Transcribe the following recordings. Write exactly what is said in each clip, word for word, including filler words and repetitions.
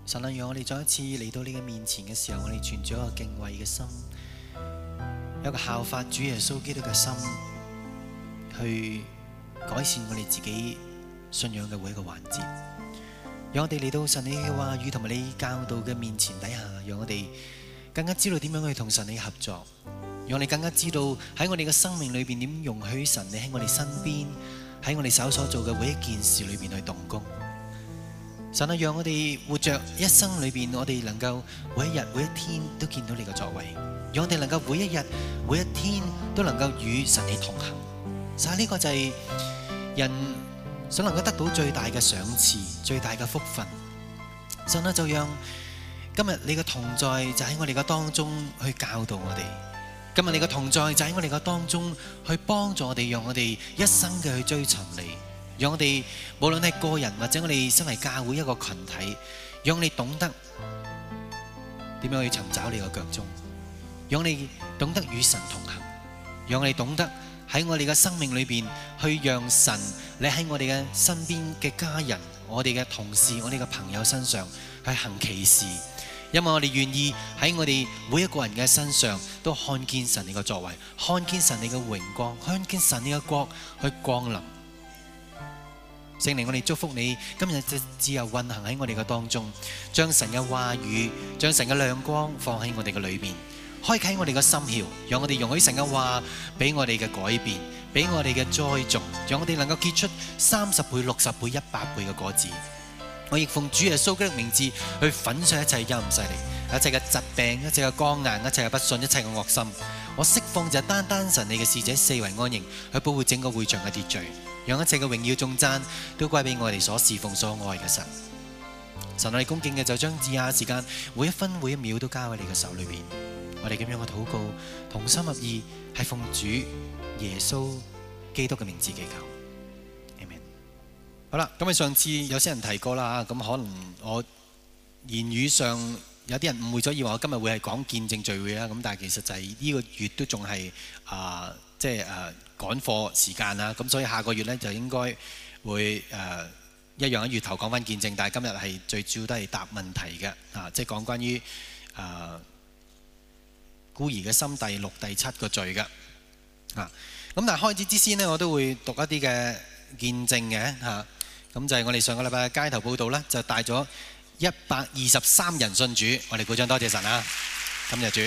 神啊，讓我哋再一次嚟到你嘅面前嘅時候，我哋存住一個敬畏嘅心，有一個效法主耶穌基督嘅心，去改善我哋自己信仰嘅每一個環節。讓我哋嚟到神你嘅話語同埋你教導嘅面前底下，讓我哋更加知道點樣去同神你合作，讓我哋更加知道喺我哋嘅生命裏邊點容許神你喺我哋身邊，喺我哋手所做嘅每一件事裏邊去動工。神啊，讓我哋活着一生裏邊，我哋能夠每一日每一天都見到你嘅作為，讓我哋能夠每一日每一天都能夠與神你同行。神啊，呢個就係人想能夠得到最大嘅賞賜、最大嘅福分。神啊，就讓今日你嘅同在就喺我哋嘅當中去教導我哋，今日你嘅同在就喺我哋嘅當中去幫助我哋，讓我哋一生嘅去追尋你。讓我哋無論係個人或者我哋身為教會一個群體，讓你懂得點樣去尋找你嘅腳蹤，讓你懂得與神同行，讓我哋懂得喺我哋嘅生命裏邊去讓神你喺我哋嘅身邊嘅家人、我哋嘅同事、我哋嘅朋友身上去行奇事，因為我哋願意喺我哋每一個人嘅身上都看見神你嘅作為，看見神你嘅榮光，看見神你嘅國去降臨。聖靈，我哋祝福你今日就自由運行喺我哋嘅當中，將神嘅話語、將神嘅亮光放喺我哋嘅裏面，開啟我哋嘅心竅，讓我哋容許神嘅話俾我哋嘅改變，俾我哋嘅栽種，讓我哋能夠結出三十倍、六十倍、一百倍嘅果子。我亦奉主耶穌基督名字去粉碎一切陰勢力、一切嘅疾病、一切嘅剛硬、一切嘅不信、一切嘅惡心。我釋放就單單神你嘅使者四圍安營，去保護整個會場嘅秩序，讓一切嘅榮耀頌讚都歸俾我哋所侍奉所愛嘅神。神，我哋恭敬嘅就將以下時間每一分每一秒都交喺你嘅手裏邊。我哋咁樣嘅禱告，同心合意，係奉主耶穌基督嘅名字祈求。Amen。好啦，咁啊上次有些人提過啦，咁可能我言語上有啲人誤會咗，以為我今日會係講見證聚會啦。咁但係其實就係呢個月都仲係啊，即係誒趕課時間啦。咁所以下個月咧就應該會誒、呃、一樣喺月頭講翻見證，但係今日係最主要都係答問題嘅啊，即係講關於誒、呃、孤兒嘅心第六、第七個罪嘅啊。咁但係開始之先呢，我都會讀一啲嘅見證嘅嚇。咁、啊、就係我哋上個禮拜嘅街頭報道咧，就帶咗一百二十三人信主，我哋鼓掌多謝神啊！感謝主。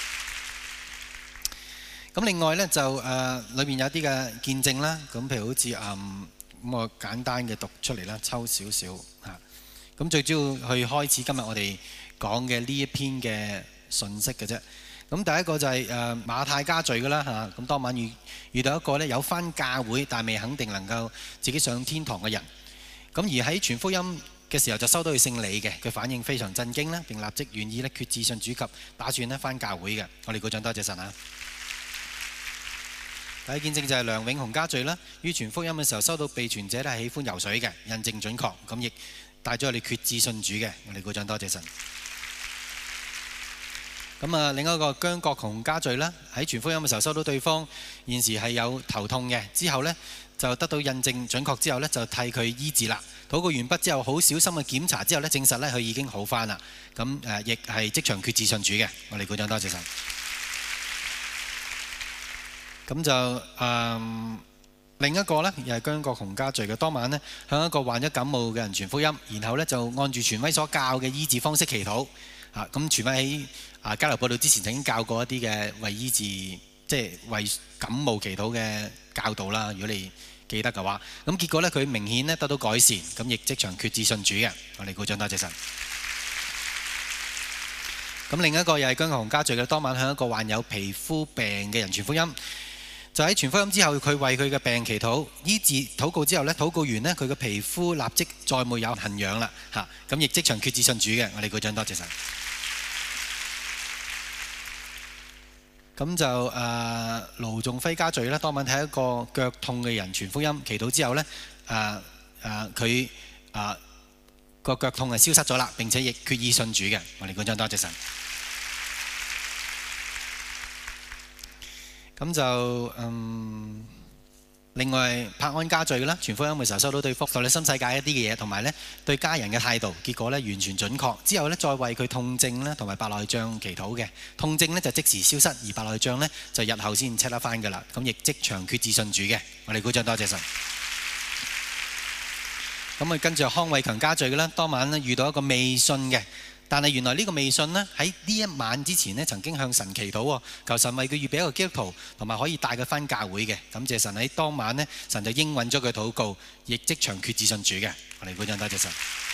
咁另外呢，就誒裏面有啲嘅見證啦，咁譬如好似誒咁我簡單嘅讀出嚟啦，抽少少嚇。咁最主要去開始今日我哋講嘅呢一篇嘅信息嘅啫。咁第一個就係誒馬太家罪嘅啦嚇。咁當晚遇遇到一個呢有返教會但未肯定能夠自己上天堂嘅人。咁而喺傳福音嘅時候就收到佢姓李嘅，佢反應非常震驚啦，並立即願意咧決志信主及打算咧返教會嘅。我哋鼓掌多謝神啊！第一見證就係梁永雄家罪啦，於傳福音嘅時候收到被傳者咧係喜歡游水嘅，印證準確，咁亦帶咗我哋決志信主嘅。我哋鼓掌多謝神。咁啊，另一個姜國雄家罪啦，喺傳福音嘅時候收到對方現時係有頭痛嘅，之後呢就得到印證準確之後呢就替佢醫治啦。禱告完畢之後，好小心嘅檢查之後呢，證實呢佢已經好返啦。咁誒，亦係即場決志信主嘅。我哋鼓掌多謝神。咁就誒、嗯、另一個呢，又係姜國雄家罪嘅。當晚呢，向一個患咗感冒嘅人傳福音，然後呢就按住傳威所教嘅醫治方式祈禱。啊，咁傳威喺啊交流報道之前曾經教過一啲嘅為醫治，即係為感冒祈禱嘅教導啦。如果你記得嘅話，咁結果呢，佢明顯咧得到改善，咁亦即場決志信主嘅。我哋鼓掌多謝神。咁另一個又係姜國雄家罪嘅，當晚向一個患有皮膚病嘅人傳福音，就喺傳福音之後，佢為佢嘅病祈禱醫治，禱告之後呢，禱告完呢，佢嘅皮膚立即再沒有痕癢啦嚇，咁亦即場決志信主嘅。我哋鼓掌多謝神。咁就誒盧仲輝家罪啦，當晚睇一個腳痛嘅人傳福音，祈禱之後呢，誒誒佢誒個腳痛係消失咗啦，並且亦決意信主嘅。我哋鼓掌多謝神。咁就嗯另外柏安家聚啦，傳福音嘅時候收到對福在你新世界一啲嘅嘢，同埋咧對家人嘅態度，結果咧完全準確。之後咧再為佢痛症咧同埋白內障祈禱嘅，痛症咧就即時消失，而白內障咧就日後先 check 得翻㗎啦。咁亦即場決志信主嘅，我哋鼓掌多謝神。咁啊跟住康偉強家聚嘅啦，當晚咧遇到一個未信嘅。但係原來呢個未信呢，喺呢一晚之前呢，曾經向神祈禱喎，求神為佢預備一個基督徒，同埋可以帶佢返教會嘅。感謝神喺當晚呢，神就應允咗佢禱告，亦即場決志信主嘅。我哋鼓掌多謝神。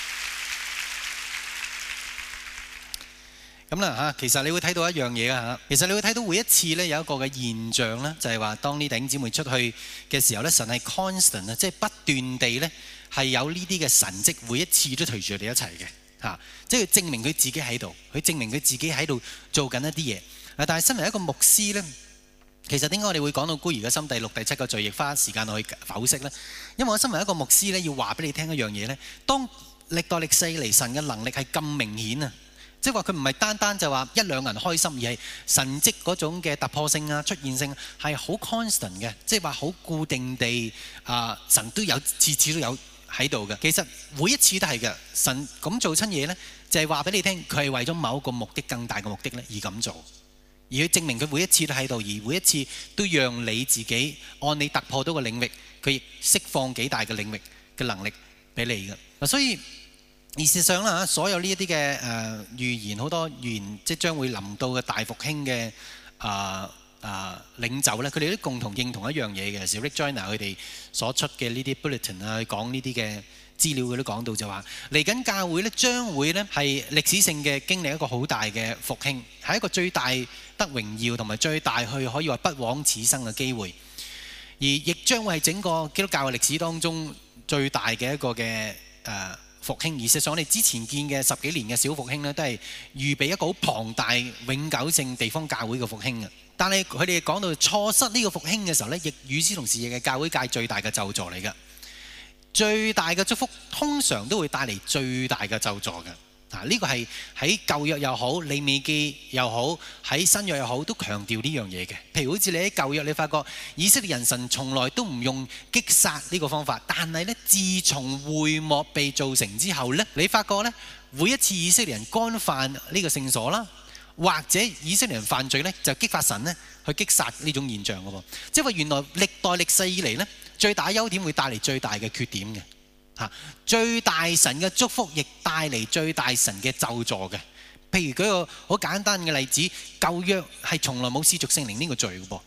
咁啦嚇，其實你會睇到一樣嘢啊嚇，其實你會睇到每一次呢，有一個嘅現象呢，就係話當呢弟兄姊妹出去嘅時候呢，神係 constant 啊，即係不斷地呢，係有呢啲嘅神蹟，每一次都隨住你一齊嘅。嚇！即係證明佢自己喺度，佢證明佢自己喺度做緊一啲嘢。啊！但係身為一個牧師呢，其實點解我哋會講到孤兒嘅心第六、第七個罪，亦花時間去剖析呢？因為我身為一個牧師呢，要話俾你聽一樣嘢呢：當歷代歷世嚟神嘅能力係咁明顯啊，即係話佢唔係單單就話一兩人開心，而係神蹟嗰種嘅突破性啊、出現性係好 constant 嘅，即係話好固定地啊，神都有次次都有喺度嘅。其實每一次都係嘅，神咁做親嘢呢，就係話俾你聽，佢係為咗某一個目的、更大嘅目的呢而咁做，而佢證明佢每一次都喺度，而每一次都讓你自己按你突破到個領域，佢亦釋放幾大嘅領域嘅能力俾你嘅。嗱，所以而事實上啦，所有呢一啲嘅誒預言，好多預言即將會臨到嘅大復興嘅啊。啊，領袖咧，佢哋都共同認同一樣嘢嘅，是 Rick Joyner 佢哋所出嘅呢啲 bulletin 啊，講呢啲嘅資料，佢都講到就話，嚟緊教會咧將會咧係歷史性嘅經歷一個好大嘅復興，係一個最大得榮耀同埋最大去可以話不枉此生嘅機會，而亦將會係整個基督教嘅歷史當中最大嘅一個嘅誒復興。而事實上我哋之前見嘅十幾年嘅小復興咧，都係預備一個好龐大永久性地方教會嘅復興嘅。但係佢哋講到錯失呢個復興嘅時候呢，亦與此同時亦係教會界最大嘅咒詛嚟嘅。最大嘅祝福通常都會帶嚟最大嘅咒詛嘅。啊，呢個係喺舊約又好，利未記又好，喺新約又好，都強調呢樣嘢嘅。譬如好似你喺舊約，你發覺以色列人神從來都唔用擊殺呢個方法，但係呢，自從會幕被造成之後呢，你發覺呢，每一次以色列人干犯呢個聖所啦，或者以色列人犯罪呢，就激發神呢去擊殺呢種現象嘅喎。即係話原來歷代歷世以嚟呢，最大優點會帶嚟最大嘅缺點嘅嚇，最大神嘅祝福亦帶嚟最大神嘅咒詛嘅。譬如舉個好簡單嘅例子，舊約係從來冇施屬聖靈呢個罪嘅噃，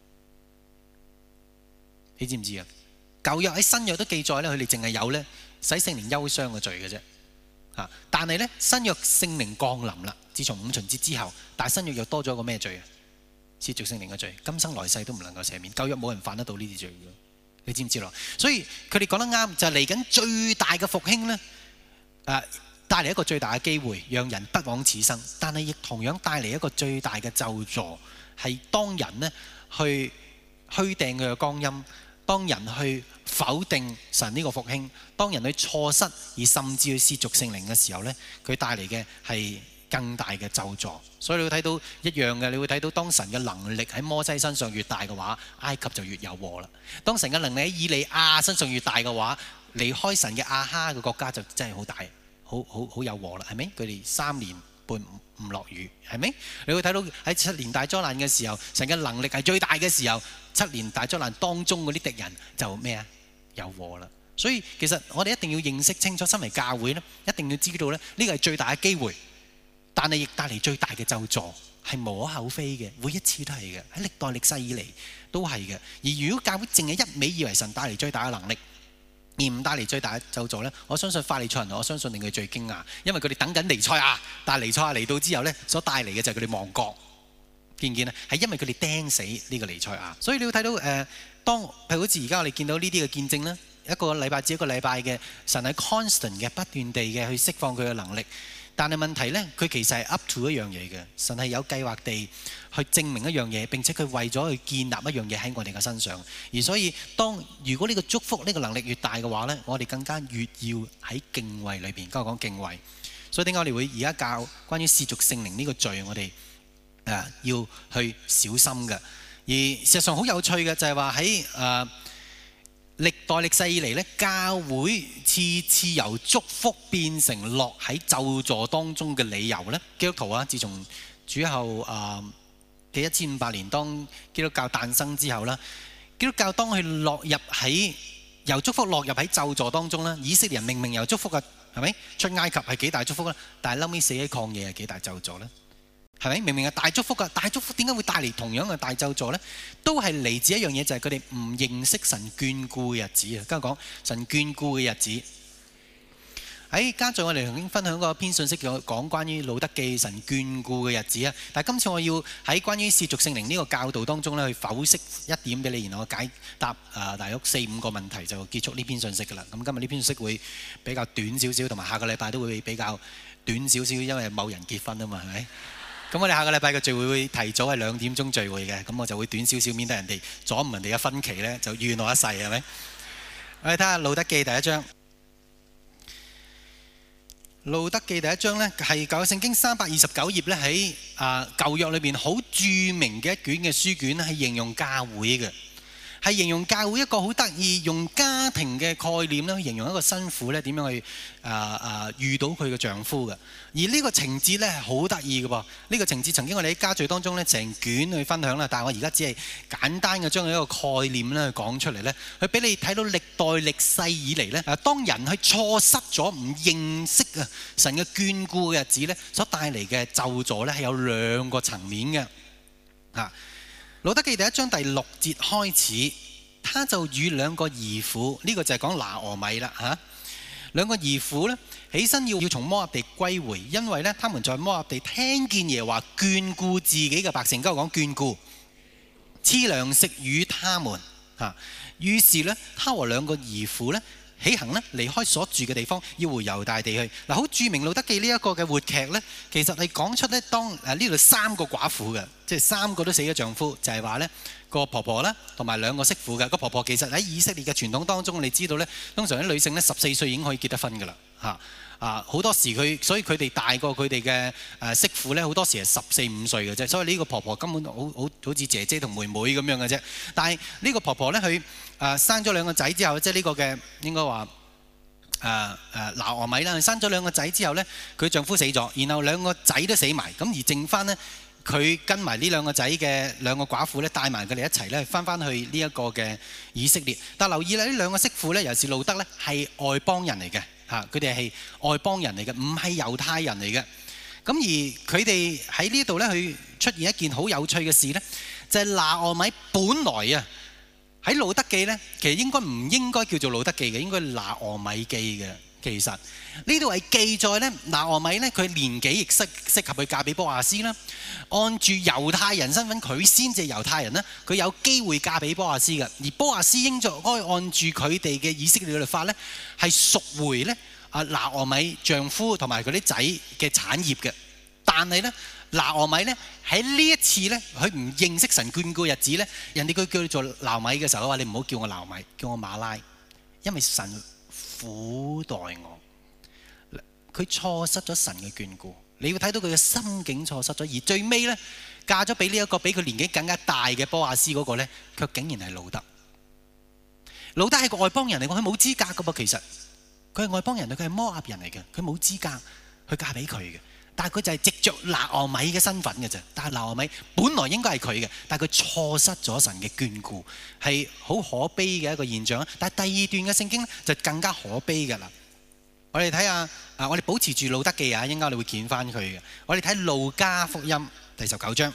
你知唔知啊？舊約喺新約都記載咧，佢哋淨係有咧使聖靈憂傷嘅罪嘅啫嚇。但係咧新約聖靈降臨啦。自從五旬節之後，但係新約又多咗一個咩罪啊？褻瀆聖靈嘅罪，今生來世都唔能夠赦免。舊約冇人犯得到呢啲罪嘅，你知唔知咯？所以佢哋講得啱，就係嚟緊最大嘅復興呢，誒帶嚟一個最大嘅機會，讓人不枉此生。但係亦同樣帶嚟一個最大嘅咒詛，係當人呢去虛掟佢嘅光陰，當人去否定神呢個復興，當人去錯失而甚至去褻瀆聖靈嘅時候呢，佢帶嚟嘅係更大嘅咒詛。所以你會睇到一樣嘅，你會睇到當神嘅能力喺摩西身上越大嘅話，埃及就越有禍啦。當神嘅能力喺以利亞身上越大嘅話，離開神嘅亞哈嘅國家就真係好大，好好好有禍啦，係咪？佢哋三年半唔落雨，係咪？你會睇到喺七年大災難嘅時候，神嘅能力係最大嘅時候，七年大災難當中嗰啲敵人就咩啊？有禍啦。所以其實我哋一定要認識清楚，身為教會呢，一定要知道呢，呢個係最大嘅機會。但係亦帶嚟最大嘅咒詛，係無可厚非嘅，每一次都係嘅，喺歷代歷世以嚟都係嘅。而如果教會淨係一味以為神帶嚟最大嘅能力，而唔帶嚟最大嘅咒詛呢，我相信法利賽人，我相信令佢最驚訝，因為佢哋等緊彌賽亞，但係彌賽亞嚟到之後呢，所帶嚟嘅就係佢哋亡國，見唔見啊？係因為佢哋釘死呢個彌賽亞。所以你會睇到誒、呃，當譬如好似而家我哋見到呢啲嘅見證呢，一個禮拜至一個禮拜嘅神係 constant 嘅，不斷地嘅去釋放佢嘅能力。但係問題呢，佢其實係 up to 一樣嘢嘅，神係有計劃地去證明一樣嘢，並且佢為咗去建立一樣嘢喺我哋嘅身上。而所以當如果呢個祝福呢個能力越大嘅話呢，我哋更加越要喺敬畏裏邊。剛才講敬畏，所以點解我哋會而家教關於褻瀆聖靈呢個罪，我哋誒要去小心嘅。而事實上好有趣嘅就係話喺誒歷代歷世以嚟咧，教會次次由祝福變成落喺咒詛當中嘅理由咧，基督徒啊，自從主後啊嘅一千五百年當基督教誕生之後啦，基督教當佢落入喺由祝福落入喺咒詛當中啦，以色列人明明由祝福嘅，係咪出埃及係幾大祝福啦？但係後尾死喺曠野係幾大咒詛咧？係咪明明係大祝福㗎？大祝福點解會帶嚟同樣嘅大咒詛呢？都係嚟自一樣嘢，就係佢哋唔認識神眷顧嘅日子啊！跟住講神眷顧嘅日子。喺家在我哋曾經分享過一篇信息，講講關於路德記神眷顧嘅日子啊！但係今次我要喺關於褻瀆聖靈呢個教導當中咧，去剖析一點俾你，然後我解答啊大約四五個問題就結束呢篇信息㗎啦。咁今日呢篇信息會比較短少少，同埋下個禮拜都會比較短少少，因為某人結婚啊嘛，係咪？咁我哋下個禮拜嘅聚會會提早係兩點鐘聚會嘅，咁我就會短少少，免得人哋阻唔人哋嘅分期咧，就怨我一世，係咪？我哋睇下路德記第一章。路德記第一章呢，係舊約聖經三百二十九頁咧，喺啊舊約裏邊好著名嘅一卷嘅書卷，係形容教會嘅，係形容教會一個好得意用家庭嘅概念咧，去形容一個新婦咧點樣去啊啊遇到佢嘅丈夫嘅。而呢個情節咧係好得意嘅噃，呢個情節曾經我哋喺家聚當中咧成卷去分享啦，但係我而家只係簡單嘅將一個概念咧去講出嚟咧，去俾你睇到歷代歷世以嚟咧，啊當人去錯失咗唔認識啊神嘅眷顧嘅日子咧，所帶嚟嘅咒詛咧係有兩個層面嘅。啊，路德記第一章第六節開始，他就與兩個兒婦，呢、這個就係講拿俄米啦嚇。兩個兒婦咧起身要要從摩押地歸回，因為咧他們在摩押地聽見耶和華眷顧自己嘅百姓，跟我講眷顧，賜糧食與他們嚇。於是咧，他和兩個兒婦咧起行咧離開所住嘅地方，要回猶大地去。嗱，好著名路德記呢一個嘅活劇咧，其實係講出咧當誒呢度三個寡婦嘅，即係三個都死咗丈夫，就係話咧。個婆婆啦，同埋兩個媳婦嘅。個婆婆其實喺以色列嘅傳統當中，你知道咧，通常啲女性咧十四歲已經可以結得婚㗎啦，嚇啊！好多時佢，所以佢哋大過佢哋嘅誒媳婦咧，好多時係十四五歲嘅啫。所以呢個婆婆根本好好好似姐姐同妹妹咁樣嘅啫。但係呢個婆婆咧，佢誒生咗兩個仔之後，即係呢個嘅應該話誒誒拿俄米啦，生咗兩個仔之後咧，佢丈夫死咗，然後兩個仔都死埋，咁而剩翻咧。佢跟埋呢兩個仔嘅兩個寡婦咧，帶埋佢哋一齊咧，翻翻去呢一個嘅以色列。但留意啦，呢兩個媳婦咧，尤其是路德咧，係外邦人嚟嘅嚇，佢哋係外邦人嚟嘅，唔係猶太人嚟嘅。咁而佢哋喺呢度咧，去出現一件好有趣嘅事咧，就係拿俄米本來啊喺路德記咧，其實應該唔應該叫做路德記嘅，應該拿俄米記嘅。其實呢度係記載咧，拿俄米咧佢年紀亦適適合去嫁俾波亞斯啦。按住猶太人身份，佢先至係猶太人啦，佢有機會嫁俾波亞斯嘅。而波亞斯應該按住佢哋嘅以色列律法咧，係贖回咧啊拿俄米丈夫同埋佢啲仔嘅產業嘅。但係咧，拿俄米咧喺呢一次咧，佢唔認識神眷顧日子咧，人哋佢叫佢做拿米嘅時候，話你唔好叫我拿米，叫我馬拉，因為神苦待我，佢錯失咗神嘅眷顧。你要睇到佢嘅心境錯失咗，而最尾咧嫁咗俾呢一個比佢年紀更加大嘅波亞斯嗰個咧，卻竟然係路德。路德係個外邦人嚟，佢冇資格噶噃。其實佢係外邦人，佢係摩押人嚟嘅，佢冇資格去嫁俾佢嘅。但係佢就係藉着拿俄米嘅身份嘅啫。但係拿俄米本來應該係佢嘅，但係佢錯失咗神嘅眷顧，係好可悲嘅一個現象。但係第二段嘅聖經咧就更加可悲嘅啦。我哋睇下啊，我哋保持住路德記啊，應該你會見翻佢嘅。我哋睇路加福音第十九章，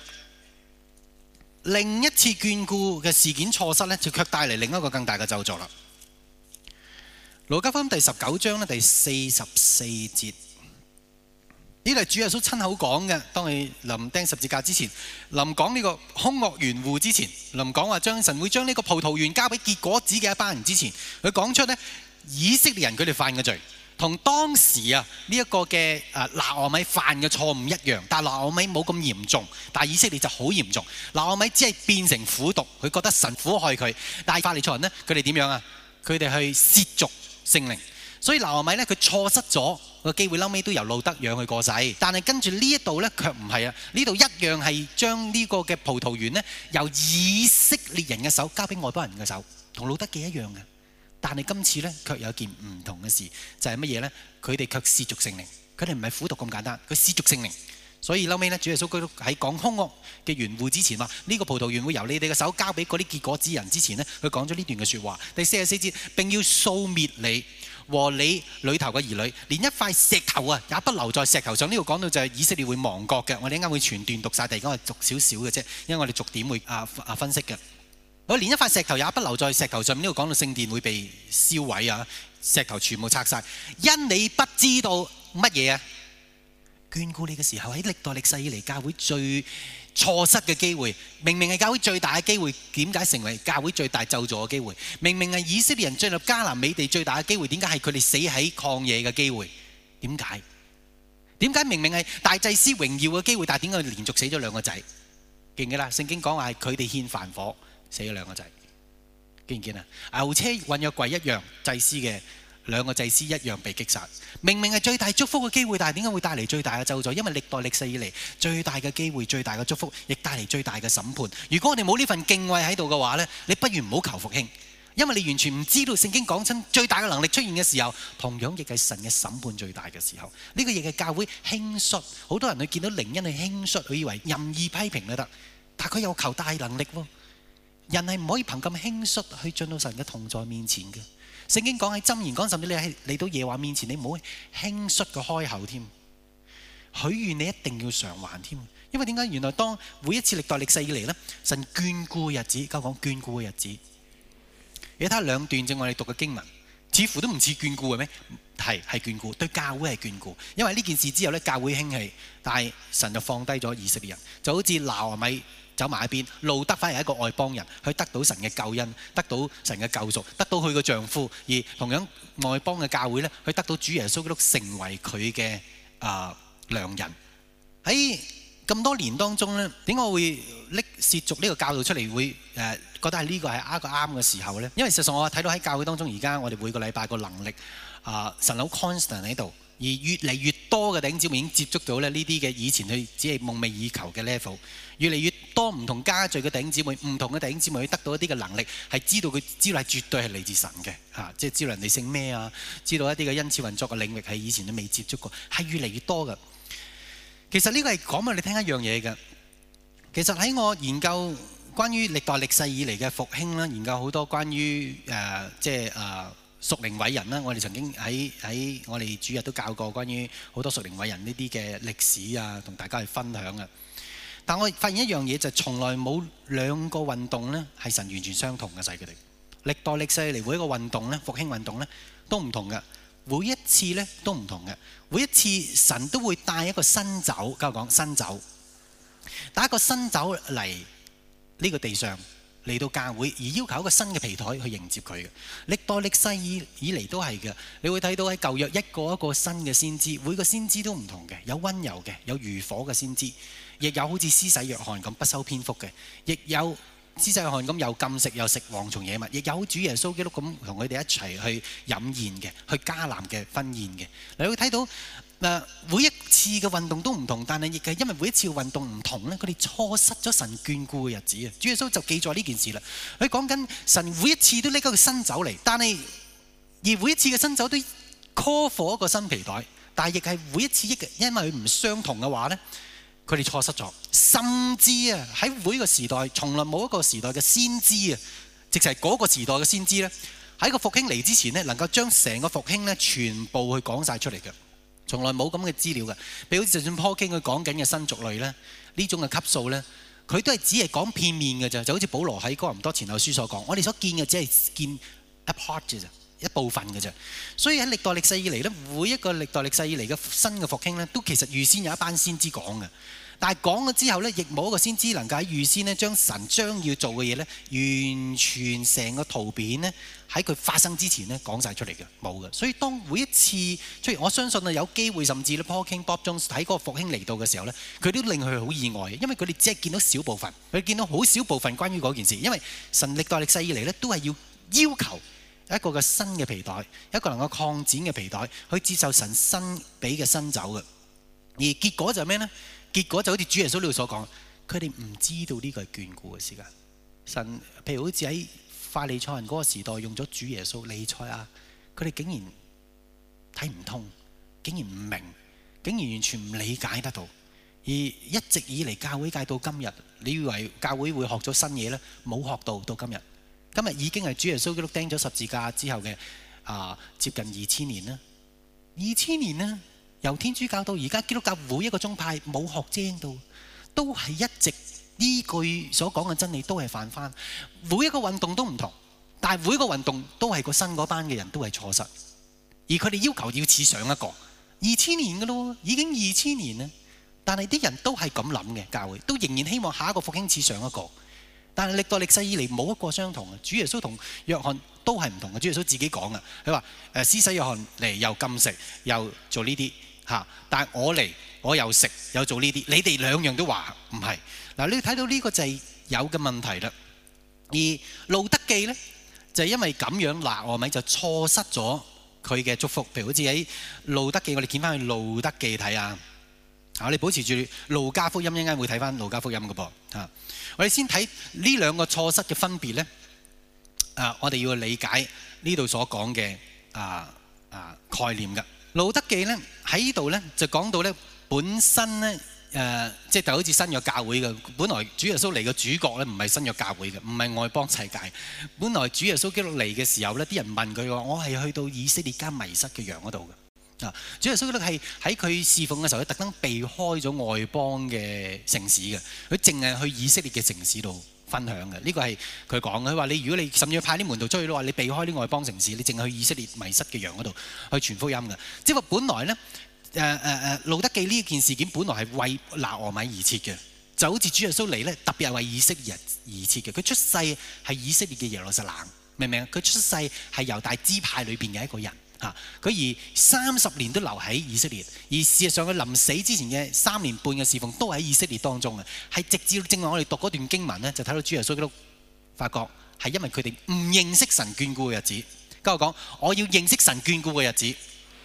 另一次眷顧嘅事件錯失咧，就卻帶嚟另一個更大嘅咒詛啦。路加福音第十九章咧第四十四節。呢度係主耶穌親口講嘅，當佢臨釘十字架之前，臨講呢個兇惡園戶之前，臨講話將神會將呢個葡萄園交俾結果子嘅一班人之前，佢講出咧以色列人佢哋犯嘅罪，同當時啊呢一個嘅啊拿俄米犯嘅錯誤一樣，但係拿俄米冇咁嚴重，但係以色列就好嚴重。拿俄米只係變成苦毒，佢覺得神苦害佢，但係法利賽人呢，佢哋點樣啊？佢哋去褻瀆聖靈。所以拿俄米咧，佢錯失咗個機會，後尾都由路德養佢過世。但係跟住呢一度咧，卻唔係啊！呢度一樣係將呢個嘅葡萄園咧，由以色列人嘅手交俾外邦人嘅手，同路德記一樣嘅。 但係今次呢，卻有件唔同嘅事，就係乜嘢呢？佢哋卻褻瀆聖靈，佢哋唔係苦毒咁簡單，佢褻瀆聖靈。所以後尾呢，主耶穌基督喺講兇惡嘅園戶之前話：呢個葡萄園會由你哋嘅手交俾嗰啲結果子人之前呢，佢講咗呢段嘅説話。第四十四節，並要掃滅你和你裏頭嘅兒女，連一塊石頭啊也不留在石頭上。呢度講到就係以色列會亡國嘅。我哋一陣間會全段讀晒，但係而家我讀少少嘅啫，因為我哋逐點會啊啊分析嘅。我連一塊石頭也不留在石頭上面。呢度講到聖殿會被燒毀啊，石頭全部拆晒，因你不知道乜嘢啊？眷顧你嘅時候，喺歷代歷世以嚟教會最錯失嘅機會，明明係教會最大嘅機會，點解成為教會最大咒詛嘅機會？明明係以色列人進入迦南美地最大嘅機會，點解係佢哋死喺曠野嘅機會？點解？點解明明係大祭司榮耀嘅機會，但係點解連續死咗兩個仔？記唔記得？聖經講話係佢哋獻燔火死咗兩個仔，記唔記得？牛車運約櫃一樣，祭司嘅兩個祭司一樣被擊殺。明明係最大祝福嘅機會，但係點解會帶嚟最大嘅咒詛？因為歷代歷世以嚟最大嘅機會、最大嘅祝福，亦帶嚟最大嘅審判。如果我哋冇呢份敬畏喺度嘅話呢，你不如唔好求復興，因為你完全唔知道聖經講親最大嘅能力出現嘅時候，同樣亦係神嘅審判最大嘅時候。呢個亦係教會輕率，好多人去見到靈恩去輕率，佢以為任意批評都得，但係佢有求大能力喎。人係唔可以憑咁輕率去進到神嘅同在面前嘅。聖經講喺箴言講，甚至你係嚟到耶和華面前，你唔好輕率嘅開口添，許願你一定要償還添。因為點解？原來當每一次歷代歷世以嚟呢，神眷顧嘅日子，交講眷顧嘅日子。你睇下兩段正我哋讀嘅經文，似乎都唔似眷顧嘅咩？係係眷顧，對教會係眷顧。因為呢件事之後呢，教會興起，但係神就放低咗以色列人，就好似拿俄米走埋一邊，路得反而係一個外邦人，去得到神嘅救恩，得到神嘅救贖，得到佢個丈夫。而同樣外邦嘅教會呢，去得到主耶穌基督成為佢嘅啊良人。喺咁多年當中呢，點解我會拎褻瀆呢個教導出嚟，會誒、呃、覺得係呢個係一個啱嘅時候呢？因為實際上我睇到喺教會當中，而家我哋每個禮拜個能力啊、呃，神好 constant 喺度。而越嚟越多嘅弟兄姊妹已經接觸到咧呢啲嘅以前佢只係夢寐以求嘅 level， 越嚟越多唔同家聚嘅弟兄姊妹，唔同嘅弟兄姊妹去得到一啲嘅能力，係知道佢知道係絕對係嚟自神嘅嚇、啊，即係知道人哋姓咩啊，知道一啲嘅恩賜運作嘅領域係以前都未接觸過，係越嚟越多嘅。其實呢個係講俾你聽一樣嘢嘅。其實喺我研究關於歷代歷世以嚟嘅復興啦，研究好多關於誒、呃、即係誒。呃屬靈偉人啦，我哋曾經喺喺我哋主日都教過關於好多屬靈偉人呢啲嘅歷史啊，同大家去分享啊。但我發現一樣嘢就係從來冇兩個運動呢係神完全相同嘅，就係佢哋歷代歷世嚟每一個運動呢，復興運動呢都唔同嘅，每一次呢都唔同嘅，每一次神都會帶一個新酒，交我講新酒，帶一個新酒嚟呢個地上。嚟到教會而要求一個新嘅皮台去迎接佢嘅，歷代歷世以以嚟都係嘅。你會睇到喺舊約一個一個新嘅先知，每個先知都唔同嘅，有溫柔嘅，有如火嘅先知，亦有好似施洗約翰咁不修邊幅嘅，亦有施洗約翰咁又禁食又食蝗蟲野物，亦有主耶穌基督咁同佢哋一齊去飲宴嘅，去迦南嘅婚宴嘅。你會睇到。嗱，每一次嘅運動都唔同，但係亦係因為每一次嘅運動唔同咧，佢哋錯失咗神眷顧嘅日子啊！主耶穌就記載呢件事啦。佢講緊神每一次都拎一個新酒嚟，但係而每一次嘅新酒都 call for 一個新皮袋，但係亦係每一次亦因為佢唔相同嘅話咧，佢哋錯失咗。甚至啊，喺每個時代，從來冇一個時代嘅先知啊，直係嗰個時代嘅先知咧，喺個復興嚟之前咧，能夠將成個復興咧全部去講晒出嚟嘅。從來冇咁嘅資料嘅，譬如好似就算 Paul King 佢講緊嘅新族類咧，呢種嘅級數咧，佢都係只係講片面嘅啫，就好似保羅喺哥林多前後書所講，我哋所見嘅只係見一 part 嘅啫，一部分嘅啫。所以喺歷代歷世以嚟咧，每一個歷代歷世以嚟嘅新嘅復興咧，都其實預先有一班先知講嘅。但係講咗之後咧，亦冇一個先知能夠喺預先咧將神將要做嘅嘢咧，完全成個圖片咧喺佢發生之前咧講晒出嚟嘅，冇嘅。所以當每一次出現，我相信啊有機會甚至咧 Paul King Bob Jones 睇嗰個復興嚟到嘅時候咧，佢都令佢好意外，因為佢哋只係見到小部分，佢見到好少部分關於嗰件事。因為神歷代歷世以嚟咧，都係要要求一個嘅新嘅皮袋，一個能夠擴展嘅皮袋，去接受神新俾嘅新酒嘅。而結果就係咩呢？結果就好似主耶穌呢度所講，佢哋唔知道呢個係眷顧嘅時間。神譬如好似喺法利賽人嗰個時代用咗主耶穌彌賽亞，佢哋竟然睇唔通，竟然唔明，竟然完全唔理解得到。而一直以嚟教會界到今日，你以為教會會學咗新嘢呢？冇學到，到今日。今日已經係主耶穌基督釘咗十字架之後嘅啊、呃，接近二千年啦。二千年啦，由天主教到而家基督教每一個宗派冇學精到，都係一直呢句所講嘅真理都係犯翻。每一個運動都唔同，但係每一個運動都係個新嗰班嘅人都係錯失，而佢哋要求要似上一個二千年嘅咯，已經二千年啦。但係啲人都係咁諗嘅，教會都仍然希望下一個復興似上一個。但係歷代歷世以嚟冇一個相同嘅。主耶穌同約翰都係唔同嘅。主耶穌自己講嘅，佢話誒施洗約翰嚟又禁食又做呢啲嚇，但係我嚟我又食又做呢啲，你哋兩樣都話唔係。嗱，你睇到呢個就係有嘅問題啦。而路德記呢，就係因為咁樣拿俄米就錯失咗佢嘅祝福。譬如好似喺路德記，我哋見翻去路德記睇下。我哋保持住路加福音，一陣間會睇翻路加福音嘅噃嚇。我哋先睇呢兩個錯失嘅分別咧。啊，我哋要理解呢度所講嘅啊啊概念嘅。路德記咧喺呢度咧就講到咧本身咧誒，即係就好似新約教會嘅。本來主耶穌嚟嘅主角咧唔係新約教會嘅，唔係外邦世界。本來主耶穌基督嚟嘅時候咧，啲人問佢話：我係去到以色列間迷失嘅羊嗰度嘅。啊！主耶穌基督係喺佢侍奉嘅時候，佢特登避開咗外邦嘅城市嘅，佢淨係去以色列嘅城市度分享嘅。呢個係佢講嘅。佢話你如果你甚至派啲門徒出去都話你避開啲外邦城市，你淨係去以色列迷失嘅羊嗰度去傳福音嘅。即係話本來咧誒誒誒路德記呢件事件本來係為拿俄米而設嘅，就好似主耶穌嚟咧特別係為以色列人而設嘅。佢出世係以色列嘅耶路撒冷，明唔明啊？佢出世係猶大支派裏邊嘅一個人。嚇！佢而三十年都留喺以色列，而事實上佢臨死之前嘅三年半嘅侍奉都喺以色列當中嘅，係直至正話我哋讀嗰段經文咧，就睇到主耶穌基督發覺係因為佢哋唔認識神眷顧嘅日子。跟我講，我要認識神眷顧嘅日子。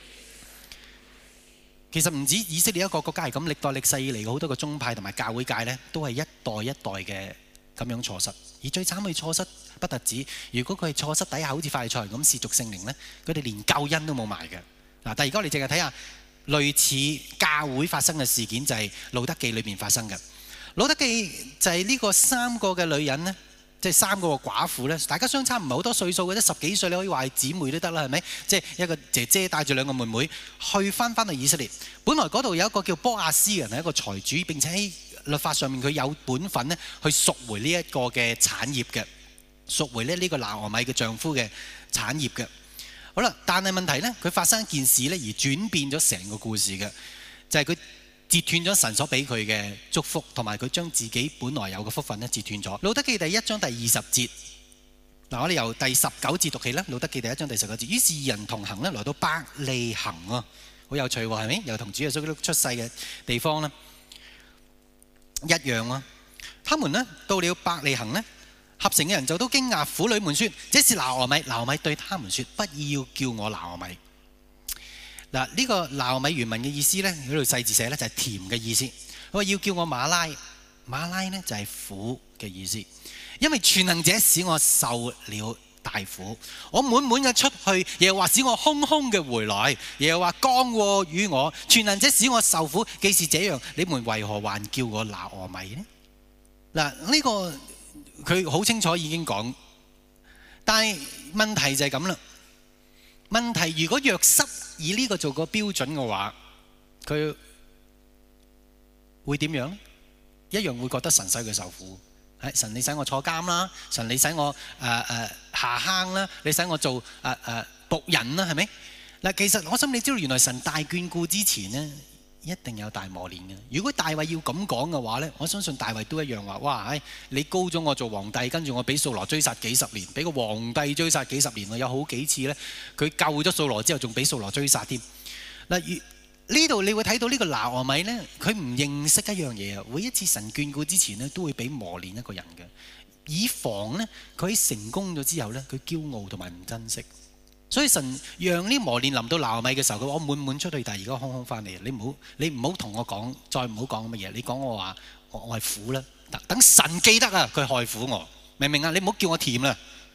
其實唔止以色列一個國家係咁，歷代歷世以嚟嘅好多個宗派同埋教會界咧，都係一代一代嘅咁樣錯失。而最慘嘅錯失不特止，如果佢係錯失底下好似法利賽人咁褻瀆聖靈咧，佢哋連救恩都冇埋嘅。嗱，但係而家我哋淨係睇下類似教會發生嘅事件，就係路德記裏邊發生嘅。路德記就係呢個三個嘅女人咧，即係三個寡婦咧，大家相差唔係好多歲數嘅啫，十幾歲你可以話係姊妹都得啦，係咪？即係一個姐姐帶住兩個妹妹去翻翻去以色列。本來嗰度有一個叫波亞斯嘅人係一個財主，並且喺律法上面佢有本分咧去贖回呢一個嘅產業嘅。贖回咧呢個拿俄米嘅丈夫嘅產業嘅。好啦，但係問題呢，佢發生一件事呢，而轉變咗成個故事嘅，就係佢截斷咗神所俾佢嘅祝福，同埋佢將自己本來有嘅福分呢截斷咗。路德記第一章第二十節，嗱，我哋由第十九節讀起啦。路德記第一章第十九節，於是二人同行呢，來到伯利恆啊，好有趣喎，係咪？又同主耶穌基督出世嘅地方呢一樣啊。他們呢到了伯利恆呢，合城嘅人就都驚訝，婦女們說：這是拿俄米。拿俄米對他們說：不要叫我拿俄米。嗱，呢個拿俄米原文嘅意思呢，喺度細字寫呢，就係甜嘅意思。佢話要叫我馬拉，馬拉呢就係苦嘅意思。因為全能者使我受了大苦，我滿滿嘅出去，又話使我空空嘅回來，又話降禍與我。全能者使我受苦，既是這樣，你們為何還叫我拿俄米呢？嗱，呢個佢好清楚已經講，但係問題就係咁啦。問題如果約瑟以呢個做個標準嘅話，佢會點樣呢？一樣會覺得神使佢受苦。係神，你使我坐監啦，神你使我誒誒、呃呃、下坑啦，你使我做誒誒僕人啦，係咪？嗱，其實我想你知道，原來神大眷顧之前呢，一定有大磨練嘅。如果大衛要咁講嘅話呢，我相信大衛都一樣話：哇，唉，你高咗我做皇帝，跟住我俾掃羅追殺幾十年，俾個皇帝追殺幾十年，我有好幾次呢，佢救咗掃羅之後，仲俾掃羅追殺添。嗱，呢度你會睇到呢個拿俄米呢，佢唔認識一樣嘢啊！每一次神眷顧之前呢，都會俾磨練一個人嘅，以防呢，佢喺成功咗之後呢，佢驕傲同埋唔珍惜。所以神讓呢磨練臨到拿俄米嘅時候，佢話我滿滿出去，但係而家空空翻嚟。你唔好你唔好同我講，再唔好講乜嘢。你講我話我我係苦啦，等神記得啊，佢害苦我，明唔明啊？你唔好叫我甜啦，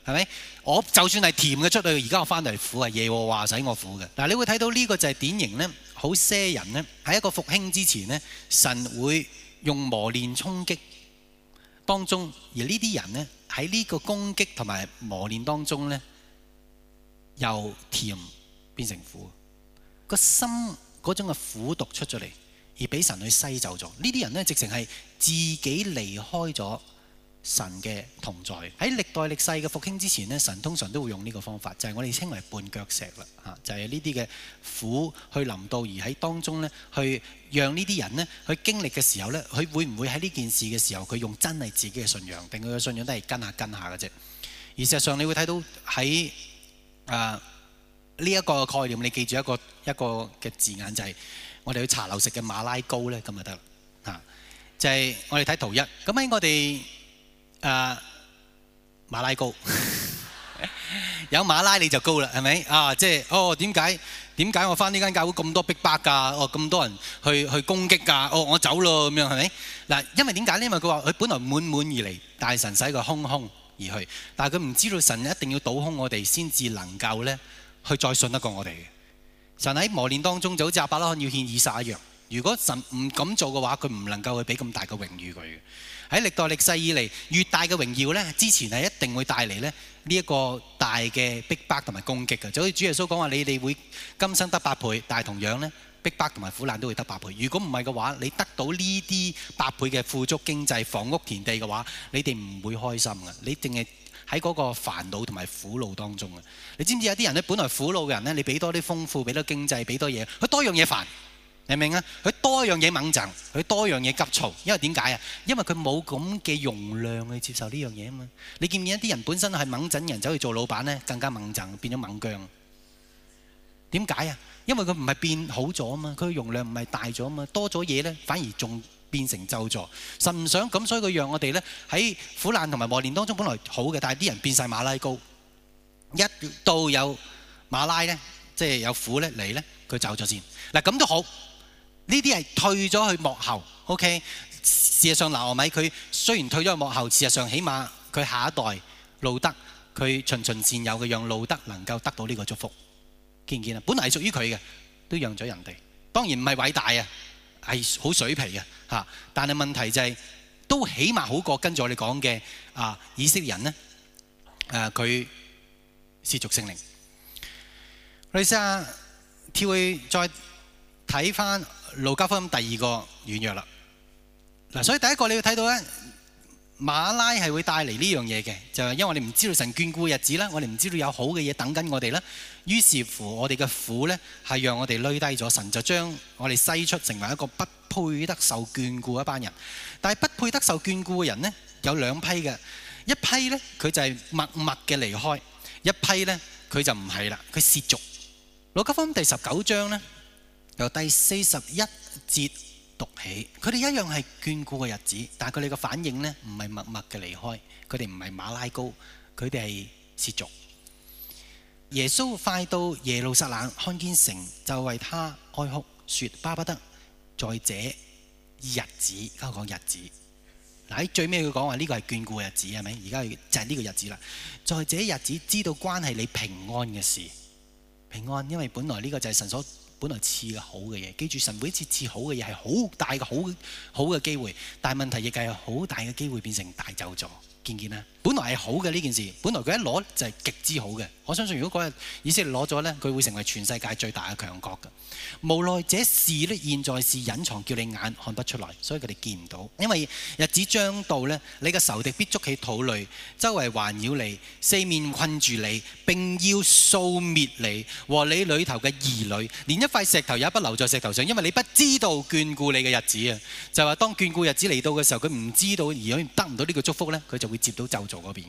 係咪？我就算係甜嘅出去，而家我翻嚟苦啊！耶和華使我苦嘅。嗱，你會睇到呢個就係典型咧，好些人咧喺一個復興之前咧，神會用磨練衝擊當中，而呢啲人咧喺呢個攻擊同埋磨練當中咧，由甜變成苦，個心嗰種嘅苦毒出咗嚟，而俾神去篩走咗。呢啲人咧，直情係自己離開咗神嘅同在。喺歷代歷世嘅復興之前咧，神通常都會用呢個方法，就係、是、我哋稱為絆腳石啦，嚇，就係呢啲嘅苦去臨到，而喺當中咧，去讓呢啲人咧去經歷嘅時候咧，佢會唔會喺呢件事嘅時候，佢用真係自己嘅信仰，定佢嘅信仰都係跟下跟下嘅啫？而事實上，你會睇到喺啊呢一個概念，你記住一個一個嘅字眼，就係、是、我哋去茶樓食嘅馬拉糕咧，咁就得啦，嚇，就係、是、我哋睇圖一，咁喺我哋。誒、uh, 馬拉糕有馬拉你就高啦，係咪啊？即係哦，點解點解我返呢間教會咁多逼迫㗎？哦，咁多人去去攻擊㗎？哦，我走咯咁樣，係咪嗱？因為點解呢？因為佢話佢本來滿滿而嚟，但係神使佢空空而去，但係佢唔知道神一定要倒空我哋先至能夠咧去再信得過我哋嘅。神喺磨練當中就好似亞伯拉罕要獻以撒一樣，如果神唔咁做嘅話，佢唔能夠去俾咁大嘅榮譽佢嘅。喺歷代歷世以嚟，越大嘅榮耀咧，之前係一定會帶嚟咧呢一個大嘅逼迫同埋攻擊嘅。就好似主耶穌講話，你哋會今生得百倍，但係同樣咧逼迫同埋苦難都會得百倍。如果唔係嘅話，你得到呢啲百倍嘅富足經濟、房屋、田地嘅話，你哋唔會開心嘅。你淨係喺嗰個煩惱同埋苦惱當中嘅。你知唔知有啲人咧，本來苦惱嘅人咧，你俾多啲豐富，俾多經濟，俾多嘢，佢多樣嘢煩。明唔明啊？佢多樣嘢猛憎，佢多樣嘢急躁，因為點解啊？因為佢冇咁嘅容量去接受呢樣嘢啊嘛。你見唔見一啲人本身係猛憎人走去做老闆咧，更加猛憎，變咗猛僵。點解啊？因為佢唔係變好咗啊嘛，佢容量唔係大咗啊嘛，多咗嘢咧，反而仲變成咒詛。神唔想咁，所以佢讓我哋咧喺苦難同埋磨練當中本來好嘅，但係啲人變晒馬拉糕，一到有馬拉咧，即係有苦咧嚟咧，佢走咗先。嗱咁都好。呢啲係退咗去幕後 ，OK。事實上，拿俄米佢雖然退咗去幕後，事實上起碼佢下一代路德佢循循善誘嘅，讓路德能夠得到呢個祝福。見唔見啊？本來係屬於佢嘅，都讓咗人哋。當然唔係偉大啊，係好水皮嘅嚇。但係問題就係、是、都起碼好過跟住我哋講嘅啊以色列人呢，誒佢褻瀆聖靈。我哋試下跳去再睇翻路加福音第二個軟弱啦。嗱，所以第一個你要睇到咧，馬拉係會帶嚟呢樣嘢嘅，就係因為我哋唔知道神眷顧嘅日子啦，我哋唔知道有好嘅嘢等緊我哋啦。於是乎，我哋嘅苦咧係讓我哋累低咗，神就將我哋篩出成為一個不配得受眷顧一班人。但係不配得受眷顧嘅人呢，有兩批嘅，一批咧佢就係默默嘅離開，一批咧佢就唔係啦，佢褻瀆。路加福音第十九章咧，由第四十一節讀起，佢哋一樣係眷顧嘅日子，但係佢哋嘅反應呢，唔係默默嘅離開，佢哋唔係馬拉糕，佢哋係褻瀆。耶穌快到耶路撒冷，看見城，就為他哀哭，說巴不得在這日子，而家講日子。嗱，喺最尾佢講話呢個係眷顧嘅日子，係咪？而家就係呢個日子啦。在這日子知道關係你平安嘅事，平安，因為本來呢個就係神所本來賜嘅好嘅嘢。記住，神每一次賜好嘅嘢係好大嘅好好嘅機會，但係問題亦係好大嘅機會變成大咒詛。見唔見啊？本來係好嘅呢件事，本來佢一攞就係極之好嘅。我相信如果嗰日以色列攞咗呢，佢會成為全世界最大嘅強國嘅。無奈這事呢，現在是隱藏，叫你眼看不出來，所以佢哋見唔到。因為日子將到呢，你嘅仇敵必築起土壘，周圍環繞你，四面困住你，並要掃滅你和你裏頭嘅兒女，連一塊石頭也不留在石頭上，因為你不知道眷顧你嘅日子啊！就話當眷顧日子嚟到嘅時候，佢唔知道而佢得唔到呢個祝福呢，佢就會接到咒詛嗰邊。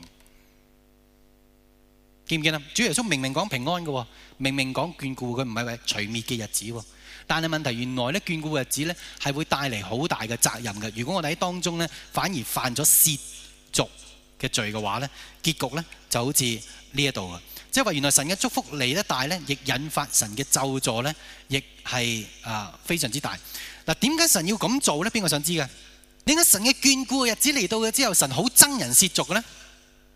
見唔見啊？主耶穌明明講平安嘅，明明講眷顧，佢唔係話除滅嘅日子。但係問題原來咧，眷顧嘅日子咧係會帶嚟好大嘅責任嘅。如果我哋喺當中咧反而犯咗褻瀆嘅罪嘅話咧，結局咧就好似呢一度啊！即係話原來神嘅祝福嚟得大咧，亦引發神嘅咒詛咧，亦係啊非常之大。嗱，點解神要咁做咧？邊個想知嘅？點解神嘅眷顧嘅日子嚟到嘅之後，神好憎人褻瀆嘅咧？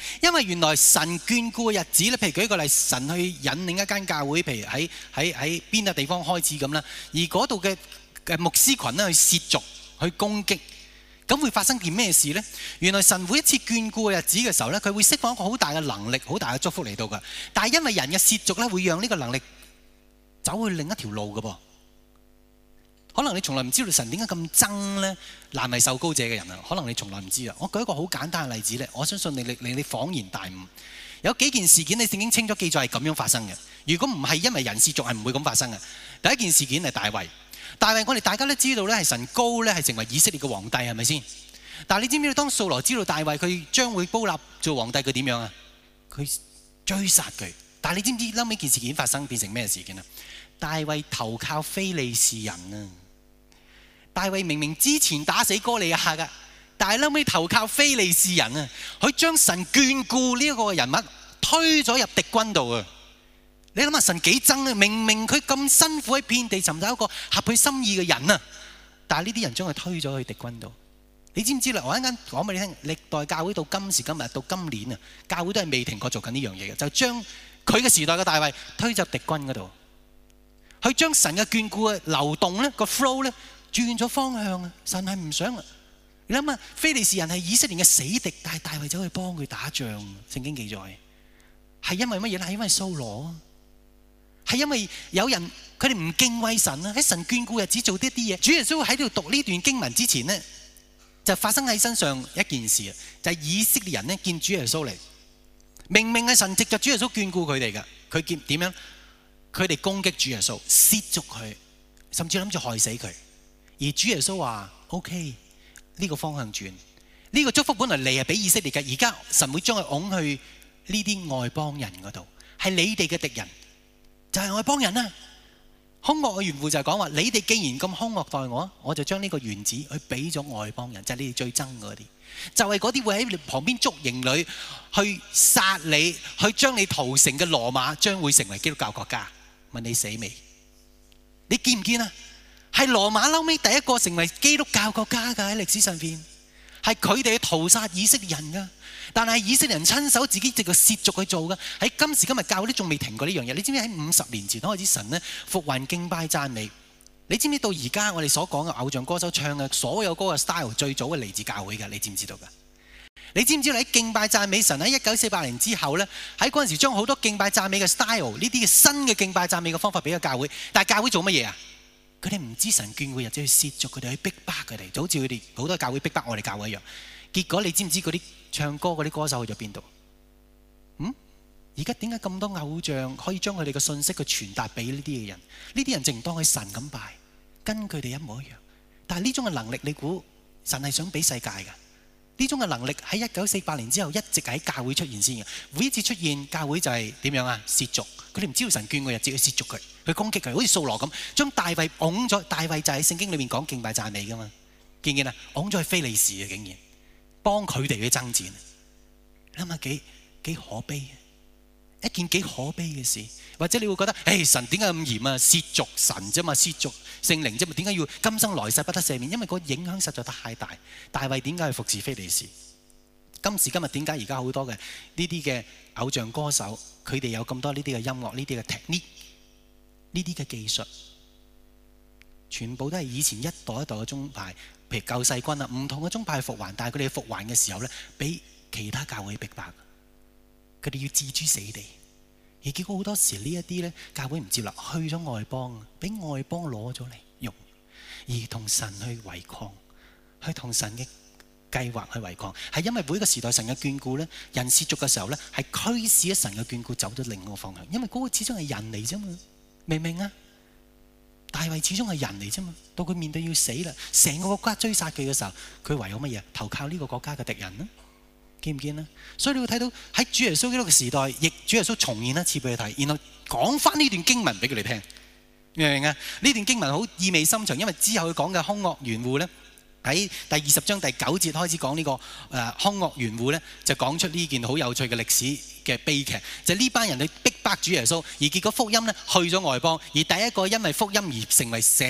因為原來神眷顧嘅日子咧，譬如舉個例，神去引領一間教會，譬如喺喺喺邊個地方開始咁啦，而嗰度嘅嘅牧師群咧去褻瀆、去攻擊，咁會發生件咩事呢？原來神每一次眷顧嘅日子嘅時候咧，佢會釋放一個好大嘅能力、好大嘅祝福嚟到㗎。但係因為人嘅褻瀆咧，會讓呢個能力走去另一條路㗎噃。可能你從來唔知道神點解咁憎咧難為受膏者嘅人啊！可能你從來唔知啊！我舉一個好簡單嘅例子咧，我相信你你你你恍然大悟。有幾件事件你聖經清楚記載係咁樣發生嘅。如果唔係因為人褻瀆，係唔會咁發生嘅。第一件事件係大衛。大衛我哋大家都知道咧，係神膏咧係成為以色列嘅皇帝，係咪先？但係你知唔知道當掃羅知道大衛佢將會膏立做皇帝，佢點樣啊？佢追殺佢。但係你知唔知後尾件事件發生變成咩事件啊？大衛投靠非利士人啊！大衛明明之前打死哥利亞噶，但係後尾投靠非利士人啊！佢將神眷顧呢一個人物推咗入敵軍度啊！你諗下神幾憎啊！明明佢咁辛苦喺遍地尋找一個合佢心意嘅人啊，但係呢啲人將佢推咗去敵軍度。你知唔知啦？我一陣間講俾你聽，歷代教會到今時今日到今年啊，教會都係未停過做緊呢樣嘢嘅，就將佢嘅時代嘅大衛推入敵軍嗰度，佢將神嘅眷顧嘅流動咧個 flow 咧。轉咗方向啊！神係唔想啊！你諗下，非利士人係以色列嘅死敵，但係大衛走去幫佢打仗。聖經記載係因為乜嘢咧？係因為掃羅啊！係因為有人佢哋唔敬畏神啊！喺神眷顧日子做啲啲嘢。主耶穌喺度讀呢段經文之前呢，就發生喺身上一件事啊！就係以色列人呢見主耶穌嚟，明明係神藉着主耶穌眷顧佢哋嘅，佢見點樣？佢哋攻擊主耶穌，褻瀆佢，甚至諗住害死佢。而主耶穌話 ：OK， 呢個方向轉，呢、這個祝福本來嚟係俾以色列嘅，而家神會將佢拱去呢啲外邦人嗰度，係你哋嘅敵人，就係、是、外邦人啊！兇惡嘅園戶就係講話：你哋既然咁兇惡待我，我就將呢個園子去俾咗外邦人，就係、是、你哋最憎嗰啲，就係嗰啲會喺你旁邊捉營裏去殺你，去將你屠城嘅羅馬，將會成為基督教國家。問你死未？你見唔見啊？係羅馬後尾第一個成為基督教國家㗎，喺歷史上邊，係佢哋去屠殺以色列人㗎。但係以色列人親手自己藉個褻瀆去做㗎。喺今時今日教會都仲未停過呢樣嘢。你知唔知喺五十年前開始神咧復還敬拜讚美？你知唔知到而家我哋所講嘅偶像歌手唱嘅所有歌嘅 style 最早係嚟自教會㗎？你知唔知道㗎？你知唔知道喺敬拜讚美神喺一九四八年之後咧，喺嗰陣時將好多敬拜讚美嘅 style 呢啲嘅新嘅敬拜讚美嘅方法俾咗教會，但係教會做乜嘢啊？佢哋唔知神眷顧，日子去褻瀆佢哋，去逼迫佢哋，就好似佢哋好多教會逼迫我哋教會一樣。結果你知唔知嗰啲唱歌嗰啲歌手去咗邊度？嗯？而家點解咁多偶像可以將佢哋嘅信息去傳達俾呢啲嘅人？呢啲人淨當佢神咁拜，跟佢哋一模一樣。但係呢種嘅能力，你估神係想俾世界㗎？呢種嘅能力喺一九四八年之後一直喺教會出現先嘅。每一次出現，教會就係點樣啊？褻瀆。佢哋唔知道神眷顧嘅日子去褻瀆佢，去攻擊佢，好似掃羅咁，將大衛拱咗。大衛就喺聖經裏面講敬拜讚美噶嘛，見唔見啊？拱咗去非利士嘅，竟然幫佢哋去爭戰，諗下幾幾可悲，一件幾可悲嘅事。或者你會覺得，誒、哎、神點解咁嚴啊？褻瀆神啫嘛，褻瀆聖靈啫嘛，點解要今生來世不得赦免？因為個影響實在太大。大衛點解去服侍非利士？今時今日點解而家好多嘅呢啲嘅偶像歌手，佢哋有咁多呢啲嘅音樂、呢啲嘅 technique、呢啲嘅技術，全部都係以前一代一代嘅宗派，譬如救世軍啊，唔同嘅宗派去復還，但係佢哋復還嘅時候咧，俾其他教會逼迫，佢哋要置諸死地，而結果好多時呢一啲咧，教會唔接納，去咗外邦，俾外邦攞咗嚟用，而同神去違抗，去同神嘅計劃去違抗，係因為每一個時代神嘅眷顧咧，人褻瀆嘅時候咧，係驅使咗神嘅眷顧走咗另一個方向。因為嗰個始終係人嚟啫嘛，明唔明啊？大衛始終係人嚟啫嘛，到佢面對要死啦，成個國家追殺佢嘅時候，佢唯有乜嘢？投靠呢個國家嘅敵人啦，見唔見啊？所以你會睇到喺主耶穌基督嘅時代，亦主耶穌重現一次俾佢睇，然後講翻呢段經文俾佢哋聽，明唔明啊？呢段經文好意味深長，因為之後佢講嘅兇惡園戶咧。喺第二十章第九節開始講呢、這個誒兇惡園戶咧，就講出呢件好有趣嘅歷史嘅悲劇，就呢、是、班人去逼迫主耶穌，而結果福音咧去咗外邦，而第一個因為福音而成為成個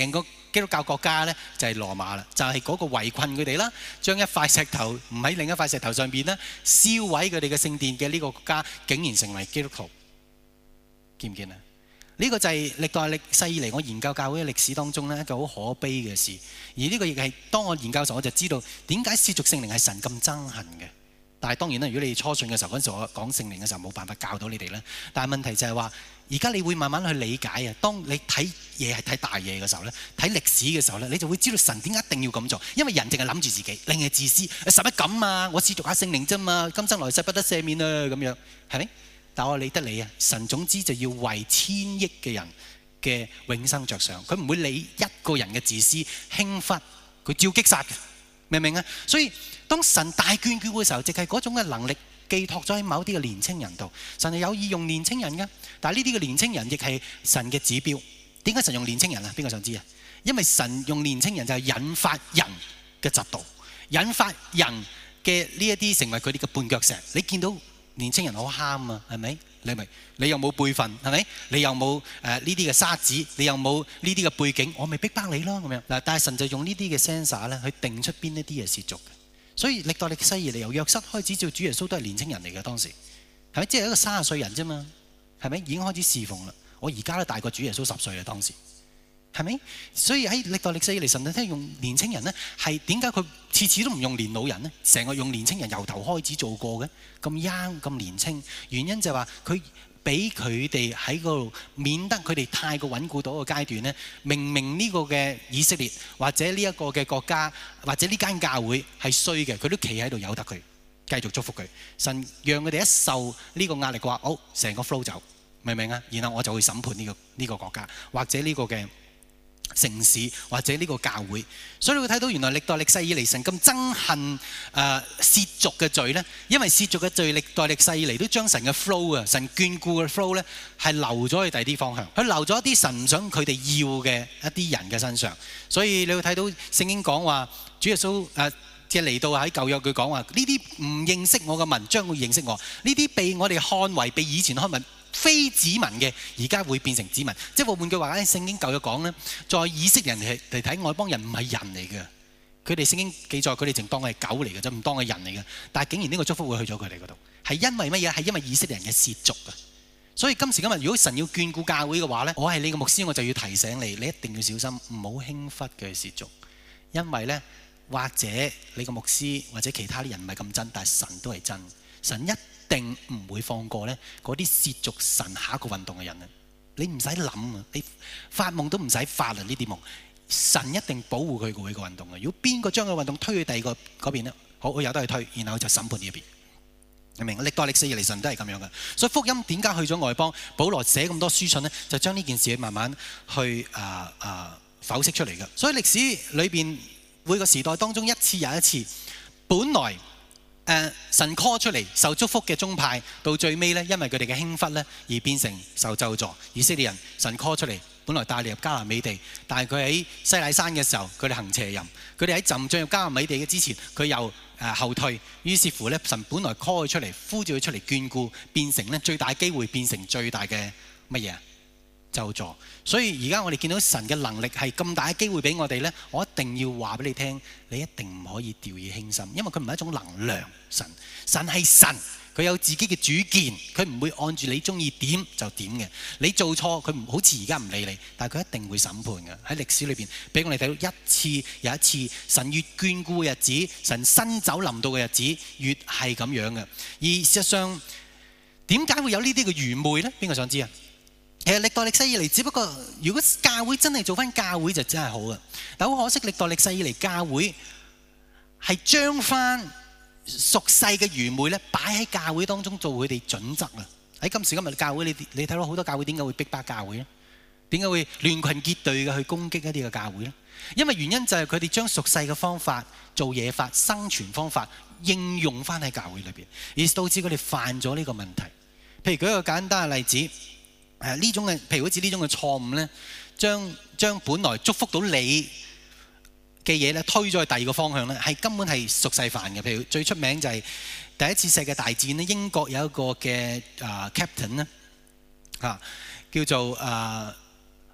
基督教國家呢，就係羅馬啦，就係嗰個圍困佢哋啦，將一塊石頭唔喺另一塊石頭上邊呢，燒毀佢哋嘅聖殿嘅呢個國家，竟然成為基督徒，見唔見啊？呢個就係歷代歷世以嚟我研究教會嘅歷史當中呢，一個好可悲嘅事。而呢個亦係當我研究嘅時候，我就知道點解褻瀆聖靈係神咁憎恨嘅。但係當然啦，如果你初信嘅時候，嗰陣時我講聖靈嘅時候冇辦法教到你哋啦。但係問題就係話，而家你會慢慢去理解啊。當你睇嘢係睇大嘢嘅時候咧，睇歷史嘅時候咧，你就會知道神點解一定要咁做。因為人淨係諗住自己，另係自私。使乜咁啊？我褻瀆下聖靈啫嘛，今生來世不得赦免啊，咁樣係咪？但我理得你啊！神總之就要為千億嘅人嘅永生着想，佢唔會理一個人嘅自私輕忽，佢照擊殺嘅，明唔明啊？所以當神大眷顧嘅時候，即係嗰種嘅能力寄託咗喺某啲嘅年青人度。神係有意用年青人嘅，但係呢啲嘅年青人亦係神嘅指標。點解神用年青人啊？邊個想知啊？因為神用年青人就係引發人嘅嫉妒，引發人嘅呢一啲成為佢哋嘅絆腳石。你見到年青人好喊啊，係咪？你咪你又冇輩分，係咪？你又冇誒呢啲嘅沙子，你又冇呢啲嘅背景，我咪逼迫你咯咁樣嗱。但係神就用呢啲嘅 sensor 咧，去定出邊一啲嘅褻瀆嘅。所以歷代歷世以嚟由約瑟開始做主耶穌都係年青人嚟嘅，當時係咪？即係一個三十歲人啫嘛，係咪？已經開始侍奉啦。我而家都大過主耶穌十歲啦，當時係咪？所以喺歷代歷世以嚟，神都用年青人呢，係點解佢次次都唔用年老人呢？成個用年青人由頭開始做過嘅，咁 young 咁年青，原因就係話佢俾佢哋喺嗰度，免得佢哋太過穩固到一個階段呢。明明呢個嘅以色列或者呢一個嘅國家或者呢間教會係衰嘅，佢都企喺度由得佢繼續祝福佢。神讓佢哋一受呢個壓力嘅話，好成個 flow 走，明唔明啊？然後我就會審判呢個呢個國家或者呢個嘅城市或者呢個教會。所以你會睇到原來歷代歷世以嚟神咁憎恨誒褻瀆嘅罪呢，因為褻瀆嘅罪歷代歷世以嚟都將神嘅 flow 啊，神眷顧嘅 flow 呢係流咗去第二啲方向，佢流咗一啲神唔想佢哋要嘅一啲人嘅身上。所以你會睇到聖經講話主耶穌誒即係嚟到喺舊約佢講話呢啲唔認識我嘅民將會認識我，呢啲被我哋看為被以前看為非子民嘅，而家會變成子民。即係換句話咧，聖經舊約講咧，在以色列人嚟睇外邦人唔係人嚟嘅，佢哋聖經記載佢哋淨當係狗嚟嘅啫，唔當係人嚟嘅。但係竟然呢個祝福會去咗佢哋嗰度，係因為乜嘢？係因為以色列人嘅褻瀆啊！所以今時今日，如果神要眷顧教會嘅話咧，我係你嘅牧師，我就要提醒你，你一定要小心，唔好輕忽嘅褻瀆，因為咧或者你個牧師或者其他啲人唔係咁真，但係神都係真，神一定唔會放過咧嗰啲褻瀆神下一個運動嘅人啊！你唔使諗啊，你發夢都唔使發啊！呢啲夢，神一定保護佢個呢個運動嘅。如果邊個將個運動推去第二個嗰邊咧，好，我由得佢推，然後就審判呢一邊。你明？歷代歷世以嚟神都係咁樣嘅。所以福音點解去咗外邦？保羅寫咁多書信咧，就將呢件事慢慢去啊啊剖析出嚟嘅。所以歷史裏邊每個時代當中一次又一次，本來。誒、呃、神 call 出嚟受祝福嘅宗派，到最尾咧，因為佢哋嘅輕忽咧，而變成受咒詛。以色列人神 call 出嚟，本來帶你入迦南美地，但係佢喺西乃山嘅時候，佢哋行邪淫；佢哋喺浸進入迦南美地嘅之前，佢又誒、呃、後退。於是乎咧，神本來 call 佢出嚟，呼召佢出嚟眷顧，變成咧最大機會變成最大嘅乜嘢啊？咒詛。所以而家我哋見到神嘅能力係咁大嘅機會俾我哋呢，我一定要話俾你聽，你一定唔可以掉以輕心，因為佢唔係一種能量。神神係神，佢有自己嘅主見，佢唔會按住你中意點就點嘅。你做錯，佢唔好似而家唔理你，但係佢一定會審判嘅。喺歷史裏邊俾我哋睇到一次又一次，神越眷顧嘅日子，神新酒臨到嘅日子，越係咁樣嘅。而事實上，點解會有呢啲嘅愚昧呢？邊個想知啊？其實歷代歷世以嚟，只不過如果教會真係做翻教會就真係好嘅，但好可惜歷代歷世以嚟教會係將翻屬世嘅愚昧咧擺喺教會當中做佢哋準則啊！喺今時今日教會，你你睇到好多教會點解會逼迫教會咧？點解會亂群結隊嘅去攻擊一啲嘅教會咧？因為原因就係佢哋將屬世嘅方法、做嘢法、生存方法應用翻喺教會裏邊，而導致佢哋犯咗呢個問題。譬如舉一個簡單嘅例子。誒呢種嘅，譬如好似呢種嘅錯誤咧，將將本來祝福到你嘅嘢咧，推咗去第二個方向咧，係根本係屬世犯嘅。譬如最出名就係第一次世界大戰咧，英國有一個嘅啊 captain 咧，嚇叫做啊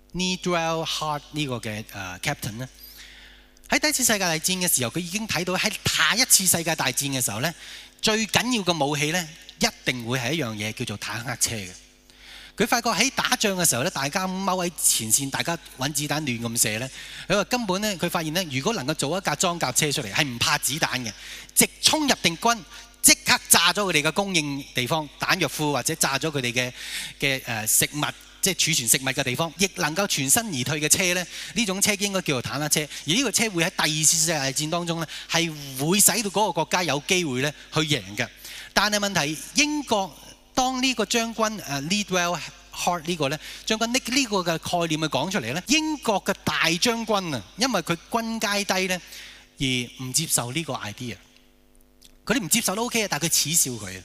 Needwell Hart 呢個嘅誒 captain 咧，喺第一次世界大戰嘅時候，佢已經睇到喺下一次世界大戰嘅時候咧，最緊要嘅武器咧，一定會係一樣嘢叫做坦克車嘅。佢發覺喺打仗嘅時候咧，大家踎喺前線，大家揾子彈亂咁射咧。佢話根本咧，佢發現咧，如果能夠做一架裝甲車出嚟，係唔怕子彈嘅，直衝入敵軍，即刻炸咗佢哋嘅供應地方、彈藥庫，或者炸咗佢哋嘅嘅誒食物，即係儲存食物嘅地方，亦能夠全身而退嘅車咧，呢種車應該叫做坦克車。而呢個車會喺第二次世界大戰當中咧，係會使到嗰個國家有機會咧去贏嘅。但係問題，英國當呢個將軍誒 Needwell Hart 呢個咧將軍呢呢個嘅概念去講出嚟咧，英國嘅大將軍啊，因為佢軍階低咧，而唔接受呢個 idea。佢哋唔接受都 OK 啊，但係佢恥笑佢啊。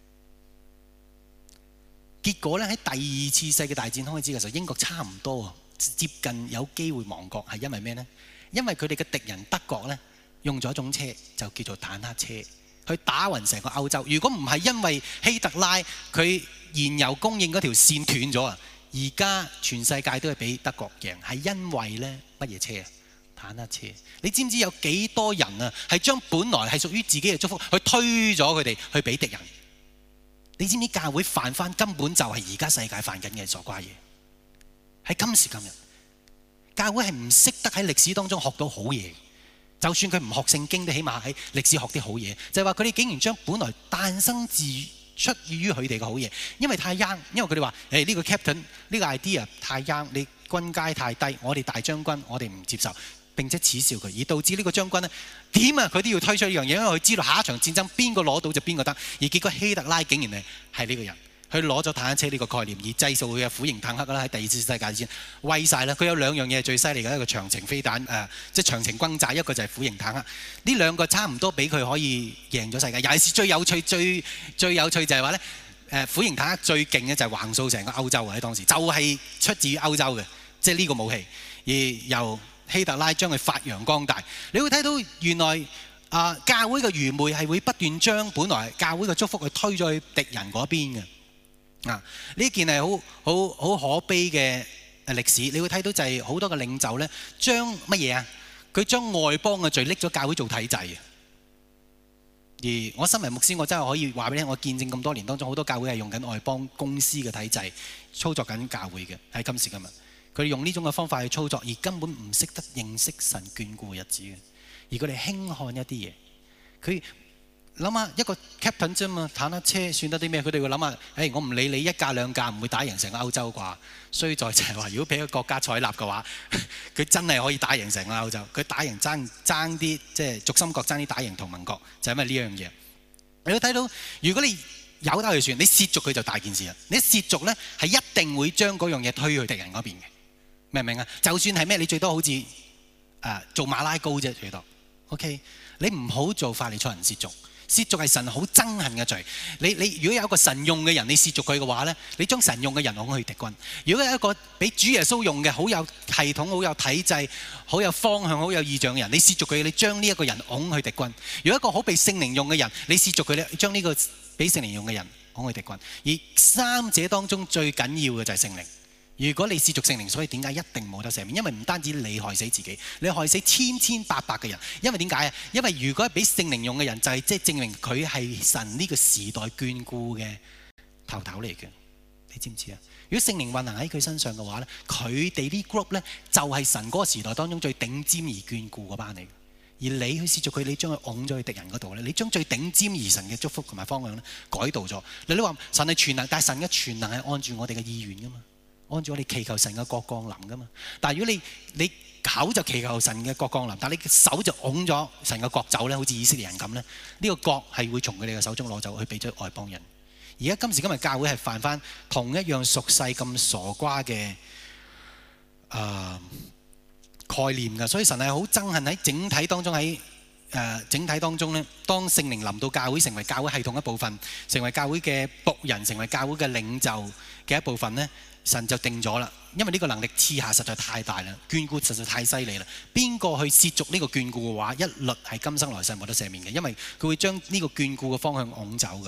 結果咧喺第二次世界大戰開始嘅時候，英國差唔多啊，接近有機會亡國，係因為咩呢？因為佢哋嘅敵人德國咧用咗一種車，就叫做坦克車，去打暈成個歐洲。如果唔係因為希特拉佢燃油供應嗰條線斷咗啊，而家全世界都係俾德國贏，係因為咧乜嘢車啊？坦克車。你知唔知有幾多人啊係將本來係屬於自己嘅祝福去推咗佢哋去俾敵人？你知唔知教會犯翻根本就係而家世界犯緊嘅傻瓜嘢？喺今時今日，教會係唔識得喺歷史當中學到好嘢。就算佢唔學聖經，都起碼喺歷史學啲好嘢。就係話佢哋竟然將本來誕生自出於佢哋嘅好嘢，因為太 young，因為佢哋話誒呢個 captain 呢個 idea 太 young，你軍階太低，我哋大將軍我哋唔接受。並且恥笑佢，而導致呢個將軍呢點啊佢都要推出呢樣嘢，因為佢知道下一場戰爭邊個攞到就邊個得。而結果希特拉竟然係呢個人，佢攞咗坦克車呢個概念，而製造佢嘅虎型坦克啦。喺第二次世界大戰威晒啦。佢有兩樣嘢係最犀利嘅，一個長程飛彈誒、呃，即係長程轟炸，一個就係虎型坦克。呢兩個差唔多俾佢可以贏咗世界。尤其是最有趣、最最有趣就係話呢誒虎型坦克最勁嘅就係橫掃成個歐洲喺當時，就係、是、出自於歐洲嘅，即係呢個武器，而由希特拉將佢發揚光大，你會睇到原來啊、呃、教會嘅愚昧係會不斷將本來教會嘅祝福去推咗去敵人嗰邊嘅啊！呢件係好好好可悲嘅歷史。你會睇到就係好多嘅領袖咧，將乜嘢啊？佢將外邦嘅罪拎咗教會做體制啊！而我身為牧師，我真係可以話俾你聽，我見證咁多年當中，好多教會係用緊外邦公司嘅體制操作緊教會嘅，喺今時今日。佢哋用呢種嘅方法去操作，而根本唔識得認識神眷顧嘅日子嘅，而佢哋輕看一啲嘢。佢諗下一個 captain 啫嘛，坦克車算得啲咩？佢哋會諗下，誒、哎、我唔理你一架兩架，唔會打贏成個歐洲啩？衰在就係話，如果俾一個國家採納嘅話，佢真係可以打贏成個歐洲。佢打贏爭爭啲，即係軸心國爭啲打贏同盟國，就係、是、因為呢樣嘢。你會睇到，如果你有得去算，你褻瀆佢就大件事啦。你褻瀆咧係一定會將嗰樣嘢推去敵人嗰邊嘅。明唔明啊？就算係咩，你最多好似誒、呃、做馬拉糕啫，最多。OK，你唔好做法利賽人褻瀆，褻瀆係神好憎恨嘅罪。你你如果有一個神用嘅人，你褻瀆佢嘅話咧，你將神用嘅人往去敵軍。如果有一個俾主耶穌用嘅好有系統、好有體制、好有方向、好有意象嘅人，你褻瀆佢，你將呢一個人往去敵軍。如果一個好被聖靈用嘅人，你褻瀆佢咧，將呢個俾聖靈用嘅人往去敵軍。而三者當中最緊要嘅就係聖靈。如果你褻瀆聖靈，所以點解一定冇得赦免？因為唔單止你害死自己，你害死千千百百嘅人。因為點解啊？因為如果係俾聖靈用嘅人，就係即係證明佢係神呢個時代眷顧嘅頭頭嚟嘅。你知唔知啊？如果聖靈運行喺佢身上嘅話咧，佢哋啲 group 咧就係神嗰個時代當中最頂尖而眷顧嗰班嚟。而你去褻瀆佢，你將佢拱咗去敵人嗰度咧，你將最頂尖而神嘅祝福同埋方向咧改道咗。你話神係全能，但係神嘅全能係按住我哋嘅意願噶嘛？按照我哋祈求神嘅國降臨噶嘛，但係如果你你口就祈求神嘅國降臨，但係你手就拱咗神嘅國走咧，好似以色列人咁咧，呢、這個國係會從佢哋嘅手中攞走，去俾咗外邦人。而家今時今日教會係犯翻同一樣俗世咁傻瓜嘅誒、呃、概念㗎，所以神係好憎恨喺整體當中喺誒、呃、整體當中咧，當聖靈臨到教會，成為教會系統一部分，成為教會嘅僕人，成為教會嘅領袖嘅一部分咧。神就定咗啦，因為呢個能力賜下實在太大啦，眷顧實在太犀利啦。邊個去褻瀆呢個眷顧嘅話，一律係今生來世冇得赦免嘅，因為佢會將呢個眷顧嘅方向拱走嘅。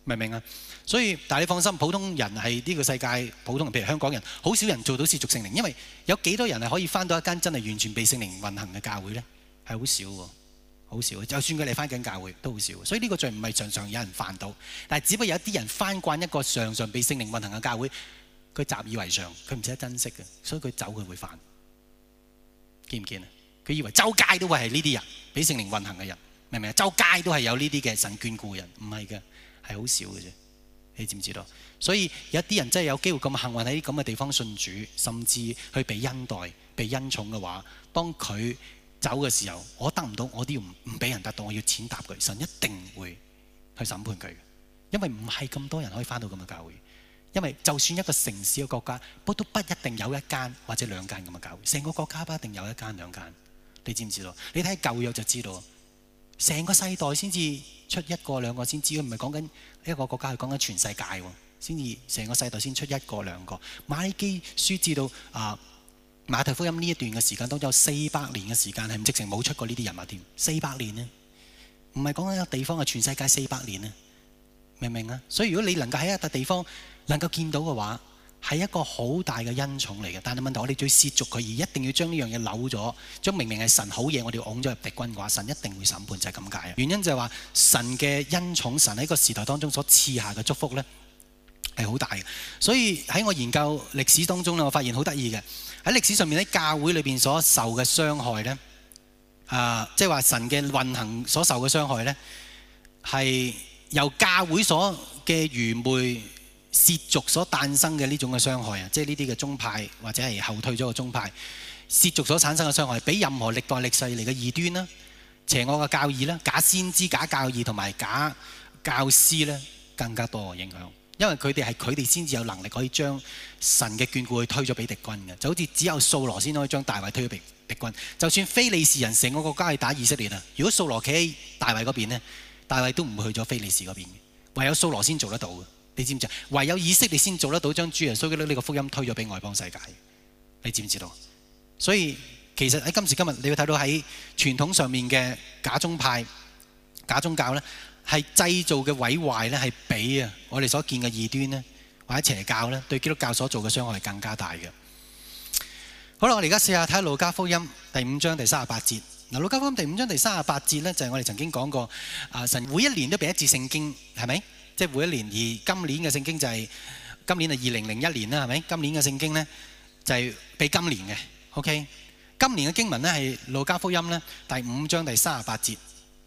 明唔明啊？所以，但係你放心，普通人係呢個世界普通人，譬如香港人，好少人做到褻瀆聖靈，因為有幾多人係可以翻到一間真係完全被聖靈運行嘅教會呢？係好少喎，好少。就算佢哋翻緊教會都好少。所以呢個罪唔係常常有人犯到，但係只不過有一啲人翻慣一個常常被聖靈運行嘅教會，佢習以為常，佢唔識得珍惜嘅，所以佢走佢會犯。見唔見啊？佢以為周街都會係呢啲人，俾聖靈運行嘅人，明唔明啊？周街都係有呢啲嘅神眷顧嘅人，唔係嘅。係好少嘅啫，你知唔知道？所以有一啲人真係有機會咁幸運喺啲咁嘅地方信主，甚至去被恩待、被恩寵嘅話，當佢走嘅時候，我得唔到，我都要唔唔俾人得到，我要踐踏佢，神一定會去審判佢，因為唔係咁多人可以返到咁嘅教會，因為就算一個城市嘅國家，不都不一定有一間或者兩間咁嘅教會，成個國家不一定有一間兩間，你知唔知道？你睇舊約就知道。成個世代先至出一個兩個先知，佢唔係講緊一個國家，係講緊全世界喎，先至成個世代先出一個兩個。馬拉基書至到啊馬太福音呢一段嘅時間當中，有四百年嘅時間係唔直情冇出過呢啲人物添，四百年呢，唔係講緊一個地方係全世界四百年呢，明唔明啊？所以如果你能夠喺一笪地方能夠見到嘅話，係一個好大嘅恩寵嚟嘅，但係問題我哋最褻瀆佢，而一定要將呢樣嘢扭咗，將明明係神好嘢，我哋要拱咗入敵軍嘅話，神一定會審判，就係咁解。原因就係話神嘅恩寵，神喺個時代當中所賜下嘅祝福呢係好大嘅。所以喺我研究歷史當中呢，我發現好得意嘅，喺歷史上面喺教會裏邊所受嘅傷害呢，啊，即係話神嘅運行所受嘅傷害呢，係由教會所嘅愚昧褻瀆所誕生嘅呢種嘅傷害啊，即係呢啲嘅宗派或者係後退咗嘅宗派，褻瀆所產生嘅傷害，比任何歷代歷世嚟嘅異端啦、邪惡嘅教義啦、假先知、假教義同埋假教師咧更加多嘅影響，因為佢哋係佢哋先至有能力可以將神嘅眷顧去推咗俾敵軍嘅，就好似只有掃羅先可以將大衛推咗俾敵軍。就算非利士人成個國家去打以色列啊，如果掃羅企喺大衛嗰邊咧，大衛都唔會去咗非利士嗰邊嘅，唯有掃羅先做得到嘅。你知唔知？唯有以色列先做得到將主耶穌基督呢個福音推咗俾外邦世界。你知唔知道？所以其實喺今時今日，你要睇到喺傳統上面嘅假宗派、假宗教呢，係製造嘅毀壞呢，係比啊我哋所見嘅異端呢，或者邪教呢，對基督教所做嘅傷害係更加大嘅。好啦，我哋而家試下睇下路加福音第五章第三十八節。嗱，路加福音第五章第三十八節呢，就係我哋曾經講過啊，神每一年都俾一節聖經，係咪？即係每一年，而今年嘅聖經就係、是、今年係二零零一年啦，係咪？今年嘅聖經呢，就係、是、俾今年嘅 ，OK？ 今年嘅經文呢，係路加福音呢第五章第三十八節。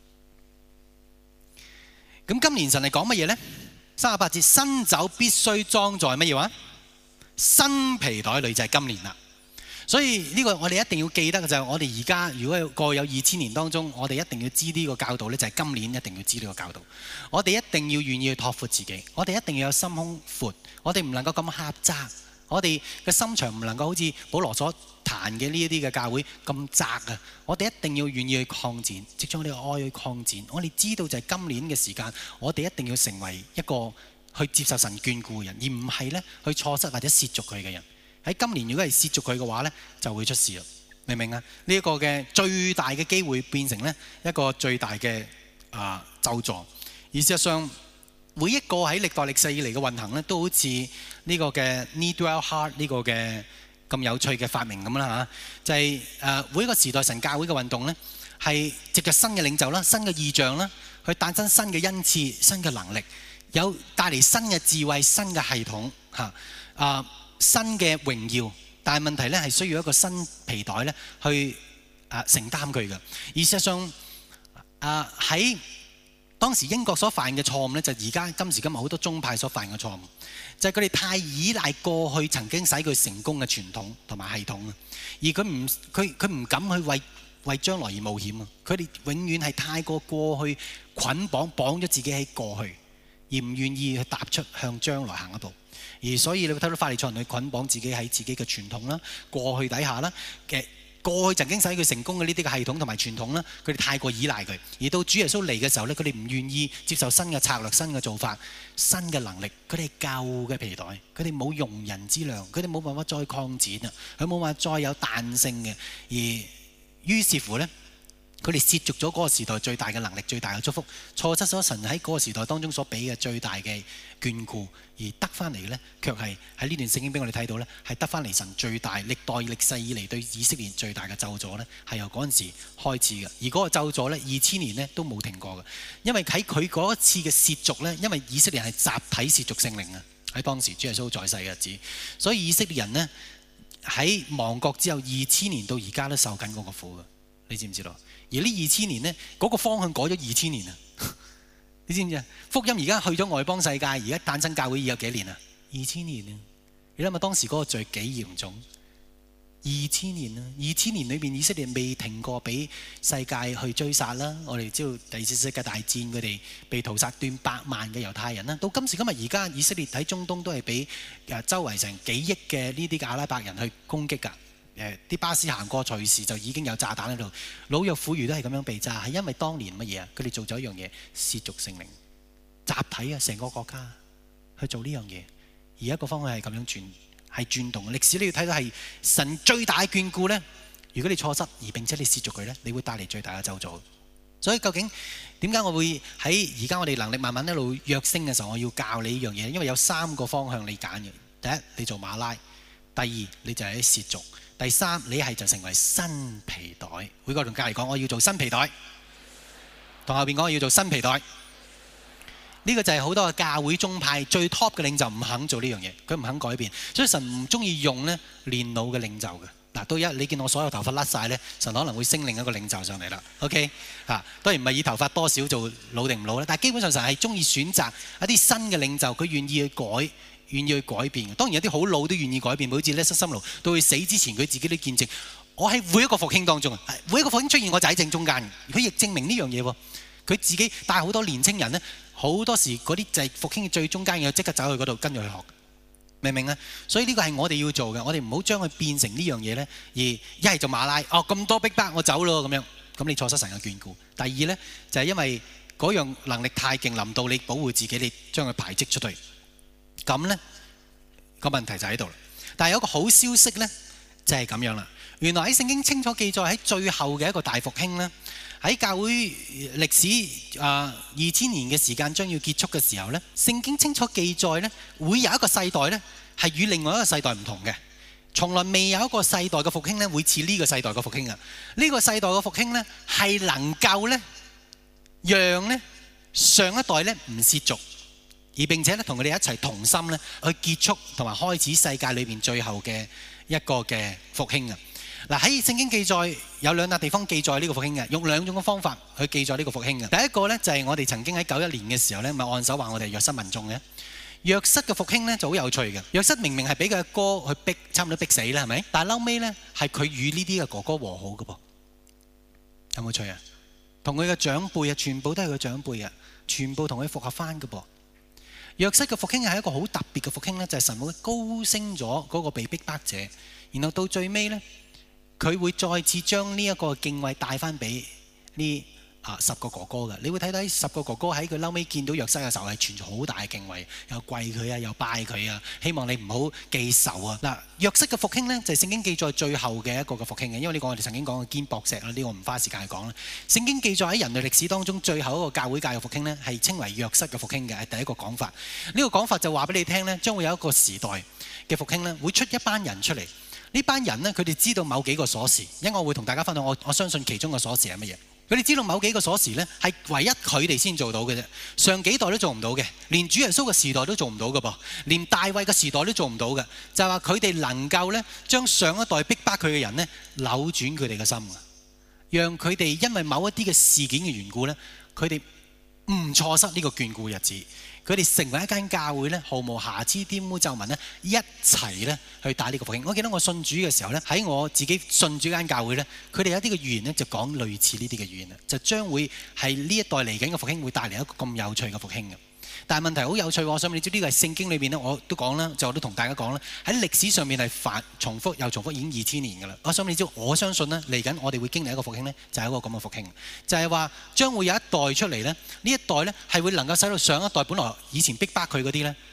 咁今年神係講乜嘢呢？三十八節，新酒必須裝在乜嘢話？新皮袋裏，就係今年啦。所以呢個我哋一定要記得嘅就係我哋而家如果過有二千年當中，我哋一定要知呢個教導呢，就係今年一定要知呢個教導。我哋一定要願意去拓闊自己，我哋一定要有心胸闊，我哋唔能夠咁狹窄，我哋嘅心腸唔能夠好似保羅所談嘅呢一啲嘅教會咁窄啊！我哋一定要願意去擴展，藉著我哋嘅愛去擴展。我哋知道就係今年嘅時間，我哋一定要成為一個去接受神眷顧嘅人，而唔係呢去錯失或者褻瀆佢嘅人。喺今年如果係褻瀆佢嘅話呢，就會出事啦，明唔明啊？呢、這、一個嘅最大嘅機會變成呢一個最大嘅啊咒詛。而事實上，每一個喺歷代歷世以嚟嘅運行呢，都好似呢個嘅 Needwell Heart 呢個嘅咁有趣嘅發明咁啦嚇，就係、是、誒每一個時代神教會嘅運動呢，係藉着新嘅領袖啦、新嘅異象啦，去誕生新嘅恩賜、新嘅能力，有帶嚟新嘅智慧、新嘅系統嚇啊。新嘅榮耀，但係問題咧係需要一個新皮袋咧去啊承擔佢嘅。而事實上啊喺當時英國所犯嘅錯誤咧，就而家今時今日好多宗派所犯嘅錯誤，就係佢哋太依賴過去曾經使佢成功嘅傳統同埋系統啊，而佢唔佢佢唔敢去為為將來而冒險啊！佢哋永遠係太過過去捆綁綁咗自己喺過去，而唔願意去踏出向將來行一步。而所以你會睇到法利賽人去捆綁自己喺自己嘅傳統啦、過去底下啦嘅過去曾經使佢成功嘅呢啲嘅系統同埋傳統啦，佢哋太過依賴佢。而到主耶穌嚟嘅時候咧，佢哋唔願意接受新嘅策略、新嘅做法、新嘅能力。佢哋係舊嘅皮袋，佢哋冇容人之量，佢哋冇辦法再擴展啊，佢冇辦法再有彈性嘅。而於是乎咧， 佢哋褻瀆咗嗰個時代最大嘅能力、最大嘅祝福，錯失咗神喺嗰個時代當中所俾嘅最大嘅眷顧，而得翻嚟呢，卻係喺呢段聖經俾我哋睇到呢，係得翻嚟神最大歷代歷世以嚟對以色列最大嘅咒詛呢，係由嗰陣時開始嘅。而嗰個咒詛呢，二千年呢都冇停過嘅，因為喺佢嗰一次嘅褻瀆呢，因為以色列人係集體褻瀆聖靈啊，喺當時主耶穌在世嘅日子，所以以色列人呢，喺亡國之後二千年到而家都受緊嗰個苦嘅，你知唔知道？而呢二千年呢，嗰、嗰個方向改咗二千年啊！你知唔知啊？福音而家去咗外邦世界，而家誕生教會已有幾年啊？二千年啊！你諗下當時嗰個罪幾嚴重？二千年啊！二千年裏邊以色列未停過俾世界去追殺啦。我哋知道第二次世界大戰佢哋被屠殺斷百萬嘅猶太人啦。到今時今日而家以色列喺中東都係俾誒周圍成幾億嘅呢啲嘅阿拉伯人去攻擊㗎。誒啲巴士行過隨時就已經有炸彈喺度，老弱婦孺都係咁樣被炸，係因為當年乜嘢啊？佢哋做咗一樣嘢，褻瀆聖靈，集體啊，成個國家去做呢樣嘢，而一個方向係咁樣轉，係轉動。歷史你要睇到係神最大嘅眷顧呢。如果你錯失而並且你褻瀆佢呢，你會帶嚟最大嘅咒詛。所以究竟點解我會喺而家我哋能力慢慢一路躍升嘅時候，我要教你呢樣嘢？因為有三個方向你揀嘅。第一，你做馬拉；第二，你就係褻瀆。第三，你係就成為新皮袋。每個同隔離講，我要做新皮袋。同後邊講，我要做新皮袋。呢個就係好多嘅教會宗派最 top 嘅領袖唔肯做呢樣嘢，佢唔肯改變。所以神唔中意用呢年老嘅領袖嘅。嗱，到一你見我所有頭髮甩晒呢，神可能會升另一個領袖上嚟啦。OK 嚇，當然唔係以頭髮多少做老定唔老啦，但係基本上神係中意選擇一啲新嘅領袖，佢願意去改。願意去改變，當然有啲好老都願意改變，好似咧塞心路到佢死之前，佢自己都見證，我喺每一個復興當中啊，每一個復興出現，我就喺正中間。佢亦證明呢樣嘢喎，佢自己帶好多年青人呢，好多時嗰啲就係復興嘅最中間嘅，即刻走去嗰度跟住去學，明唔明啊？所以呢個係我哋要做嘅，我哋唔好將佢變成呢樣嘢呢。而一係就馬拉，哦咁多逼迫我走咯咁樣，咁你錯失神嘅眷顧。第二呢，就係因為嗰樣能力太勁，臨到你保護自己，你將佢排斥出去。咁呢個問題就喺度啦，但係有一個好消息呢，就係咁樣啦。原來喺聖經清楚記載喺最後嘅一個大復興呢，喺教會歷史啊二千年嘅時間將要結束嘅時候呢，聖經清楚記載呢，會有一個世代呢係與另外一個世代唔同嘅，從來未有一個世代嘅復興呢會似呢個世代嘅復興啊！呢個世代嘅復興呢係能夠呢讓呢上一代呢唔褻瀆。而並且咧，同佢哋一齊同心咧，去結束同埋開始世界裏邊最後嘅一個嘅復興啊！嗱，喺聖經記載有兩笪地方記載呢個復興嘅，用兩種嘅方法去記載呢個復興嘅。第一個咧就係我哋曾經喺九一年嘅時候咧，咪按手話我哋約瑟民眾嘅。約瑟嘅復興咧就好有趣嘅。約瑟明明係俾佢哥去逼，差唔多逼死啦，係咪？但係後尾咧係佢與呢啲嘅哥哥和好嘅噃，有冇趣啊？同佢嘅長輩啊，全部都係佢長輩啊，全部同佢復合翻嘅噃。約瑟嘅復興係一個好特別嘅復興咧，就係神會高升咗嗰個被逼迫者，然後到最尾咧，佢會再次將呢一個敬畏帶翻俾呢啊十個哥哥嘅。你會睇到十個哥哥喺佢嬲尾見到約瑟嘅時候係存住好大嘅敬畏，又跪佢啊，又拜佢啊，希望你唔好記仇啊。嗱，約瑟嘅復興咧就係聖經記載最後嘅一個嘅復興嘅，因為呢個我哋曾經講過堅博石啦，呢個唔花時間去講啦。聖經記載喺人類歷史當中最後一個教會界嘅復興咧，係稱為約瑟嘅復興嘅，係第一個講法。呢個講法就話俾你聽咧，將會有一個時代嘅復興咧，會出一班人出嚟。呢班人咧，佢哋知道某幾個鎖匙，因為我會同大家分享，我我相信其中嘅鎖匙係乜嘢。佢哋知道某幾個鎖匙呢係唯一佢哋先做到嘅啫，上幾代都做唔到嘅，連主耶穌嘅時代都做唔到嘅噃，連大衛嘅時代都做唔到嘅，就係話佢哋能夠呢將上一代逼迫佢嘅人呢扭轉佢哋嘅心，讓佢哋因為某一啲嘅事件嘅緣故呢，佢哋唔錯失呢個眷顧日子。佢哋成為一間教會咧，毫無瑕疵、玷污皺紋咧，一齊咧去帶呢個復興。我記得我信主嘅時候咧，喺我自己信主間教會咧，佢哋有啲嘅預言咧就講類似呢啲嘅預言啦，就將會係呢一代嚟緊嘅復興會帶嚟一個咁有趣嘅復興嘅。但係問題好有趣，我想你知呢個係聖經裏邊咧，我都講啦，就我都同大家講啦，喺歷史上面係反重複又重複，已經二千年㗎啦。我想你知，我相信咧嚟緊我哋會經歷一個復興咧，就係一個咁嘅復興，就係話將會有一代出嚟咧，呢一代咧係會能夠使到上一代本來以前逼迫佢嗰啲咧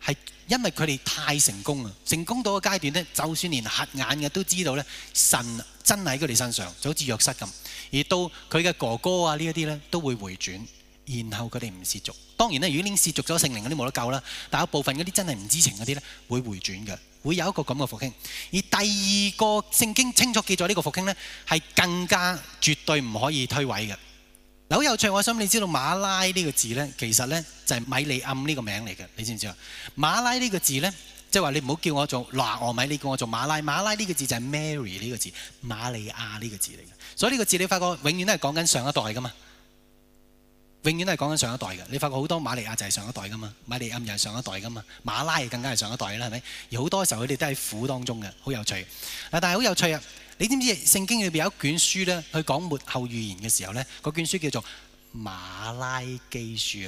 係因為佢哋太成功啊，成功到個階段咧，就算連瞎眼嘅都知道咧，神真係喺佢哋身上，就好似約瑟咁。而到佢嘅哥哥啊呢一啲咧都會回轉，然後佢哋唔褻瀆。當然咧，如果已經褻瀆咗聖靈嗰啲冇得救啦，但有部分嗰啲真係唔知情嗰啲咧會回轉嘅，會有一個咁嘅復興。而第二個聖經清楚記載呢個復興咧，係更加絕對唔可以推諉嘅。嗱，好有趣，我想你知道馬拉呢個字呢，其實呢就係米利暗呢個名嚟嘅，你知唔知啊？馬拉呢個字呢，即係話你唔好叫我做拿俄米，你叫我做馬拉。馬拉呢個字就係 Mary 呢個字，瑪利亞呢個字嚟嘅。所以呢個字你發覺永遠都係講緊上一代噶嘛，永遠都係講緊上一代嘅。你發覺好多瑪利亞就係上一代噶嘛，米利暗又係上一代噶嘛，馬拉更加係上一代啦，係咪？而好多時候佢哋都喺苦當中嘅，好有趣。嗱，但係好有趣啊！你知唔知聖經裏邊有一卷書咧，去講末後預言嘅時候咧，嗰卷書叫做馬拉基書啊？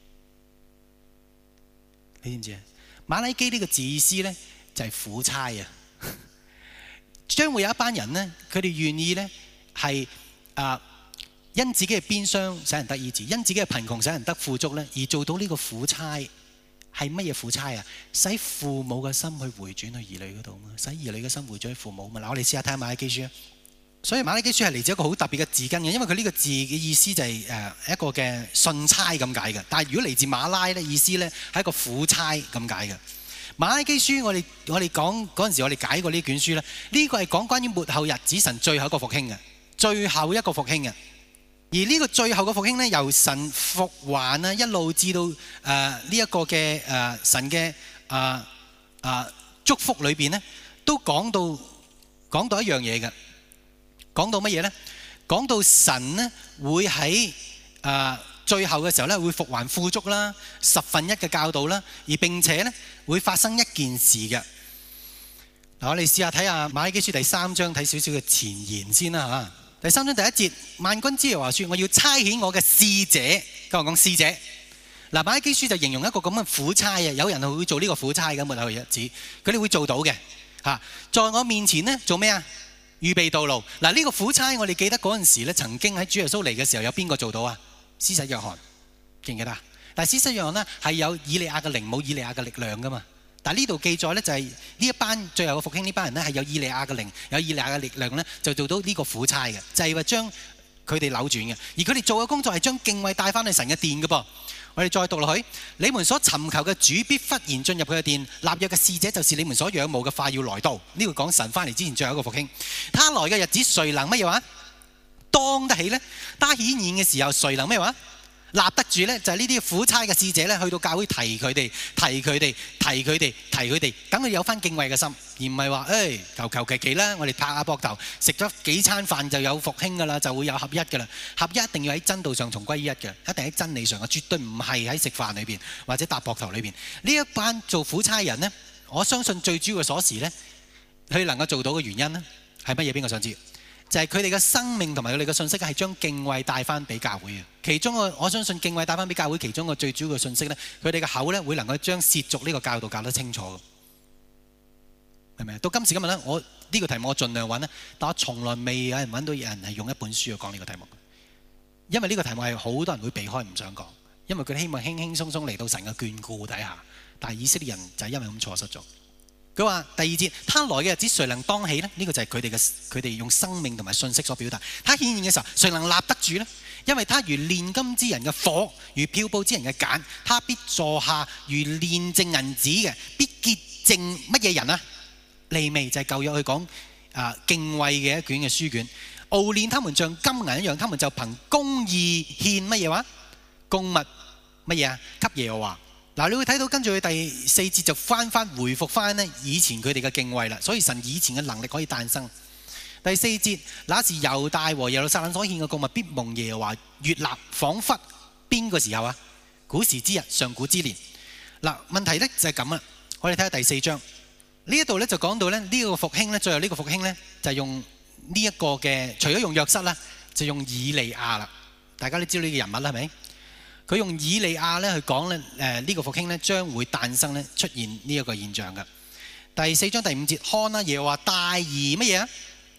你知唔知啊？馬拉基呢個字意思咧就係苦差啊！將會有一班人咧，佢哋願意咧係啊因自己嘅鞭傷使人得醫治，因自己嘅貧窮使人得富足咧，而做到呢個苦差。係乜嘢苦差啊？使父母嘅心去回轉去兒女嗰度嘛，使兒女嘅心回轉去父母嘛。嗱，我哋試下睇下馬拉基書啊。所以馬拉基書係嚟自一個好特別嘅字根嘅，因為佢呢個字嘅意思就係誒一個嘅信差咁解嘅。但係如果嚟自馬拉咧，意思咧係一個苦差咁解嘅。馬拉基書我哋我哋講嗰陣時，我哋解過呢卷書咧，呢個係講關於末後日子神最後一個復興嘅，最後一個復興嘅。而呢個最後嘅復興咧，由神復還啊，一路至到誒呢一個嘅誒、呃、神嘅誒誒祝福裏邊咧，都講到講到一樣嘢嘅，講到乜嘢咧？講到神咧會喺誒、呃、最後嘅時候咧，會復還富足啦，十分一嘅教導啦，而並且咧會發生一件事嘅。嗱，我哋試下睇下馬拉基書第三章，睇少少嘅前言先啦嚇。第三章第一節，萬軍之耶和華說：我要差遣我嘅使者，跟我講使者。嗱，馬拉基書就形容一個咁嘅苦差啊，有人係會做呢個苦差嘅末後日子，佢哋會做到嘅嚇。在我面前呢，做咩啊？預備道路。嗱，呢個苦差我哋記得嗰陣時咧，曾經喺主耶穌嚟嘅時候，有邊個做到啊？施洗約翰，記唔記得啊？但係施洗約翰呢，係有以利亞嘅靈，冇以利亞嘅力量噶嘛。但係呢度記載咧，就係呢一班最後嘅復興呢班人咧，係有以利亞嘅靈，有以利亞嘅力量咧，就做到呢個苦差嘅，就係話將佢哋扭轉嘅。而佢哋做嘅工作係將敬畏帶翻去神嘅殿嘅噃。我哋再讀落去，你們所尋求嘅主必忽然進入佢嘅殿，立約嘅使者就是你們所仰慕嘅快要來到。呢個講神翻嚟之前最後一個復興，他來嘅日子誰能乜嘢話當得起呢？他顯現嘅時候誰能咩話立得住呢？就係呢啲苦差嘅使者咧，去到教會提佢哋，提佢哋，提佢哋，提佢哋，等佢有翻敬畏嘅心，而唔係話誒求求其其啦，我哋拍下膊頭，食咗幾餐飯就有復興噶啦，就會有合一噶啦。合一一定要喺真道上重歸於一嘅，一定喺真理上嘅，絕對唔係喺食飯裏邊或者搭膊頭裏邊。呢一班做苦差人呢，我相信最主要嘅鎖匙呢，佢能夠做到嘅原因呢，係乜嘢？邊個想知？就係佢哋嘅生命同埋佢哋嘅信息係將敬畏帶翻俾教會嘅。其中個我相信敬畏帶翻俾教會，其中個最主要嘅信息咧，佢哋嘅口咧會能夠將褻瀆呢個教導教得清楚，係咪？到今時今日咧，我呢個題目我盡量揾咧，但我從來未有人揾到有人係用一本書去講呢個題目，因為呢個題目係好多人會避開唔想講，因為佢哋希望輕輕鬆鬆嚟到神嘅眷顧底下，但係以色列人就係因為咁錯失咗。佢話第二節，他來嘅日子誰能當起呢？呢、這個就係佢哋嘅佢哋用生命同埋信息所表達。他顯現嘅時候，誰能立得住呢？因為他如煉金之人嘅火，如漂布之人嘅鹼，他必坐下如煉淨銀子嘅，必潔淨乜嘢人啊？利未就係舊約去講啊敬畏嘅一卷嘅書卷，熬煉他們像金銀一樣，他們就憑公義獻乜嘢話？供物乜嘢啊？給耶和華。嗱，你會睇到跟住佢第四節就翻翻回復翻呢以前佢哋嘅敬畏啦，所以神以前嘅能力可以誕生。第四節，那時猶大和耶路撒冷所獻嘅供物必蒙耶和華悅納，彷彿邊個時候啊？古時之日，上古之年。嗱，問題呢就係咁啦。我哋睇下第四章呢一度呢就講到咧呢個復興呢，最後呢個復興呢就係用呢一個嘅，除咗用約瑟啦，就用以利亞啦。大家都知道呢個人物啦，係咪？佢用以利亞咧去講咧，誒呢個復興咧將會誕生咧出現呢一個現象嘅。第四章第五節，看啊，耶和華大而乜嘢啊？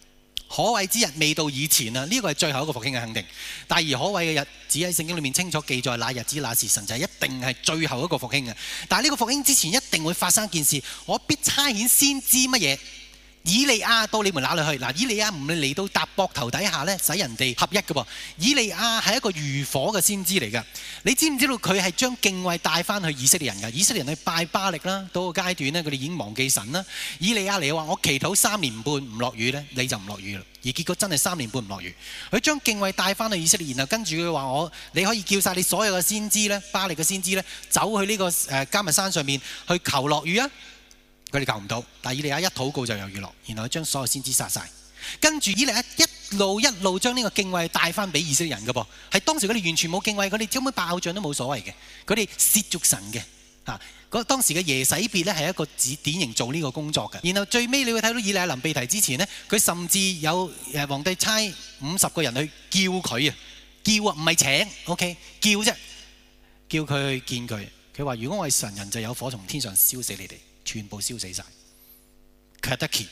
可畏之日未到以前啊，呢個係最後一個復興嘅肯定。大而可畏嘅日子喺聖經裏面清楚記載，那日子那時辰就係一定係最後一個復興嘅。但係呢個復興之前一定會發生一件事，我必差遣先知乜嘢？以利亞到你們那裏去。嗱，以利亞唔係嚟到搭膊頭底下咧，使人哋合一嘅噃。以利亞係一個如火嘅先知嚟㗎。你知唔知道佢係將敬畏帶翻去以色列人㗎？以色列人去拜巴力啦，到個階段咧，佢哋已經忘記神啦。以利亞嚟話：我祈禱三年半唔落雨咧，你就唔落雨啦。而結果真係三年半唔落雨。佢將敬畏帶翻去以色列，然後跟住佢話：我你可以叫晒你所有嘅先知咧，巴力嘅先知咧，走去呢個誒迦密山上面去求落雨啊！佢哋求唔到，但係以利亞一禱告就有雨落，然後佢將所有先知殺晒，跟住以利亞一路一路將呢個敬畏帶翻俾以色列人嘅噃，係當時佢哋完全冇敬畏，佢哋根本拜偶像都冇所謂嘅，佢哋褻瀆神嘅嚇。嗰當時嘅耶洗別咧係一個指典型做呢個工作嘅。然後最尾你會睇到以利亞臨被提之前呢，佢甚至有誒皇帝差五十個人去叫佢啊，叫啊唔係請 ，OK 叫啫，叫佢去見佢。佢話：如果我係神人，就有火從天上燒死你哋。全部燒死晒，佢係得奇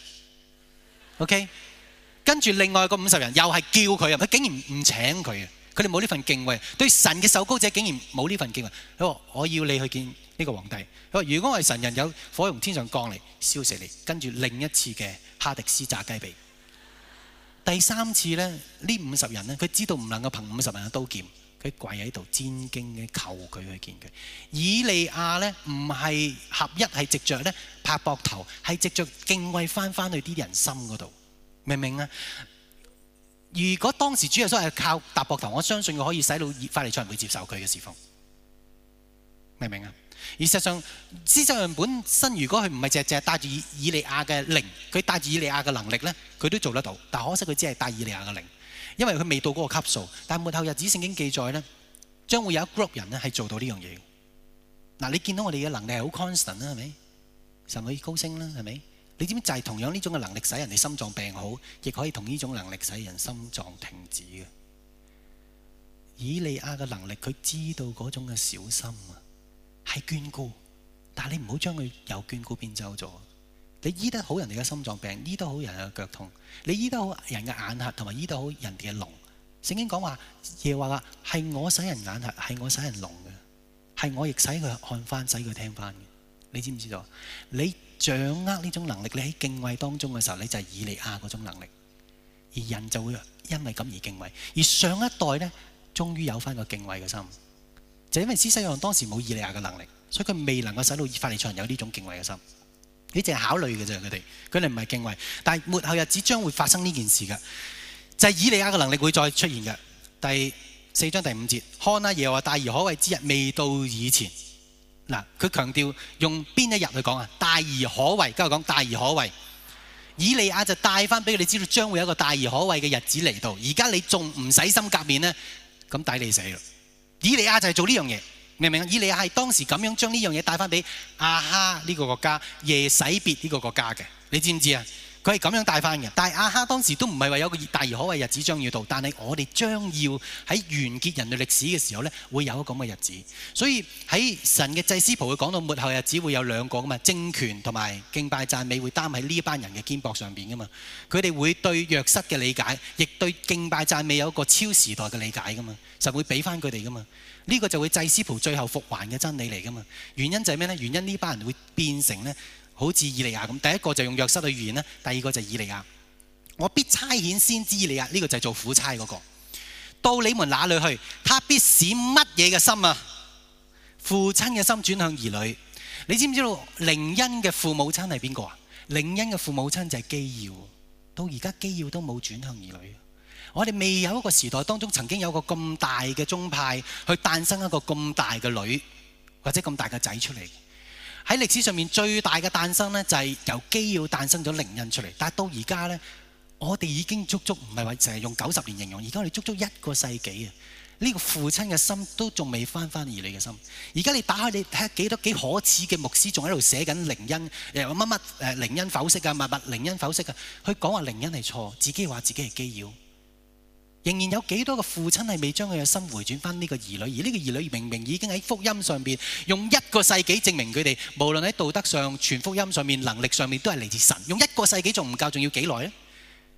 ，OK。跟住另外個五十人又係叫佢啊，佢竟然唔請佢嘅，佢哋冇呢份敬畏，對神嘅受膏者竟然冇呢份敬畏。佢話：我要你去見呢個皇帝。佢話：如果我係神人，有火從天上降嚟燒死你。跟住另一次嘅哈迪斯炸雞髀，第三次咧，呢五十人咧，佢知道唔能夠憑五十人嘅刀劍。佢跪喺度戰兢嘅求佢去見佢。以利亞咧唔係合一，係藉着咧拍膊頭，係藉着敬畏翻翻去啲人心嗰度，明唔明啊？如果當時主耶穌係靠搭膊頭，我相信佢可以使到法利賽人會接受佢嘅侍奉，明唔明啊？而實際上，施洗約翰本身如果佢唔係隻隻帶住以利亞嘅靈，佢帶住以利亞嘅能力咧，佢都做得到。但可惜佢只係帶以利亞嘅靈。因為佢未到嗰個級數，但係末後日子聖經記載咧，將會有一 group 人咧係做到呢樣嘢。嗱，你見到我哋嘅能力係好 constant 啦，係咪？神可以高升啦，係咪？你知唔知就係同樣呢種嘅能力使人哋心臟病好，亦可以同呢種能力使人心臟停止嘅。以利亞嘅能力，佢知道嗰種嘅小心啊，係眷顧，但係你唔好將佢由眷顧變走咗。你醫得好人哋嘅心臟病，醫得好人嘅腳痛，你醫得好人嘅眼瞎，同埋醫得好人哋嘅聾。聖經講話耶和華話係我使人眼瞎，係我使人聾嘅，係我亦使佢看翻，使佢聽翻嘅。你知唔知道？你掌握呢種能力，你喺敬畏當中嘅時候，你就係以利亞嗰種能力，而人就會因為咁而敬畏。而上一代呢，終於有翻個敬畏嘅心，就因為施洗約翰當時冇以利亞嘅能力，所以佢未能夠使到法利賽人有呢種敬畏嘅心。你淨係考慮嘅啫，佢哋佢哋唔係敬畏，但係末後日子將會發生呢件事嘅，就係以利亞嘅能力會再出現嘅。第四章第五節，看啊，耶和華大而可畏之日未到以前。嗱，佢強調用邊一日去講啊？大而可畏，跟住講大而可畏。以利亞就帶翻俾佢哋知道，將會有一個大而可畏嘅日子嚟到。而家你仲唔洗心革面呢？咁抵你死啦！以利亞就係做呢樣嘢。明唔明啊？以利亞係當時咁樣將呢樣嘢帶翻俾亞哈呢個國家、耶洗別呢個國家嘅，你知唔知啊？佢係咁樣帶翻嘅。但係亞哈當時都唔係話有個大而可畏日子將要到，但係我哋將要喺完結人類歷史嘅時候呢，會有一個咁嘅日子。所以喺神嘅祭司譜會講到末後日子會有兩個噶嘛，政權同埋敬拜讚美會擔喺呢一班人嘅肩膊上邊噶嘛。佢哋會對約瑟嘅理解，亦對敬拜讚美有一個超時代嘅理解噶嘛，神會俾翻佢哋噶嘛。呢個就會祭司譜最後復還嘅真理嚟噶嘛？原因就係咩呢？原因呢班人會變成呢，好似以利亞咁。第一個就用約瑟去預言啦，第二個就係以利亞。我必差遣先知以利亞，呢個就係做苦差嗰個。到你們那裏去，他必使乜嘢嘅心啊？父親嘅心轉向兒女。你知唔知道靈恩嘅父母親係邊個啊？靈恩嘅父母親就係基要。到而家基要都冇轉向兒女。我哋未有一個時代當中曾經有個咁大嘅宗派去誕生一個咁大嘅女或者咁大嘅仔出嚟。喺歷史上面最大嘅誕生呢，就係由基要誕生咗靈恩出嚟。但係到而家呢，我哋已經足足唔係話淨係用九十年形容，而家我哋足足一個世紀啊！呢個父親嘅心都仲未翻翻兒女嘅心。而家你打開你睇下幾多幾可恥嘅牧師仲喺度寫緊靈恩，誒乜乜誒靈恩剖析啊，乜乜靈恩剖析啊，佢講話靈恩係錯，自己話自己係基要。仍然有幾多個父親係未將佢嘅心回轉翻呢個兒女，而呢個兒女明明已經喺福音上邊用一個世紀證明佢哋，無論喺道德上、傳福音上面、能力上面都係嚟自神。用一個世紀仲唔夠，仲要幾耐呢？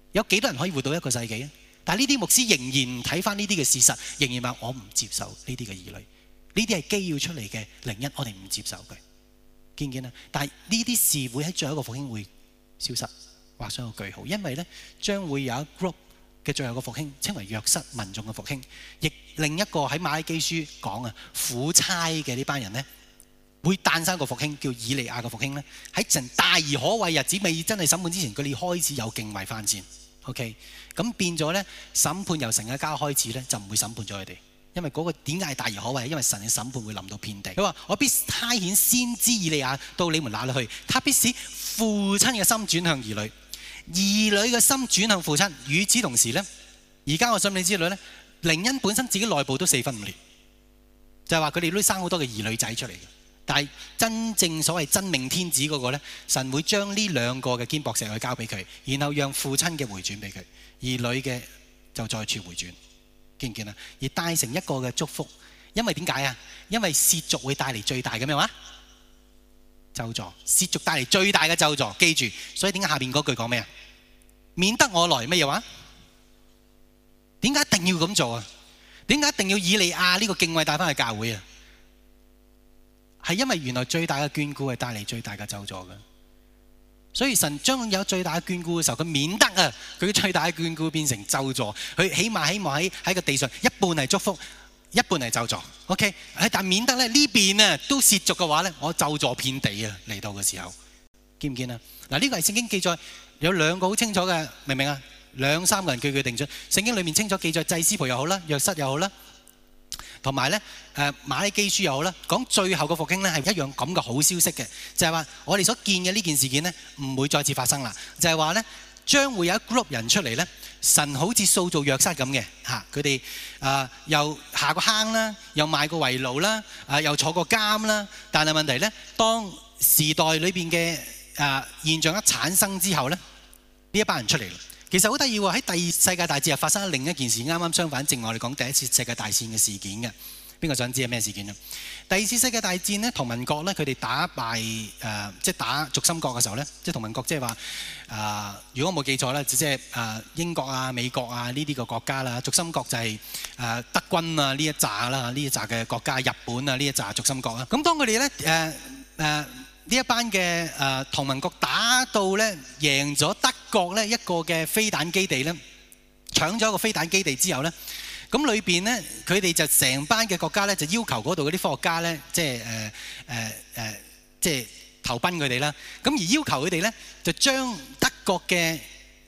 有幾多人可以活到一個世紀啊？但係呢啲牧師仍然睇翻呢啲嘅事實，仍然話我唔接受呢啲嘅兒女，呢啲係基要出嚟嘅靈恩，我哋唔接受佢，見唔見啊？但係呢啲事會喺最後一個復興會消失，畫上個句號，因為咧將會有一 group 嘅最後一個復興，稱為約瑟民眾嘅復興，亦另一個喺馬拉基書講啊苦差嘅呢班人咧，會誕生一個復興，叫以利亞嘅復興咧，喺神大而可畏日子未真係審判之前，佢哋開始有敬畏翻先。OK， 咁變咗咧，審判由神嘅家開始咧，就唔會審判咗佢哋，因為嗰個點解係大而可畏？因為神嘅審判會臨到遍地。佢話：我必差遣先知以利亞到你們那裏去，他必使父親嘅心轉向兒女，兒女嘅心轉向父親。與此同時咧，而家我想你知道咧，靈恩本身自己內部都四分五裂，就係話佢哋都生好多嘅兒女仔出嚟嘅。但係真正所謂真命天子嗰個咧，神會將呢兩個嘅堅博石去交俾佢，然後讓父親嘅回轉俾佢，兒女嘅就再處回轉，見唔見啊？而帶成一個嘅祝福，因為點解啊？因為褻瀆會帶嚟最大嘅咩話？咒詛，褻瀆帶嚟最大嘅咒詛，記住。所以點解下邊嗰句講咩啊？免得我來咩嘢話？點解一定要咁做啊？點解一定要以利亞呢個敬畏帶翻去教會啊？係因為原來最大嘅眷顧係帶嚟最大嘅咒詛嘅，所以神將有最大嘅眷顧嘅時候，佢免得啊，佢最大嘅眷顧變成咒詛。佢起碼希望喺喺個地上一半係祝福，一半係咒詛。OK， 但免得咧呢邊啊都褻瀆嘅話咧，我咒詛遍地啊嚟到嘅時候，見唔見啊？嗱，呢個係聖經記載有兩個好清楚嘅，明唔明啊？兩三個人句句定準，聖經裏面清楚記載祭司袍又好啦，約瑟又好啦。同埋咧，誒馬拉基書又好啦，講最後嘅復興咧係一樣咁嘅好消息嘅，就係話我哋所見嘅呢件事件咧唔會再次發生啦。就係話咧，將會有一 group 人出嚟咧，神好似塑造約瑟咁嘅嚇，佢哋啊又下個坑啦，又賣過為奴啦，啊又坐過監啦。但係問題咧，當時代裏邊嘅啊現象一產生之後咧，呢一班人出嚟啦。其實好得意喎，喺第二次世界大戰又發生另一件事，啱啱相反，正我哋講第一次世界大戰嘅事件嘅。邊個想知係咩事件啊？第二次世界大戰呢，同盟國咧佢哋打敗誒、呃，即係打軸心國嘅時候咧，即係同盟國即係話誒，如果我冇記錯咧，即係誒英國啊、美國啊呢啲個國家啦，軸心國就係、是、誒、呃、德軍啊呢一紮啦，呢一紮嘅國家，日本啊呢一紮軸心國啦。咁當佢哋咧誒誒。呢一班嘅誒同盟國打到咧贏咗德國咧一個嘅飛彈基地咧，搶咗一個飛彈基地之後咧，咁裏邊咧佢哋就成班嘅國家咧就要求嗰度嗰啲科學家咧，即係誒誒誒，即係投奔佢哋啦。咁而要求佢哋咧就將德國嘅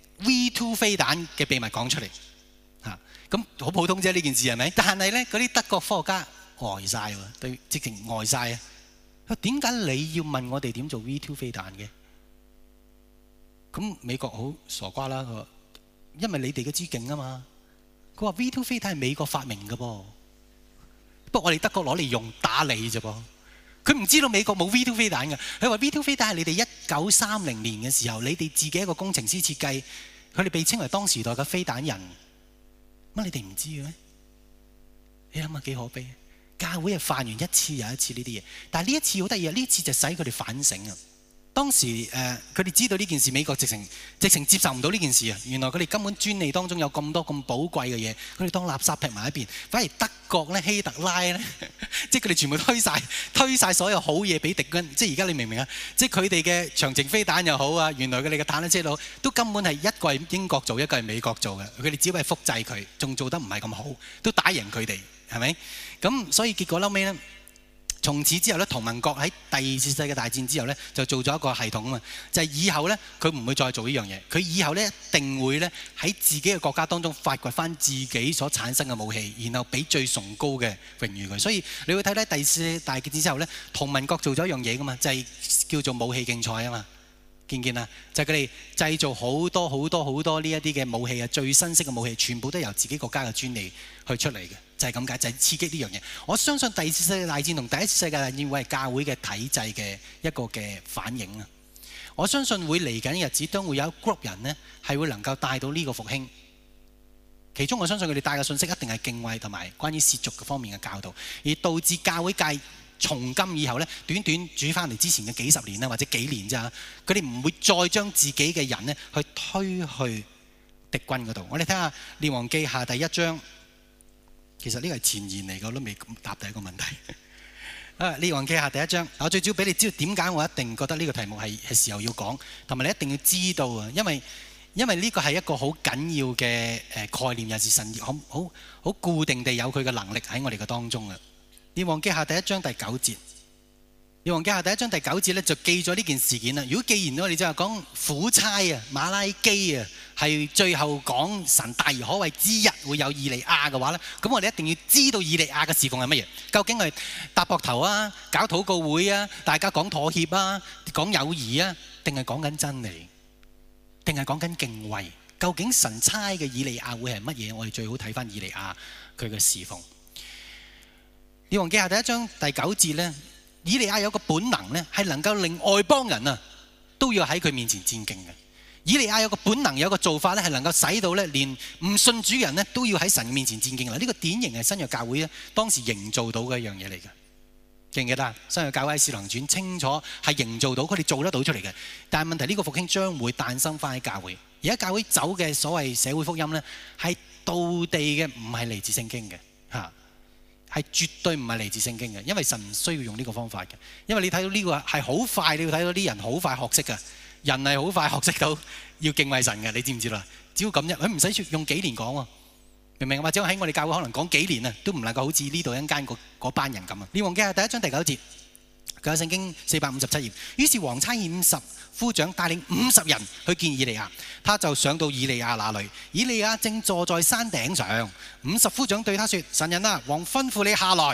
V 二 飛彈嘅秘密講出嚟嚇。咁好普通啫呢件事係咪？但係咧嗰啲德國科學家呆曬喎，對，直情呆曬啊！點解你要問我哋點做 V 二 飛彈嘅？咁美國好傻瓜啦，佢話因為你哋嘅知勁啊嘛。佢話 V 二 飛彈係美國發明嘅噃，不過我哋德國攞嚟用打你啫噃。佢唔知道美國冇 V 二 飛彈嘅。佢話 V 二 飛彈係你哋一九三零年嘅時候，你哋自己一個工程師設計，佢哋被稱為當時代嘅飛彈人。乜你哋唔知嘅咩？你諗下幾可悲。教會係犯完一次又一次呢啲嘢，但係呢一次好得意啊！呢一次就使佢哋反省啊。當時誒佢哋知道呢件事，美國直情直情接受唔到呢件事啊。原來佢哋根本專利當中有咁多咁寶貴嘅嘢，佢哋當垃圾劈埋一邊。反而德國咧、希特拉咧，即係佢哋全部推晒推曬所有好嘢俾敵軍。即係而家你明唔明啊？即係佢哋嘅長程飛彈又好啊，原來佢哋嘅坦克車都都根本係一個係英國做，一個係美國做嘅。佢哋只係複製佢，仲做得唔係咁好，都打贏佢哋。係咪？咁所以結果後尾咧，從此之後咧，同盟國喺第二次世界大戰之後咧，就做咗一個系統啊嘛，就係以後咧，佢唔會再做呢樣嘢，佢以後咧一定會咧喺自己嘅國家當中發掘翻自己所產生嘅武器，然後俾最崇高嘅榮譽佢。所以你會睇睇第二次大戰之後咧，同盟國做咗一樣嘢噶嘛，就係叫做武器競賽啊嘛。見唔見啊？就係佢哋製造好多好多好多呢一啲嘅武器啊，最新式嘅武器，全部都由自己國家嘅專利去出嚟嘅。就係咁解，就係、是、刺激呢樣嘢。我相信第二次世界大戰同第一次世界大戰會係教會嘅體制嘅一個嘅反應啊！我相信會嚟緊嘅日子都會有一 group 人呢係會能夠帶到呢個復興。其中我相信佢哋帶嘅信息一定係敬畏同埋關於褻瀆嘅方面嘅教導，而導致教會界從今以後呢，短短煮翻嚟之前嘅幾十年啦，或者幾年咋，佢哋唔會再將自己嘅人呢去推去敵軍嗰度。我哋睇下列王記下第一章，其實呢個係前言嚟嘅，我都未答第一個問題。啊，列王記下第一章，我最主要俾你知道點解我一定覺得呢個題目係係時候要講，同埋你一定要知道啊，因為因為呢個係一個好緊要嘅誒概念，又是神好好好固定地有佢嘅能力喺我哋嘅當中啊。列王記下第一章第九節。列王記下第一章第九節咧就記咗呢件事件啦。如果既然我哋就係講苦差啊、馬拉基啊，係最後講神大而可畏之日會有以利亞嘅話咧，咁我哋一定要知道以利亞嘅侍奉係乜嘢？究竟係搭膊頭啊、搞禱告會啊、大家講妥協啊、講友誼啊，定係講緊真理？定係講緊敬畏？究竟神差嘅以利亞會係乜嘢？我哋最好睇翻以利亞佢嘅侍奉。列王記下第一章第九節咧。以利亞有個本能咧，係能夠令外邦人啊都要喺佢面前戰兢嘅。以利亞有個本能，有個做法咧，係能夠使到咧連唔信主人咧都要喺神面前戰兢啦。呢個典型係新約教會咧當時營造到嘅一樣嘢嚟嘅。記唔記得啊？新約教會喺使徒行傳清楚係營造到，佢哋做得到出嚟嘅。但係問題呢個復興將會誕生翻喺教會。而家教會走嘅所謂社會福音咧，係道地嘅，唔係嚟自聖經嘅嚇。係絕對唔係嚟自聖經嘅，因為神唔需要用呢個方法嘅。因為你睇到呢個係好快，你要睇到啲人好快學識嘅，人係好快學識到要敬畏神嘅，你知唔知啦？只要咁啫，佢唔使用幾年講喎，明唔明？或者喺我哋教會可能講幾年啊，都唔能夠好似呢度一間嗰班人咁啊。列王記下第一章第九節，佢有聖經四百五十七頁。於是王差遣五十夫長帶領五十人去見以利亞，他就上到以利亞那裡。以利亞正坐在山頂上，五十夫長對他說：神人啊，王吩咐你下來。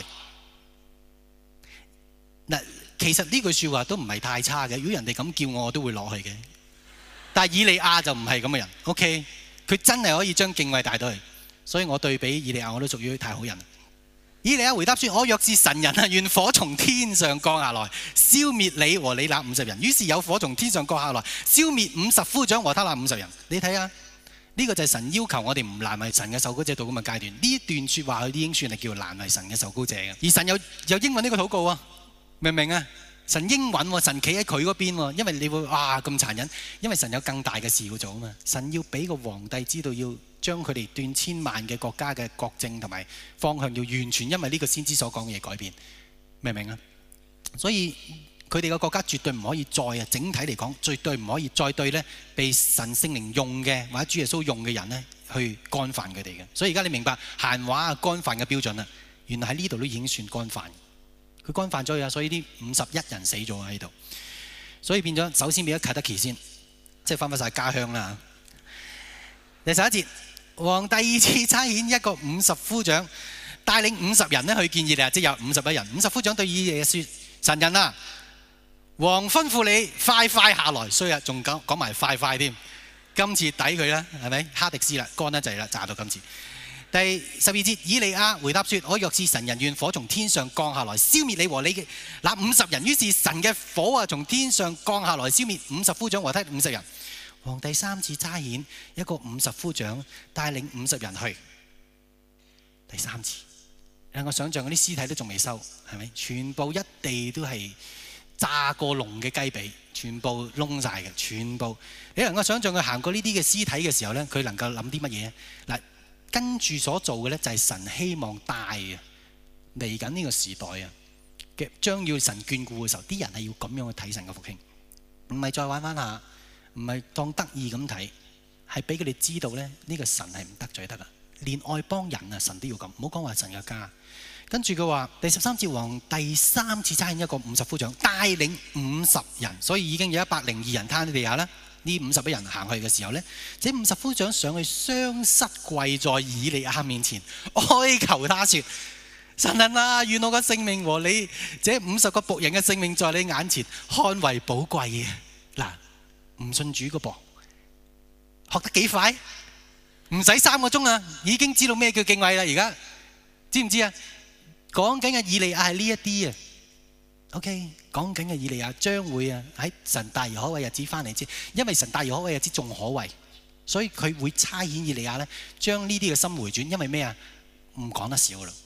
嗱，其實呢句説話都唔係太差嘅。如果人哋咁叫我，我都會落去嘅。但係以利亞就唔係咁嘅人。OK，佢真係可以將敬畏帶到去，所以我對比以利亞我都屬於太好人。以利亞回答說：我若是神人啊，願火從天上降下來，消滅你和你那五十人。於是有火從天上降下來，消滅五十夫長和他那五十人。你睇下，呢個就係神要求我哋唔難為神嘅受膏者到咁嘅階段。呢一段説話佢已經算係叫難為神嘅受膏者嘅。而神有有應允呢個禱告啊，明唔明啊？神應允喎，神企喺佢嗰邊喎，因為你會哇咁殘忍，因為神有更大嘅事要做啊嘛。神要俾個皇帝知道要將佢哋斷千萬嘅國家嘅國政同埋方向要完全因為呢個先知所講嘅嘢改變，明唔明啊？所以佢哋嘅國家絕對唔可以再啊，整體嚟講絕對唔可以再對咧被神聖靈用嘅或者主耶穌用嘅人咧去干犯佢哋嘅。所以而家你明白閒話啊干犯嘅標準啦，原來喺呢度都已經算干犯。佢干犯咗啊，所以啲五十一人死咗喺度，所以變咗首先變咗啟德奇先，即係翻返晒家鄉啦。第十一節，王第二次差遣一個五十夫長帶領五十人咧去見以利亞，即係有五十一人。五十夫長對以利亞説：神人啊，王吩咐你快快下來。衰啊，仲講講埋快快添，今次抵佢啦，係咪？哈迪斯啦，乾得滯啦，炸到今次。第十二節，以利亞回答說：我若是神人，願火從天上降下來，消滅你和你嘅那五十人。於是神嘅火啊，從天上降下來，消滅五十夫長和他五十人。王第三次差遣一個五十夫長帶領五十人去。第三次，讓我想象嗰啲屍體都仲未收，係咪？全部一地都係炸過籠嘅雞髀，全部燶晒嘅，全部。你能夠想象佢行過呢啲嘅屍體嘅時候呢，佢能夠諗啲乜嘢？嗱。跟住所做嘅咧，就係神希望帶啊嚟緊呢個時代啊嘅將要神眷顧嘅時候，啲人係要咁樣去睇神嘅復興，唔係再玩玩下，唔係當得意咁睇，係俾佢哋知道咧呢個神係唔得罪得啊，連外邦人啊神都要咁，唔好講話神嘅家。跟住佢話第十三節，王第三次差遣一個五十夫長帶領五十人，所以已經有一百零二人攤喺地下啦。呢五十一人行去嘅時候呢，這五十夫長上去雙膝跪在以利亞面前，哀求他說：神人啊，願我嘅性命和你這五十個僕人嘅性命在你眼前看為寶貴嘅。嗱，唔信主嘅噃，學得幾快？唔使三個鐘啊，已經知道咩叫敬畏啦。而家知唔知啊？講緊嘅以利亞係呢一啲啊。OK， 講緊嘅以利亞將會啊喺神大而可畏日子翻嚟之，因為神大而可畏日子仲可畏，所以佢會差遣以利亞咧將呢啲嘅心回轉。因為咩啊？唔講得少啦，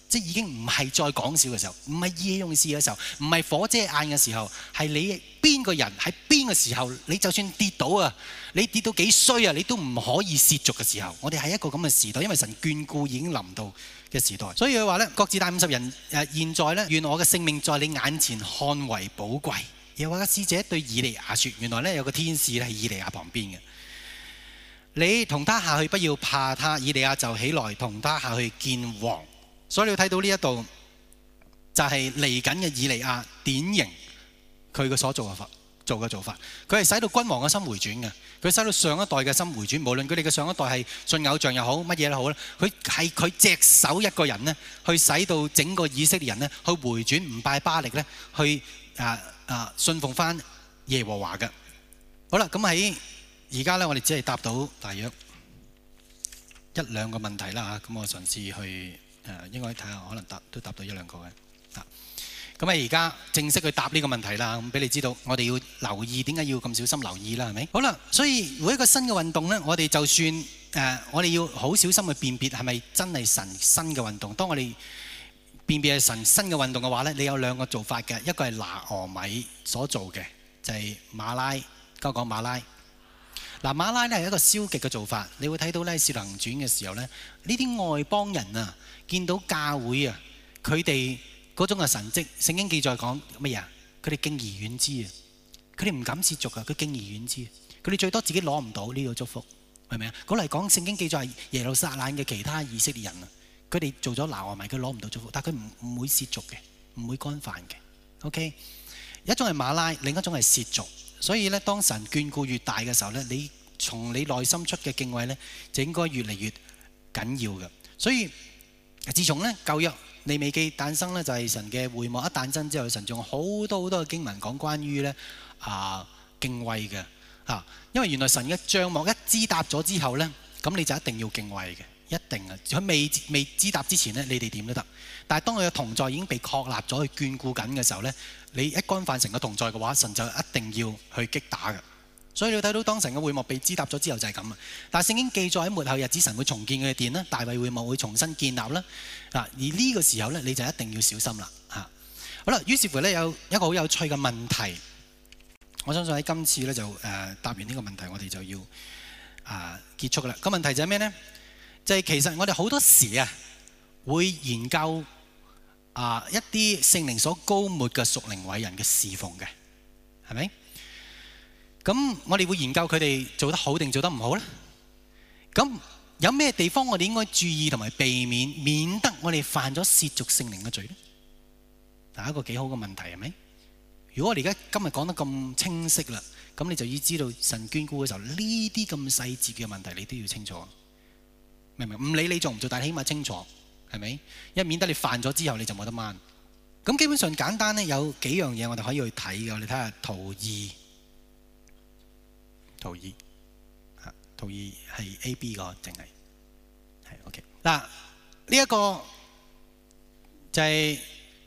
即係已經唔係再講笑嘅時候，唔係意氣用事嘅時候，唔係火遮眼嘅時候，係你邊個人喺邊個時候，你就算跌倒啊，你跌到幾衰啊，你都唔可以褻瀆嘅時候。我哋係一個咁嘅時代，因為神眷顧已經臨到嘅時代。所以佢話咧，各自帶五十人誒，現在咧，願我嘅性命在你眼前看為寶貴。又話個使者對以利亞説：原來咧有個天使咧喺以利亞旁邊嘅，你同他下去，不要怕他。以利亞就起來同他下去見王。所以你要睇到呢一度就係嚟緊嘅以利亞典型佢嘅所做嘅法做嘅做法，佢係使到君王嘅心回轉嘅，佢使到上一代嘅心回轉，無論佢哋嘅上一代係信偶像又好乜嘢都好咧，佢係佢隻手一個人呢，去使到整個以色列人呢去回轉，唔拜巴力呢，去啊啊信奉翻耶和華嘅。好啦，咁喺而家呢，我哋只係答到大約一兩個問題啦嚇，咁我嘗試去。誒應該睇下，可能答都答到一兩個嘅嚇。咁啊，而家正式去答呢個問題啦。咁俾你知道，我哋要留意點解要咁小心留意啦，係咪？好啦，所以每一個新嘅運動呢，我哋就算誒、呃，我哋要好小心去辨別係咪真係神新嘅運動。當我哋辨別係神新嘅運動嘅話呢，你有兩個做法嘅，一個係拿俄米所做嘅，就係、是、馬拉，交講馬拉。嗱，馬拉咧係一個消極嘅做法，你會睇到咧《使徒行傳》嘅時候咧，呢啲外邦人啊，見到教會啊，佢哋嗰種嘅神蹟，聖經記載講乜嘢啊？佢哋敬而遠之啊，佢哋唔敢褻瀆啊，佢敬而遠之，佢哋最多自己攞唔到呢個祝福，係咪啊？嗰嚟講聖經記載係耶路撒冷嘅其他以色列人啊，佢哋做咗拿俄米，佢攞唔到祝福，但係佢唔唔會褻瀆嘅，唔會干犯嘅。OK，一種係馬拉，另一種係褻瀆。所以咧，當神眷顧越大嘅時候咧，你從你內心出嘅敬畏咧，就應該越嚟越緊要嘅。所以自從咧舊約利未記誕生咧，就係神嘅會幕一誕生之後，神仲有好多好多嘅經文講關於咧啊敬畏嘅啊，因為原來神嘅帳幕一支搭咗之後咧，咁你就一定要敬畏嘅，一定啊！佢未未支搭之前咧，你哋點都得。但係當佢嘅同在已經被確立咗，去眷顧緊嘅時候咧，你一干犯神嘅同在嘅話，神就一定要去擊打嘅。所以你睇到當神嘅會幕被支搭咗之後就係咁啊。但係聖經記載喺末後日子，神會重建佢嘅殿啦，大衛會幕會重新建立啦。啊，而呢個時候咧，你就一定要小心啦。嚇，好啦，於是乎咧有一個好有趣嘅問題，我相信喺今次咧就誒、呃、答完呢個問題，我哋就要啊、呃、結束啦。個問題就係咩呢？就係、是、其實我哋好多時啊會研究。啊！一啲聖靈所膏抹嘅屬靈偉人嘅侍奉嘅，係咪？咁我哋會研究佢哋做得好定做得唔好呢？咁有咩地方我哋應該注意同埋避免，免得我哋犯咗褻瀆聖靈嘅罪呢？嗱，一個幾好嘅問題係咪？如果我哋而家今日講得咁清晰啦，咁你就要知道神眷顧嘅時候，呢啲咁細節嘅問題你都要清楚，明唔明？唔理你做唔做，但係起碼清楚。係咪？一免得你犯咗之後你就冇得掹。咁基本上簡單咧，有幾樣嘢我哋可以去睇嘅。我哋睇下圖二，圖二嚇，圖二係 A B 個，淨係係 OK。嗱，呢一個就係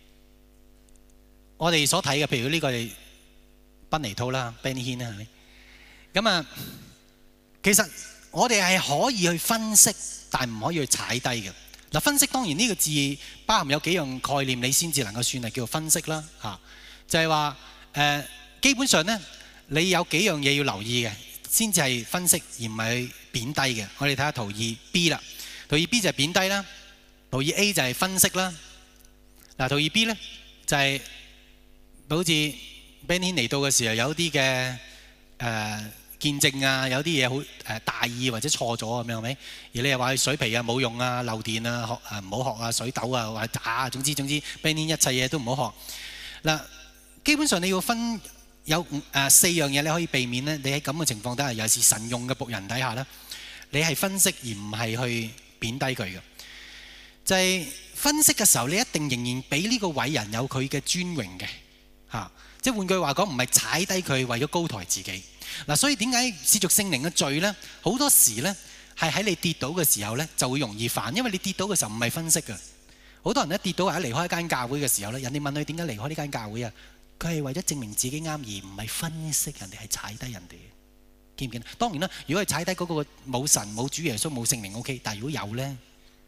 我哋所睇嘅，譬如呢個係賓尼圖啦 Benny Hinn 啦，係咪？咁啊，其實我哋係可以去分析，但唔可以去踩低嘅。嗱，分析當然呢個字包含有幾樣概念，你先至能夠算係叫做分析啦嚇。就係話誒，基本上咧，你有幾樣嘢要留意嘅，先至係分析而唔係貶低嘅。我哋睇下圖二 B 啦，圖二 B 就係貶低啦，圖二 A 就係分析啦。嗱，圖二 B 咧就係好似 Benny 嚟到嘅時候有啲嘅誒見證啊，有啲嘢好誒大意或者錯咗咁樣係咪？而你又話佢水皮啊冇用啊，漏電啊，學誒唔好學啊，水痘啊或者渣啊，總之總之 Benny 一切嘢都唔好學。嗱，基本上你要分有誒四樣嘢你可以避免咧。你喺咁嘅情況底下，尤其是神用嘅僕人底下咧，你係分析而唔係去貶低佢嘅。就係分析嘅時候，你一定仍然俾呢個偉人有佢嘅尊榮嘅嚇。即係換句話講，唔係踩低佢為咗高抬自己。嗱，所以點解褻瀆聖靈嘅罪咧？好多時咧係喺你跌倒嘅時候咧就會容易犯，因為你跌倒嘅時候唔係分析嘅。好多人一跌倒或者離開一間教會嘅時候咧，人哋問佢點解離開呢間教會啊？佢係為咗證明自己啱，而唔係分析人哋係踩低人哋。見唔見？當然啦，如果係踩低嗰個冇神冇主耶穌冇聖靈 OK，但係如果有咧，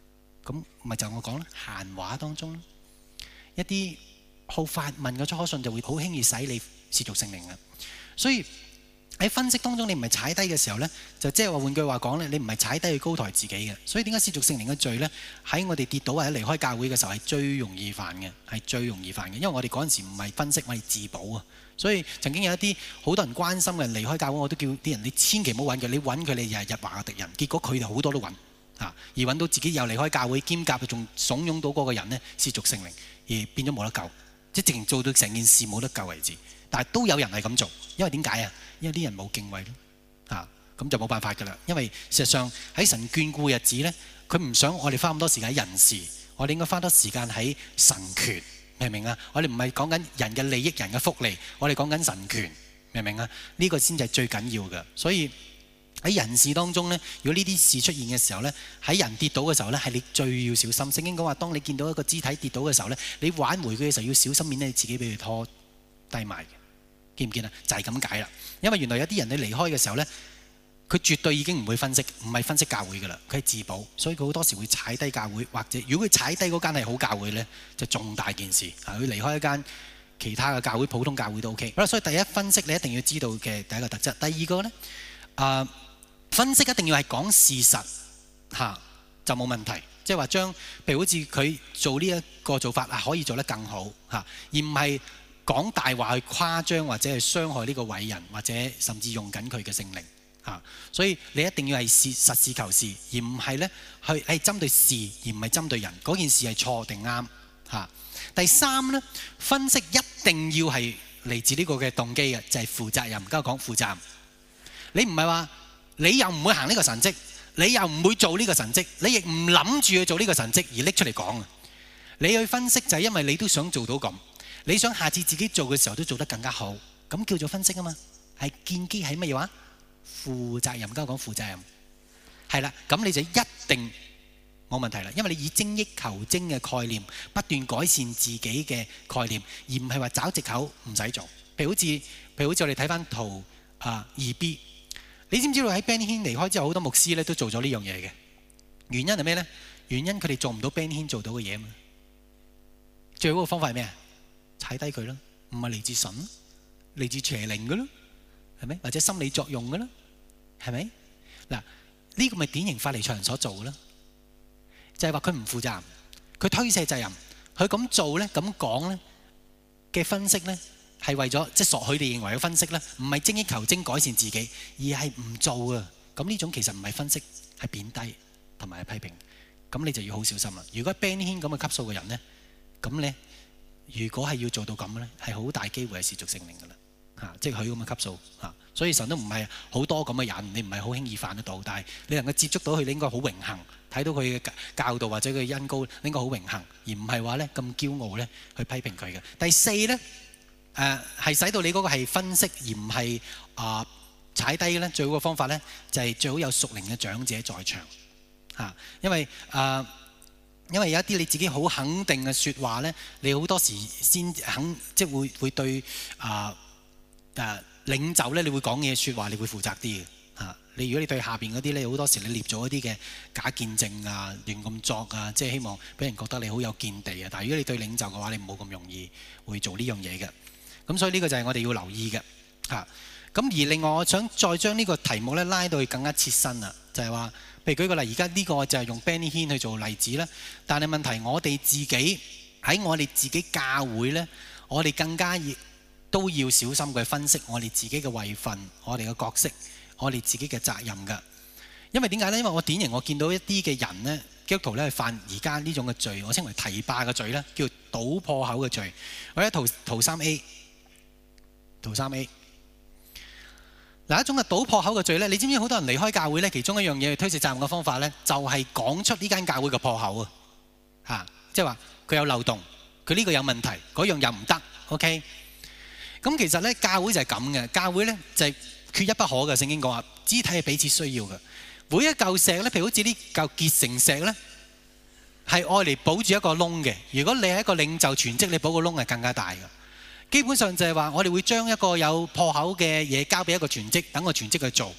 咁咪就我講啦，閒話當中一啲好發問嘅初信就會好輕易使你褻瀆聖靈嘅。所以喺分析當中，你唔係踩低嘅時候呢，就即係話換句話講呢，你唔係踩低去高抬自己嘅。所以點解褻瀆聖靈嘅罪呢？喺我哋跌倒或者離開教會嘅時候係最容易犯嘅，係最容易犯嘅。因為我哋嗰陣時唔係分析，我哋自保啊。所以曾經有一啲好多人關心嘅人離開教會，我都叫啲人你千祈唔好揾佢，你揾佢你又係日華嘅敵人。結果佢哋好多都揾啊，而揾到自己又離開教會，兼夾仲慫恿到嗰個人呢褻瀆聖靈，而變咗冇得救，即係直情做到成件事冇得救為止。但係都有人係咁做，因為點解啊？因為啲人冇敬畏咯，啊咁就冇辦法㗎啦。因為事實上喺神眷顧嘅日子呢，佢唔想我哋花咁多時間喺人事，我哋應該花多時間喺神權，明唔明啊？我哋唔係講緊人嘅利益、人嘅福利，我哋講緊神權，明唔明啊？呢個先至係最緊要嘅。所以喺人事當中呢，如果呢啲事出現嘅時候呢，喺人跌倒嘅時候呢，係你最要小心。聖經講話，當你見到一個肢體跌倒嘅時候呢，你挽回佢嘅時候要小心，免得你自己俾佢拖低埋嘅。見唔見啊？就係咁解啦。因為原來有啲人你離開嘅時候呢，佢絕對已經唔會分析，唔係分析教會㗎啦，佢係自保，所以佢好多時會踩低教會，或者如果佢踩低嗰間係好教會呢，就重大件事啊！佢離開一間其他嘅教會，普通教會都 OK。好啦，所以第一分析你一定要知道嘅第一個特質。第二個呢，啊、呃、分析一定要係講事實嚇、啊、就冇問題，即係話將譬如好似佢做呢一個做法啊，可以做得更好嚇、啊，而唔係講大話去誇張或者係傷害呢個偉人，或者甚至用緊佢嘅聖靈嚇，所以你一定要係事實事求是，而唔係呢去係針對事而唔係針對人。嗰件事係錯定啱嚇。第三呢，分析一定要係嚟自呢個嘅動機嘅，就係負責任。而家講負責任，你唔係話你又唔會行呢個神蹟，你又唔會做呢個神蹟，你亦唔諗住去做呢個神蹟而拎出嚟講啊！你去分析就係因為你都想做到咁。你想下次自己做嘅時候都做得更加好，咁叫做分析啊嘛，係建基喺乜嘢話？負責任，今日講負責任，係啦，咁你就一定冇問題啦，因為你以精益求精嘅概念，不斷改善自己嘅概念，而唔係話找藉口唔使做。譬如好似，譬如好似我哋睇翻圖啊二 B， 你知唔知道喺 Benny Hinn 離開之後，好多牧師咧都做咗呢樣嘢嘅，原因係咩呢？原因佢哋做唔到 Benny Hinn 做到嘅嘢啊嘛。最好嘅方法係咩啊？踩低佢啦，唔係嚟自神，嚟自邪靈嘅咯，係咪？或者心理作用嘅咯，係咪？嗱，呢個咪典型法利賽人所做嘅咯，就係話佢唔負責任，佢推卸責任，佢咁做咧，咁講咧嘅分析咧，係為咗即係索佢哋認為嘅分析咧，唔係精益求精改善自己，而係唔做啊。咁呢種其實唔係分析，係貶低同埋係批評。咁你就要好小心啦。如果 Benny Hinn 咁嘅級數嘅人咧，咁咧。如果係要做到咁呢，係好大機會係褻瀆聖靈㗎啦，嚇！即係佢咁嘅級數嚇，所以神都唔係好多咁嘅人，你唔係好輕易犯得到，但係你能夠接觸到佢，你應該好榮幸，睇到佢嘅教導或者佢嘅恩膏，你應該好榮幸，而唔係話呢咁驕傲呢去批評佢嘅。第四呢，誒、呃、係使到你嗰個係分析而唔係啊踩低呢，最好嘅方法呢，就係、是、最好有屬靈嘅長者在場嚇、啊，因為啊。呃因為有一啲你自己好肯定嘅説話呢，你好多時先肯，即係會會對啊誒、呃呃、領袖呢，你會講嘢説話，你會負責啲嘅嚇。你如果你對下邊嗰啲呢，好多時你列咗一啲嘅假見證啊、亂咁作啊，即係希望俾人覺得你好有見地啊。但係如果你對領袖嘅話，你冇咁容易會做呢樣嘢嘅。咁所以呢個就係我哋要留意嘅嚇。咁、啊、而另外，我想再將呢個題目呢拉到去更加切身啦，就係、是、話。譬如舉個例，而家呢個就係用 Benny Hinn 去做例子啦。但係問題，我哋自己喺我哋自己教會呢，我哋更加要都要小心去分析我哋自己嘅位份、我哋嘅角色、我哋自己嘅責任㗎。因為點解呢？因為我典型我見到一啲嘅人呢，基督徒呢，犯而家呢種嘅罪，我稱為提霸嘅罪呢，叫搗破口嘅罪。我喺圖圖三 A， 圖三 A。嗱，一種嘅搗破口嘅罪咧，你知唔知好多人離開教會咧？其中一樣嘢去推卸責任嘅方法咧，就係講出呢間教會嘅破口啊！嚇，即係話佢有漏洞，佢呢個有問題，嗰樣又唔得。OK，咁其實咧教會就係咁嘅，教會咧就係缺一不可嘅。聖經講話，肢體係彼此需要嘅。每一嚿石咧，譬如好似呢嚿結成石咧，係愛嚟保住一個窿嘅。如果你係一個領袖全職，你保個窿係更加大嘅。基本上就係話，我哋會將一個有破口嘅嘢交俾一個全職，等個全職去做，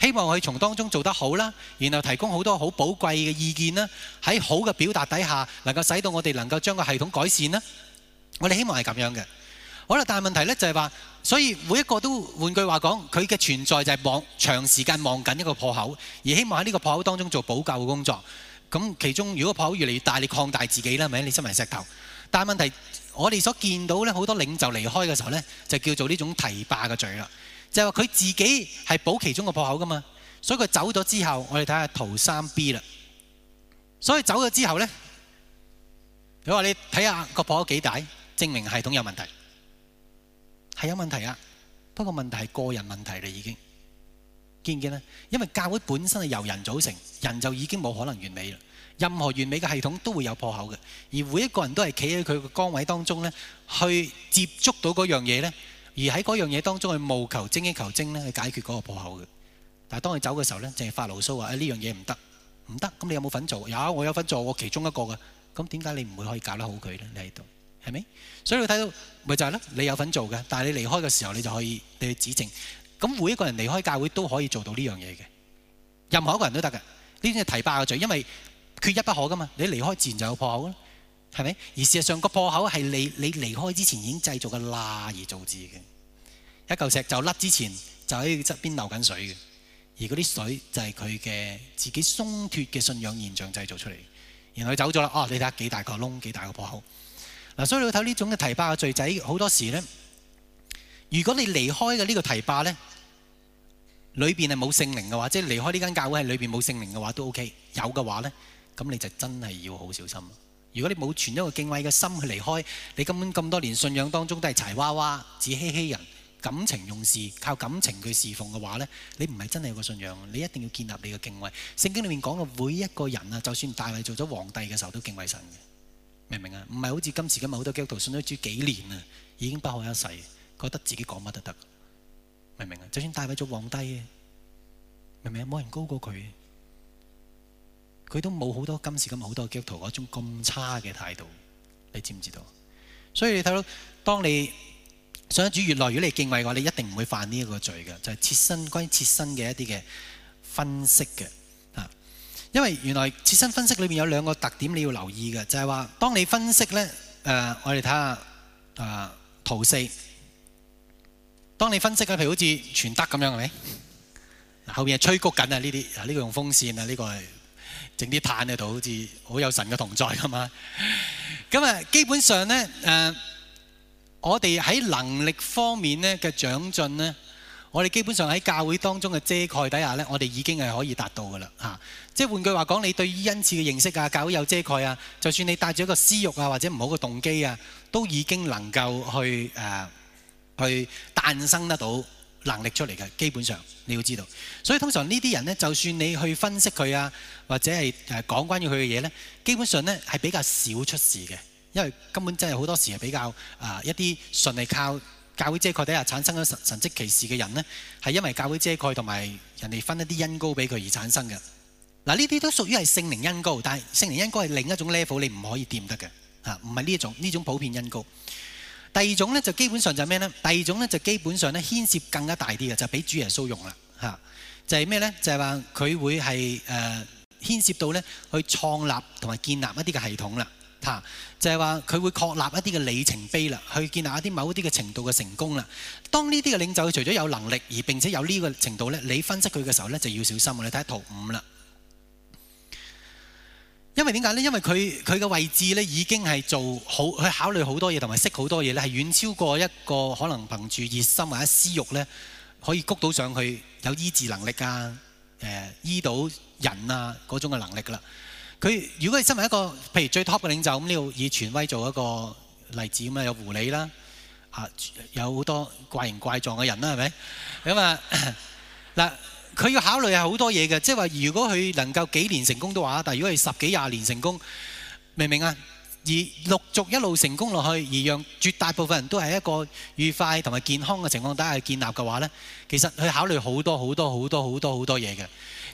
希望佢從當中做得好啦，然後提供好多好寶貴嘅意見啦，喺好嘅表達底下，能夠使到我哋能夠將個系統改善啦。我哋希望係咁樣嘅。好啦，但係問題呢就係話，所以每一個都換句話講，佢嘅存在就係望長時間望緊一個破口，而希望喺呢個破口當中做補救嘅工作。咁其中如果破口越嚟越大，你擴大自己啦，係咪？你身為石頭。但係問題，我哋所見到呢，好多領袖離開嘅時候呢，就叫做呢種堤壩嘅罪啦。就係話佢自己係補其中個破口噶嘛，所以佢走咗之後，我哋睇下圖三 B 啦。所以走咗之後呢，佢話你睇下個破口幾大，證明系統有問題，係有問題啊。不過問題係個人問題啦，已經見唔見呢？因為教會本身係由人組成，人就已經冇可能完美啦。任何完美嘅系統都會有破口嘅，而每一個人都係企喺佢嘅崗位當中呢，去接觸到嗰樣嘢呢，而喺嗰樣嘢當中去務求精益求精呢，去解決嗰個破口嘅。但係當佢走嘅時候呢，淨係發牢騷話：誒呢樣嘢唔得，唔得。咁你有冇份做？有，我有份做，我其中一個嘅。咁點解你唔會可以搞得好佢呢？你喺度係咪？所以你睇到咪就係咯，你有份做嘅，但係你離開嘅時候，你就可以你去指正。咁每一個人離開教會都可以做到呢樣嘢嘅，任何一個人都得嘅。呢啲係堤壩嘅罪，因為缺一不可噶嘛，你離開自然就有破口啦，係咪？而事實上個破口係你你離開之前已經製造嘅罅而導致嘅。一嚿石就甩之前就喺側邊流緊水嘅，而嗰啲水就係佢嘅自己鬆脱嘅信仰現象製造出嚟。然後佢走咗啦，哦，你睇下幾大個窿，幾大個破口。嗱，所以你睇呢種嘅堤壩嘅罪仔，好多時咧，如果你離開嘅呢個堤壩咧，裏邊係冇聖靈嘅話，即係離開呢間教會係裏邊冇聖靈嘅話都 OK。有嘅話咧，咁你就真係要好小心。如果你冇存一個敬畏嘅心去離開，你根本咁多年信仰當中都係柴娃娃、自欺欺人、感情用事、靠感情去侍奉嘅話呢，你唔係真係有個信仰。你一定要建立你嘅敬畏。聖經裏面講到每一個人啊，就算大衛做咗皇帝嘅時候都敬畏神嘅，明唔明啊？唔係好似今時今日好多基督徒信咗主幾年啊，已經不可一世，覺得自己講乜都得，明唔明啊？就算大衛做皇帝嘅，明唔明啊？冇人高過佢。佢都冇好多今時今日好多基督徒嗰種咁差嘅態度，你知唔知道？所以你睇到，當你信主越來越嚟敬畏嘅話，你一定唔會犯呢一個罪嘅，就係切身關於切身嘅一啲嘅分析嘅啊。因為原來切身分析裏面有兩個特點你要留意嘅，就係話當你分析呢，誒、呃，我哋睇下誒圖四，當你分析嘅，譬如好似傳德咁樣係咪？後面係吹谷緊啊，呢啲啊呢個用風扇啊，呢、這個係。整啲炭喺度，好似好有神嘅同在㗎嘛。咁啊，基本上呢，誒、呃，我哋喺能力方面呢嘅長進呢，我哋基本上喺教會當中嘅遮蓋底下呢，我哋已經係可以達到㗎啦嚇。即係換句話講，你對於恩賜嘅認識啊，教會有遮蓋啊，就算你帶住一個私慾啊，或者唔好嘅動機啊，都已經能夠去誒、呃、去誕生得到能力出嚟嘅。基本上你要知道，所以通常呢啲人呢，就算你去分析佢啊，或者係誒講關於佢嘅嘢呢，基本上呢係比較少出事嘅，因為根本真係好多時係比較啊、呃、一啲順利靠教會遮蓋底下產生咗神神蹟奇事嘅人呢，係因為教會遮蓋同埋人哋分一啲恩膏俾佢而產生嘅。嗱，呢啲都屬於係聖靈恩膏，但係聖靈恩膏係另一種 level，你唔可以掂得嘅嚇，唔係呢一種呢種普遍恩膏。第二種咧就基本上就係咩咧？第二種咧就基本上咧牽涉更加大啲嘅，就俾、是、主耶穌用啦嚇。就係咩咧？就係話佢會係誒、呃、牽涉到咧去創立同埋建立一啲嘅系統啦嚇。就係話佢會確立一啲嘅里程碑啦，去建立一啲某一啲嘅程度嘅成功啦。當呢啲嘅領袖佢除咗有能力而並且有呢個程度咧，你分析佢嘅時候咧就要小心。你睇下圖五啦。因為點解呢？因為佢佢嘅位置咧已經係做好，去考慮好多嘢同埋識好多嘢咧，係遠超過一個可能憑住熱心或者私慾咧可以谷到上去有醫治能力啊、誒、呃、醫到人啊嗰種嘅能力噶啦。佢如果係身為一個譬如最 top 嘅領袖咁，呢度以權威做一個例子咁啊，有狐狸啦，啊有好多怪形怪狀嘅人啦，係咪？咁啊嗱。佢要考慮係好多嘢嘅，即係話如果佢能夠幾年成功都話，但係如果係十幾廿年成功，明唔明啊？而陸續一路成功落去，而讓絕大部分人都係一個愉快同埋健康嘅情況底下建立嘅話呢，其實佢考慮好多好多好多好多好多嘢嘅。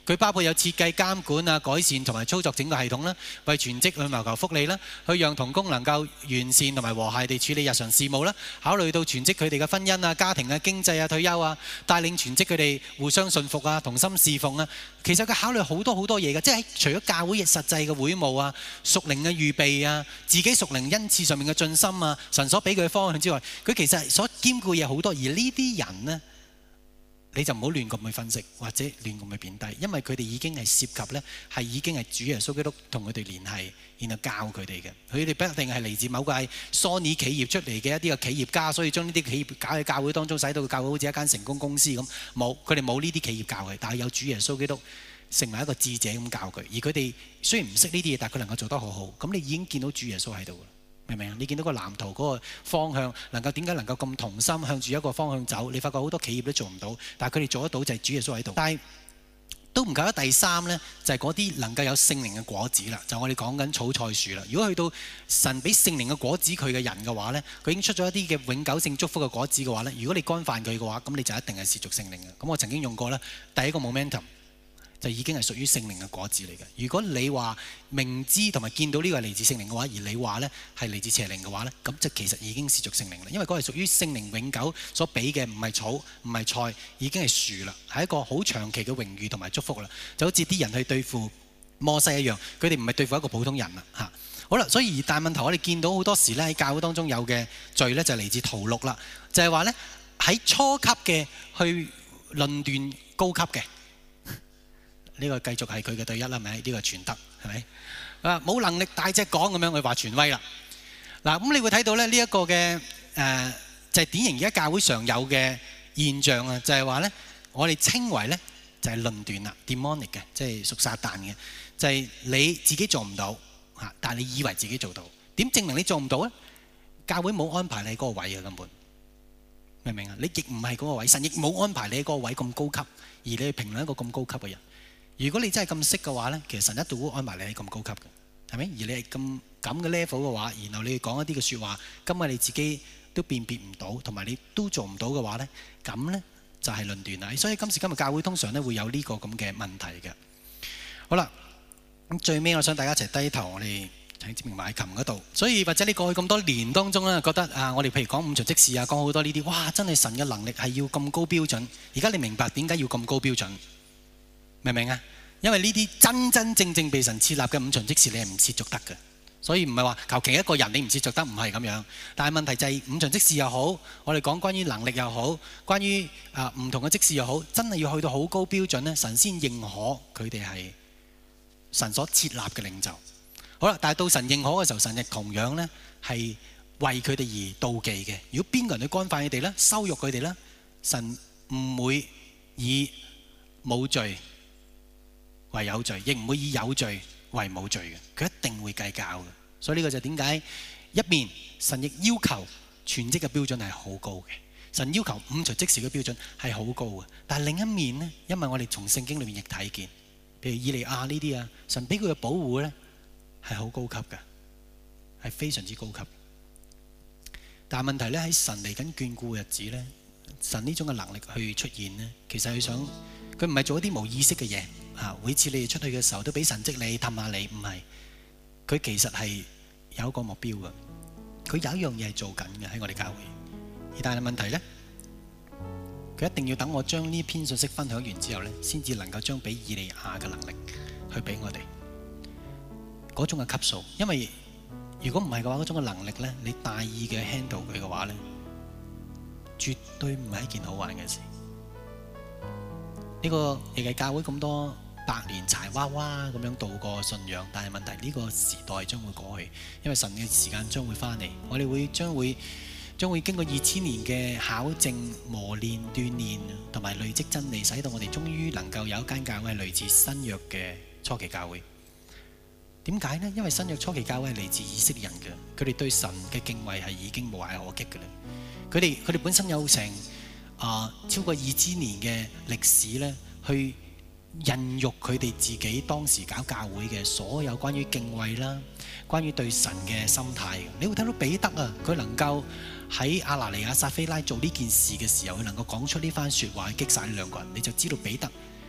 佢包括有設計、監管啊、改善同埋操作整個系統啦，為全職去謀求福利啦，去讓同工能夠完善同埋和諧地處理日常事務啦，考慮到全職佢哋嘅婚姻啊、家庭啊、經濟啊、退休啊，帶領全職佢哋互相信服啊、同心侍奉啊。其實佢考慮好多好多嘢嘅，即係除咗教會實際嘅會務啊、屬靈嘅預備啊、自己屬靈恩賜上面嘅進心啊、神所俾佢嘅方向之外，佢其實所兼顧嘢好多。而呢啲人呢，你就唔好亂咁去分析或者亂咁去貶低，因為佢哋已經係涉及呢，係已經係主耶穌基督同佢哋聯繫，然後教佢哋嘅。佢哋不一定係嚟自某個係 Sony 企業出嚟嘅一啲嘅企業家，所以將呢啲企業搞喺教會當中，使到個教會好似一間成功公司咁。冇，佢哋冇呢啲企業教佢，但係有主耶穌基督成為一個智者咁教佢。而佢哋雖然唔識呢啲嘢，但係佢能夠做得好好。咁你已經見到主耶穌喺度。明唔明啊？你見到個藍圖嗰個方向，能夠點解能夠咁同心向住一個方向走？你發覺好多企業都做唔到，但係佢哋做得到就係主耶穌喺度。但係都唔夠得。第三呢，就係嗰啲能夠有聖靈嘅果子啦。就我哋講緊草菜樹啦。如果去到神俾聖靈嘅果子佢嘅人嘅話呢，佢已經出咗一啲嘅永久性祝福嘅果子嘅話呢，如果你干犯佢嘅話，咁你就一定係褻瀆聖靈嘅。咁我曾經用過呢，第一個 momentum。就已經係屬於聖靈嘅果子嚟嘅。如果你話明知同埋見到呢個係嚟自聖靈嘅話，而你話呢係嚟自邪靈嘅話呢，咁就其實已經褻瀆聖靈啦。因為嗰係屬於聖靈永久所俾嘅，唔係草，唔係菜，已經係樹啦，係一個好長期嘅榮譽同埋祝福啦。就好似啲人去對付摩西一樣，佢哋唔係對付一個普通人啦嚇。好啦，所以而大問題我哋見到好多時呢，喺教會當中有嘅罪呢，就係嚟自屠戮啦，就係話呢，喺初級嘅去論斷高級嘅。呢個繼續係佢嘅對一啦，係咪？呢個傳德係咪？啊，冇能力大隻講咁樣，佢話傳威啦。嗱，咁你會睇到咧呢一個嘅誒，就係典型而家教會常有嘅現象啊，就係話咧，我哋稱為咧就係論斷啦 ，demonic 嘅，即係屬撒旦嘅，就係你自己做唔到嚇，但係你以為自己做到，點證明你做唔到咧？教會冇安排你嗰個位啊，根本明唔明啊？你亦唔係嗰個位，神亦冇安排你嗰個位咁高級，而你去評論一個咁高級嘅人。如果你真係咁識嘅話呢，其實神一度會安排你係咁高級嘅，係咪？而你係咁咁嘅 level 嘅話，然後你講一啲嘅説話，今日你自己都辨別唔到，同埋你都做唔到嘅話呢，咁呢就係論斷啦。所以今時今日教會通常呢會有呢個咁嘅問題嘅。好啦，咁最尾我想大家一齊低頭，我哋喺志明埋琴嗰度。所以或者你過去咁多年當中呢，覺得啊，我哋譬如講五旬職事啊，講好多呢啲，哇！真係神嘅能力係要咁高標準。而家你明白點解要咁高標準？明唔明啊？因為呢啲真真正正被神設立嘅五旬職事，你係唔褻瀆得嘅。所以唔係話求其一個人你唔褻瀆得，唔係咁樣。但係問題就係五旬職事又好，我哋講關於能力又好，關於啊唔同嘅職事又好，真係要去到好高標準咧，神先認可佢哋係神所設立嘅領袖。好啦，但係到神認可嘅時候，神亦同樣咧係為佢哋而妒忌嘅。如果邊個人去干犯佢哋咧，羞辱佢哋咧，神唔會以冇罪為有罪，亦唔會以有罪為冇罪嘅，佢一定會計較嘅。所以呢個就點解一面神亦要求全職嘅標準係好高嘅，神要求五旬職事嘅標準係好高嘅。但係另一面呢，因為我哋從聖經裏面亦睇見，譬如以利亞呢啲啊，神俾佢嘅保護呢係好高級嘅，係非常之高級。但係問題呢，喺神嚟緊眷顧嘅日子呢，神呢種嘅能力去出現呢，其實佢想佢唔係做一啲冇意識嘅嘢。啊！每次你哋出去嘅時候都俾神蹟你氹下你，唔係佢其實係有一個目標嘅。佢有一樣嘢係做緊嘅喺我哋教會，而但係問題呢，佢一定要等我將呢篇信息分享完之後呢，先至能夠將俾以利亞嘅能力去俾我哋嗰種嘅級數。因為如果唔係嘅話，嗰種嘅能力呢，你大意嘅 handle 佢嘅話呢，絕對唔係一件好玩嘅事。呢個亦係教會咁多百年柴娃娃咁樣度過信仰，但係問題呢個時代將會過去，因為神嘅時間將會翻嚟，我哋會將會將會經過二千年嘅考證、磨練、鍛鍊同埋累積真理，使到我哋終於能夠有一間教會係類似新約嘅初期教會。點解呢？因為新約初期教會係嚟自以色列人嘅，佢哋對神嘅敬畏係已經無懈可擊嘅啦。佢哋佢哋本身有成啊超過二千年嘅歷史咧，去孕育佢哋自己當時搞教會嘅所有關於敬畏啦，關於對神嘅心態。你會睇到彼得啊，佢能夠喺亞拿尼亞撒非拉做呢件事嘅時候，佢能夠講出呢番説話，擊殺呢兩個人，你就知道彼得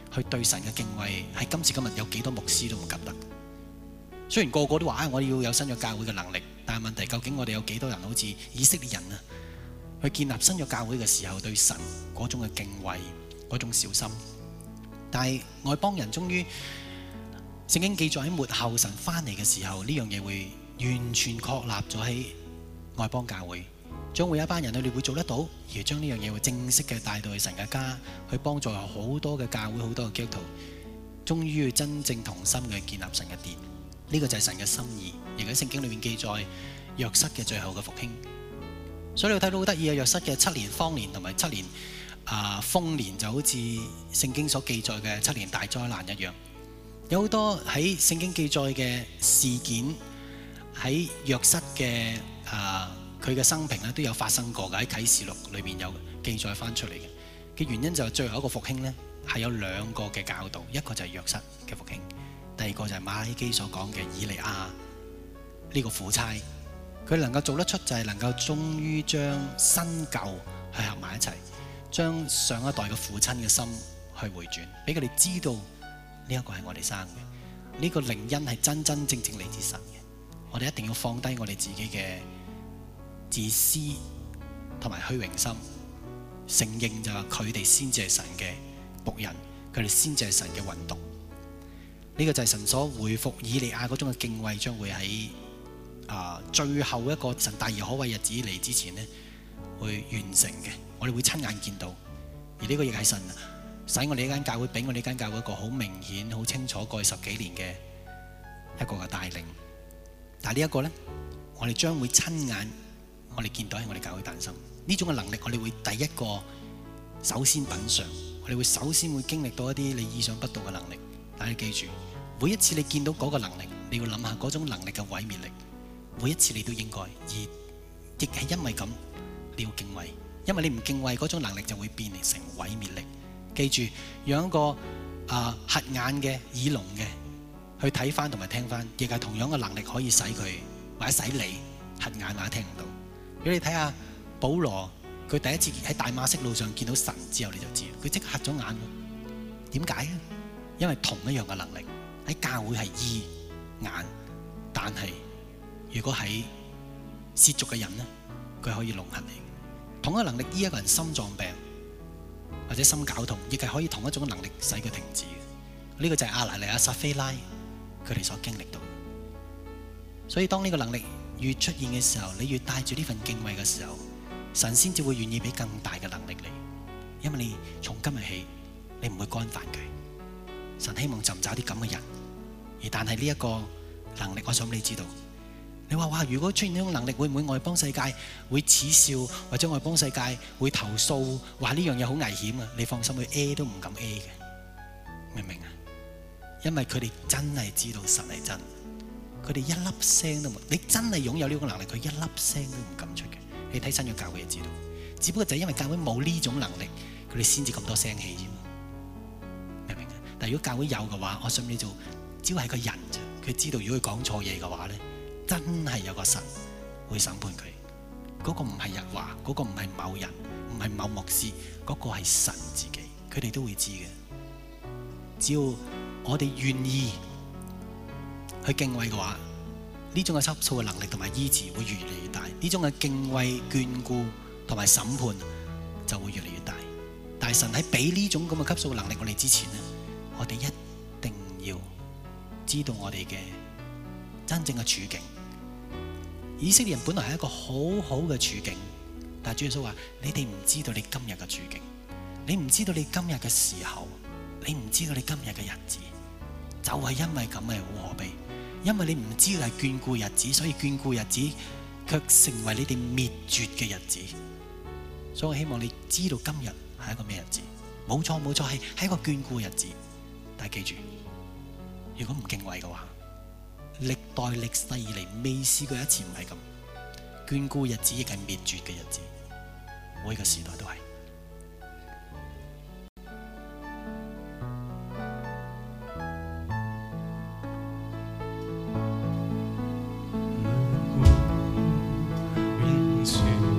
去對神嘅敬畏，喺今時今日有幾多牧師都唔及得。雖然個個都話啊，我要有新約教會嘅能力，但係問題究竟我哋有幾多人好似以色列人啊，去建立新約教會嘅時候對神嗰種嘅敬畏，嗰種小心。但係外邦人終於聖經記載喺末後神翻嚟嘅時候，呢樣嘢會完全確立咗喺外邦教會，將會有一班人佢哋會做得到，而將呢樣嘢會正式嘅帶到去神嘅家，去幫助好多嘅教會、好多嘅基督徒，終於要真正同心嘅建立神嘅殿。呢個就係神嘅心意，亦喺聖經裏面記載約瑟嘅最後嘅復興。所以你睇到好得意啊，約瑟嘅七年荒年同埋七年啊豐年，就好似聖經所記載嘅七年大災難一樣。有好多喺聖經記載嘅事件喺約瑟嘅啊佢嘅生平咧都有發生過嘅，喺啟示錄裏面有記載翻出嚟嘅。嘅原因就係最後一個復興呢，係有兩個嘅教導，一個就係約瑟嘅復興。第二個就係馬拉基所講嘅以利亞呢個苦差，佢能夠做得出就係能夠終於將新舊去合埋一齊，將上一代嘅父親嘅心去回轉，俾佢哋知道呢一個係我哋生嘅，呢個靈恩係真真正正嚟自神嘅。我哋一定要放低我哋自己嘅自私同埋虛榮心，承認就係佢哋先至係神嘅僕人，佢哋先至係神嘅運動。呢個就係神所回復以利亞嗰種嘅敬畏，將會喺啊、呃、最後一個神大而可畏日子嚟之前呢，會完成嘅。我哋會親眼見到，而呢個亦係神使我哋呢間教會，俾我哋呢間教會一個好明顯、好清楚過去十幾年嘅一個嘅帶領。但係呢一個呢，我哋將會親眼我哋見到喺我哋教會誕生呢種嘅能力，我哋會第一個首先品嚐，我哋會首先會經歷到一啲你意想不到嘅能力。但係記住，每一次你見到嗰個能力，你要諗下嗰種能力嘅毀滅力。每一次你都應該，而亦係因為咁，你要敬畏，因為你唔敬畏嗰種能力就會變成毀滅力。記住，讓一個啊瞎、呃、眼嘅、耳聾嘅去睇翻同埋聽翻，亦係同樣嘅能力可以使佢或者使你瞎眼或者聽唔到。如果你睇下保羅，佢第一次喺大馬色路上見到神之後，你就知佢即刻瞎咗眼。點解啊？因為同一樣嘅能力喺教會係醫眼，但係如果喺褻瀆嘅人呢，佢可以弄瞎你。同一個能力醫一個人心臟病或者心絞痛，亦係可以同一種能力使佢停止。呢、這個就係亞拿尼亞、撒非拉佢哋所經歷到。所以當呢個能力越出現嘅時候，你越帶住呢份敬畏嘅時候，神先至會願意俾更大嘅能力你。因為你從今日起，你唔會干犯佢。神希望尋找啲咁嘅人，而但係呢一個能力，我想你知道。你話哇，如果出現呢種能力，會唔會外邦世界會恥笑，或者外邦世界會投訴，話呢樣嘢好危險啊？你放心，佢 A 都唔敢 A 嘅，明唔明啊？因為佢哋真係知道神係真，佢哋一粒聲都冇。你真係擁有呢種能力，佢一粒聲都唔敢出嘅。你睇新約教會就知道，只不過就係因為教會冇呢種能力，佢哋先至咁多聲氣啫。但如果教會有嘅話，我想你做只要係個人啫。佢知道如果佢講錯嘢嘅話咧，真係有個神會審判佢。嗰個唔係日華，嗰個唔係某人，唔係某牧師，嗰個係神自己。佢哋都會知嘅。只要我哋願意去敬畏嘅話，呢種嘅級數嘅能力同埋醫治會越嚟越大。呢種嘅敬畏、眷顧同埋審判就會越嚟越大。但係神喺俾呢種咁嘅級數嘅能力我哋之前咧，我哋一定要知道我哋嘅真正嘅處境。以色列人本來係一個好好嘅處境，但係主耶穌話：你哋唔知道你今日嘅處境，你唔知道你今日嘅時候，你唔知道你今日嘅日子，就係因為咁嘅好可悲。因為你唔知道係眷顧日子，所以眷顧日子卻成為你哋滅絕嘅日子。所以我希望你知道今日係一個咩日子？冇錯冇錯，係係一個眷顧日子。但係記住，如果唔敬畏嘅話，歷代歷世以嚟未試過一次唔係咁。眷顧日子亦係滅絕嘅日子，每個時代都係。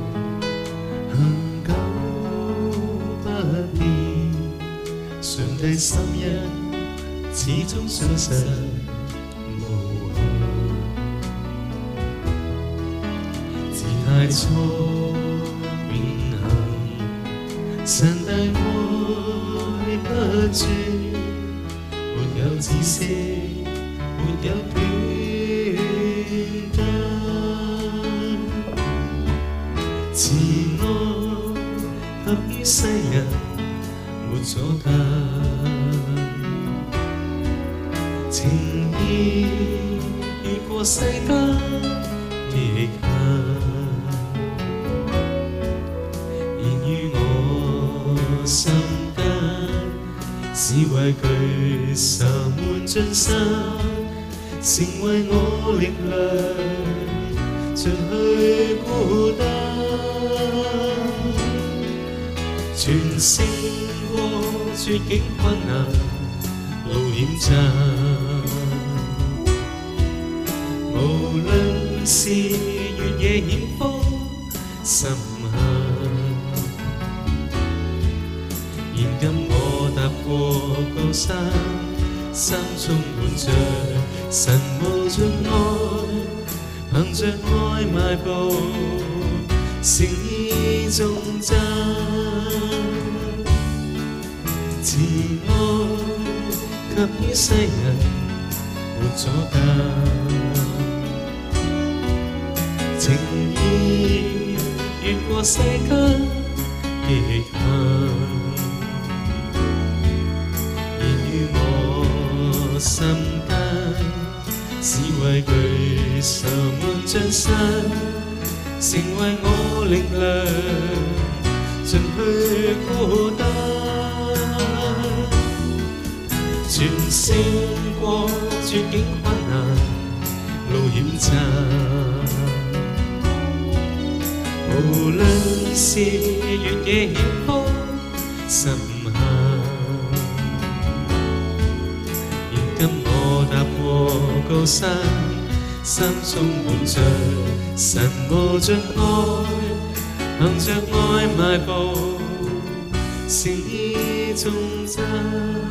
上帝心一始終信實無憾，自太初永恆，神大愛不絕，沒有止息，沒有斷根，慈愛合於世人，沒阻隔，情意越過世間極限，現於我心間，是畏懼愁悶盡散，成為我力量，除去孤單。全勝過絕境困難路險障，無論是越野險峰深陷，現今我踏過高山，心充滿着神無盡愛，憑着愛邁步，誠意頌讚。慈愛給予世人，沒阻隔，情意越過世間極限，現於我心間，是畏懼愁悶盡散，成為我力量，盡去孤單。全勝過絕境困難路險障，無論是越野險峰深陷，現今我踏過高山，心充滿着神無盡愛，憑着愛邁步，誠意頌讚。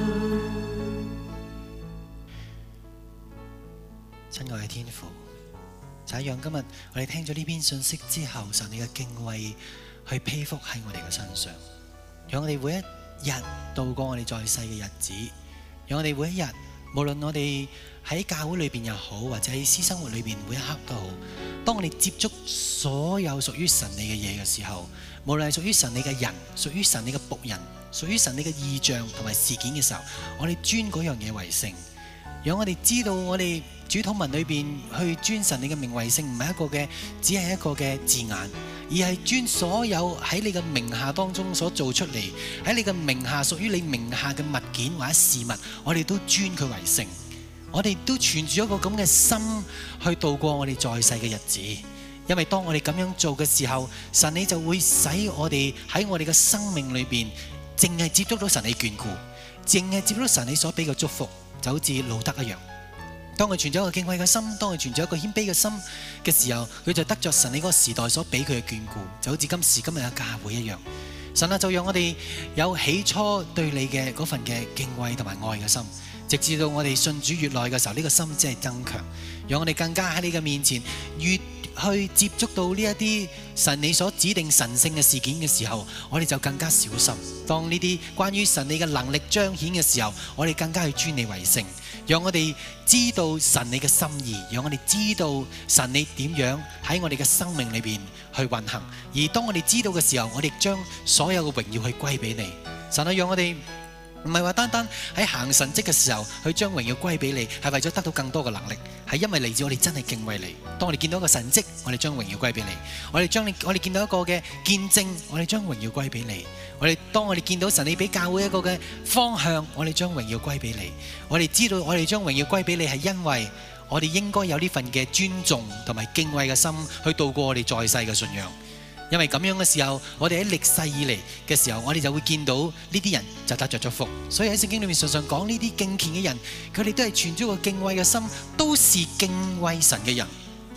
親愛嘅天父，就係讓今日我哋聽咗呢篇信息之後，神你嘅敬畏去披覆喺我哋嘅身上，讓我哋每一日度過我哋在世嘅日子，讓我哋每一日，無論我哋喺教會裏邊又好，或者喺私生活裏邊每一刻都好，當我哋接觸所有屬於神你嘅嘢嘅時候，無論係屬於神你嘅人，屬於神你嘅僕人，屬於神你嘅異象同埋事件嘅時候，我哋尊嗰樣嘢為聖，讓我哋知道我哋主禱文裏邊去尊神你嘅名為聖，唔係一個嘅，只係一個嘅字眼，而係尊所有喺你嘅名下當中所做出嚟，喺你嘅名下屬於你名下嘅物件或者事物，我哋都尊佢為聖，我哋都存住一個咁嘅心去度過我哋在世嘅日子。因為當我哋咁樣做嘅時候，神你就會使我哋喺我哋嘅生命裏邊淨係接觸到神你眷顧，淨係接觸到神你所俾嘅祝福，就好似路德一樣。當佢存咗一個敬畏嘅心，當佢存咗一個謙卑嘅心嘅時候，佢就得着神你嗰個時代所俾佢嘅眷顧，就好似今時今日嘅教會一樣。神啊，就讓我哋有起初對你嘅嗰份嘅敬畏同埋愛嘅心，直至到我哋信主越耐嘅時候，呢個心只係增強，讓我哋更加喺你嘅面前越去接觸到呢一啲神你所指定神聖嘅事件嘅時候，我哋就更加小心。當呢啲關於神你嘅能力彰顯嘅時候，我哋更加去尊你為聖，讓我哋知道神你嘅心意，讓我哋知道神你點樣喺我哋嘅生命裏邊去運行。而當我哋知道嘅時候，我哋將所有嘅榮耀去歸俾你。神啊，讓我哋唔係話單單喺行神蹟嘅時候去將榮耀歸俾你，係為咗得到更多嘅能力，係因為嚟自我哋真係敬畏你。當我哋見到一個神蹟，我哋將榮耀歸俾你；我哋將你，我哋見到一個嘅見證，我哋將榮耀歸俾你；我哋當我哋見到神你俾教會一個嘅方向，我哋將榮耀歸俾你。我哋知道我哋將榮耀歸俾你，係因為我哋應該有呢份嘅尊重同埋敬畏嘅心去度過我哋在世嘅信仰。因為咁樣嘅時候，我哋喺歷世以嚟嘅時候，我哋就會見到呢啲人就得着咗福。所以喺聖經裏面常常講呢啲敬虔嘅人，佢哋都係存咗個敬畏嘅心，都是敬畏神嘅人。而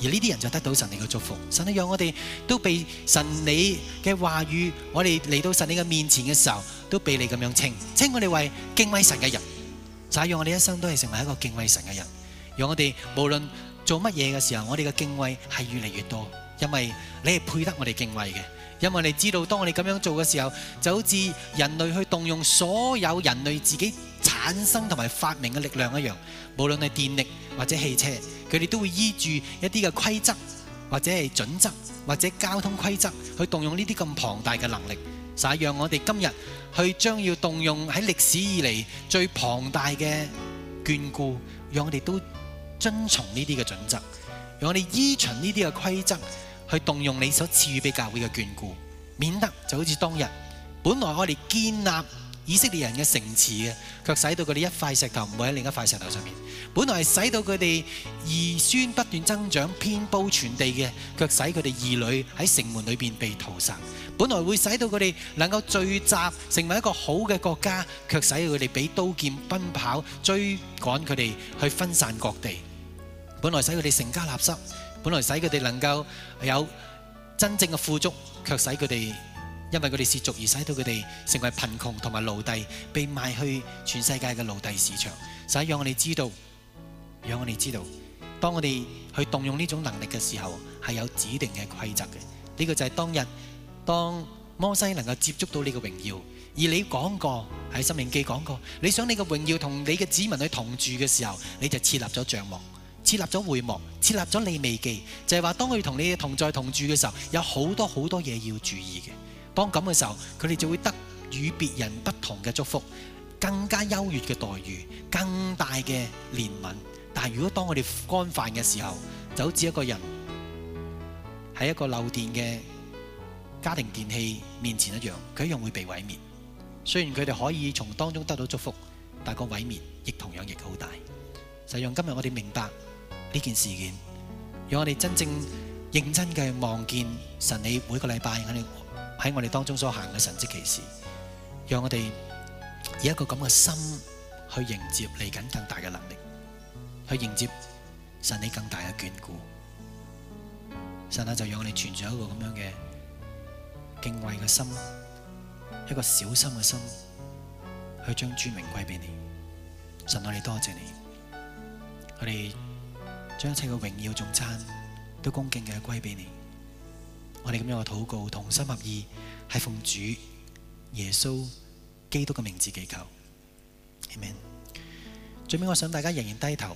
而呢啲人就得到神你嘅祝福。神啊，讓我哋都被神你嘅話語，我哋嚟到神你嘅面前嘅時候，都被你咁樣稱稱我哋為敬畏神嘅人。就係讓我哋一生都係成為一個敬畏神嘅人。讓我哋無論做乜嘢嘅時候，我哋嘅敬畏係越嚟越多，因為你係配得我哋敬畏嘅。因為你知道，當我哋咁樣做嘅時候，就好似人類去動用所有人類自己產生同埋發明嘅力量一樣，無論係電力或者汽車，佢哋都會依住一啲嘅規則或者係準則或者交通規則去動用呢啲咁龐大嘅能力。就係讓我哋今日去將要動用喺歷史以嚟最龐大嘅眷顧，讓我哋都遵從呢啲嘅準則，讓我哋依循呢啲嘅規則去動用你所賜予俾教會嘅眷顧，免得就好似當日本來我哋建立以色列人嘅城池嘅，卻使到佢哋一塊石頭唔會喺另一塊石頭上面；本來係使到佢哋兒孫不斷增長、遍佈全地嘅，卻使佢哋兒女喺城門裏邊被屠殺；本來會使到佢哋能夠聚集成為一個好嘅國家，卻使佢哋俾刀劍奔跑、追趕佢哋去分散各地；本來使佢哋成家立室。本來使佢哋能夠有真正嘅富足，卻使佢哋因為佢哋褻瀆而使到佢哋成為貧窮同埋奴隸，被賣去全世界嘅奴隸市場。所以讓我哋知道，讓我哋知道，當我哋去動用呢種能力嘅時候，係有指定嘅規則嘅。呢個就係當日當摩西能夠接觸到呢個榮耀，而你講過喺申命記講過，你想你嘅榮耀同你嘅子民去同住嘅時候，你就設立咗帳幕。設立咗會幕，設立咗利未記，就係話當佢同你同在同住嘅時候，有好多好多嘢要注意嘅。當咁嘅時候，佢哋就會得與別人不同嘅祝福，更加優越嘅待遇，更大嘅憐憫。但係如果當我哋干犯嘅時候，就好似一個人喺一個漏電嘅家庭電器面前一樣，佢一樣會被毀滅。雖然佢哋可以從當中得到祝福，但個毀滅亦同樣亦好大。就讓今日我哋明白呢件事件，讓我哋真正認真嘅望見神你每個禮拜我哋喺我哋當中所行嘅神蹟奇事，讓我哋以一個咁嘅心去迎接嚟緊更大嘅能力，去迎接神你更大嘅眷顧。神啊，就讓我哋存住一個咁樣嘅敬畏嘅心，一個小心嘅心，去將尊榮歸俾你。神，我哋多謝你。我哋將一切嘅榮耀頌讚都恭敬嘅歸俾你。我哋咁樣嘅禱告同心合意，係奉主耶穌基督嘅名字祈求。阿們。最尾我想大家仍然低頭。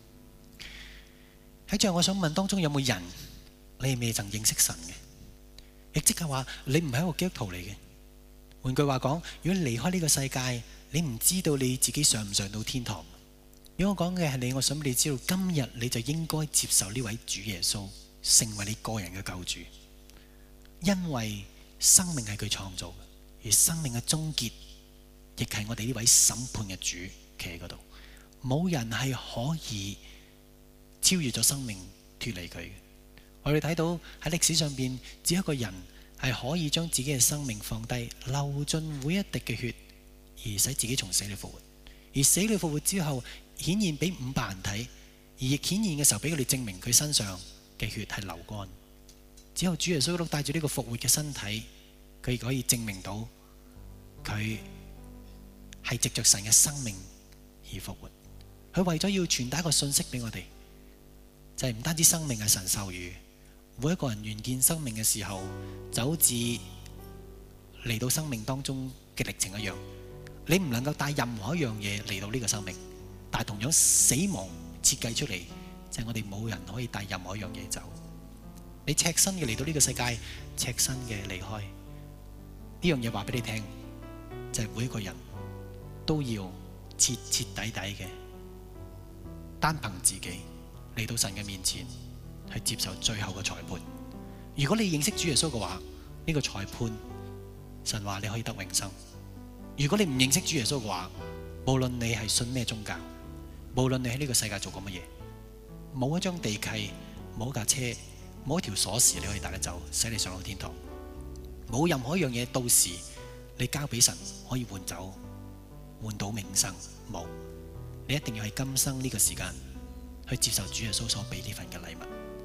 喺最後我想問當中有冇人你係未曾認識神嘅？亦即係話你唔係一個基督徒嚟嘅。換句話講，如果你離開呢個世界，你唔知道你自己上唔上到天堂。如果我講嘅係你，我想俾你知道，今日你就應該接受呢位主耶穌，成為你個人嘅救主。因為生命係佢創造嘅，而生命嘅終結亦係我哋呢位審判嘅主企喺嗰度。冇人係可以超越咗生命脫離佢嘅。我哋睇到喺歷史上邊，只有一個人係可以將自己嘅生命放低，流盡每一滴嘅血，而使自己從死裏復活。而死裏復活之後，顯現俾五百人睇，而亦顯現嘅時候俾佢哋證明佢身上嘅血係流乾。只有主耶穌基督帶住呢個復活嘅身體，佢亦可以證明到佢係藉着神嘅生命而復活。佢為咗要傳達一個信息俾我哋，就係唔單止生命係神授予，每一個人完見生命嘅時候，就好似嚟到生命當中嘅歷程一樣。你唔能夠帶任何一樣嘢嚟到呢個生命。但係同樣死亡設計出嚟，就係我哋冇人可以帶任何一樣嘢走。你赤身嘅嚟到呢個世界，赤身嘅離開。呢樣嘢話俾你聽，就係每一個人都要徹徹底底嘅，單憑自己嚟到神嘅面前，去接受最後嘅裁判。如果你認識主耶穌嘅話，呢個裁判神話你可以得永生。如果你唔認識主耶穌嘅話，無論你係信咩宗教，無論你喺呢個世界做過乜嘢，冇一張地契，冇一架車，冇一條鎖匙你可以帶得走，使你上到天堂。冇任何一樣嘢到時你交俾神可以換走，換到永生。冇，你一定要喺今生呢個時間去接受主耶穌所俾呢份嘅禮物。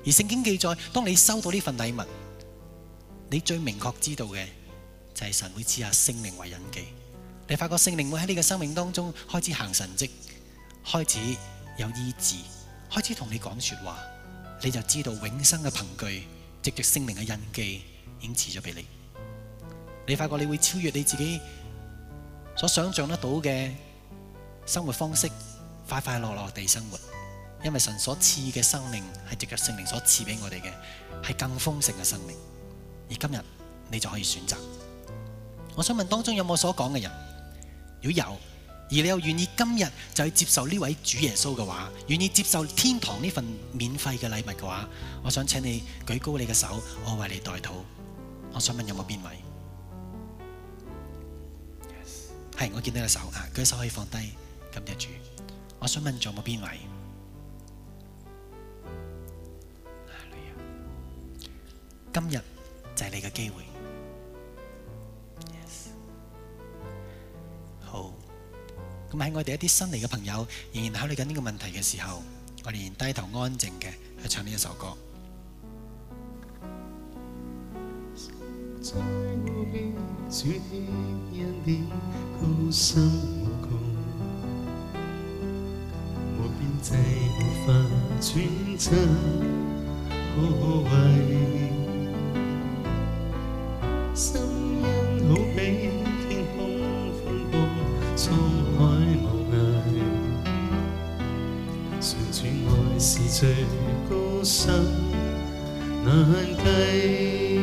而聖經記載，當你收到呢份禮物，你最明確知道嘅就係神會賜下聖靈為印記。你發覺聖靈會喺你嘅生命當中開始行神蹟，開始有醫治，開始同你講說話，你就知道永生嘅憑據，藉着聖靈嘅印記已經賜咗俾你。你發覺你會超越你自己所想象得到嘅生活方式，快快樂樂地生活，因為神所賜嘅生命係藉着聖靈所賜俾我哋嘅，係更豐盛嘅生命。而今日你就可以選擇。我想問當中有冇所講嘅人？如果有，而你又願意今日就去接受呢位主耶穌嘅話，願意接受天堂呢份免費嘅禮物嘅話，我想請你舉高你嘅手，我為你代禱。我想問有冇邊位？係，我見到個手啊，舉手可以放低，感謝主。我想問仲有冇邊位？今日就係你嘅機會。Yes. 好，咁喺我哋一啲新嚟嘅朋友仍然考慮緊呢個問題嘅時候，我哋仍低頭安靜嘅去唱呢一首歌。 在我嘅主的恩典高深無窮，無邊際無法揣測可畏。心因好比天空寬闊，滄海無涯。誰主愛是最高深難計，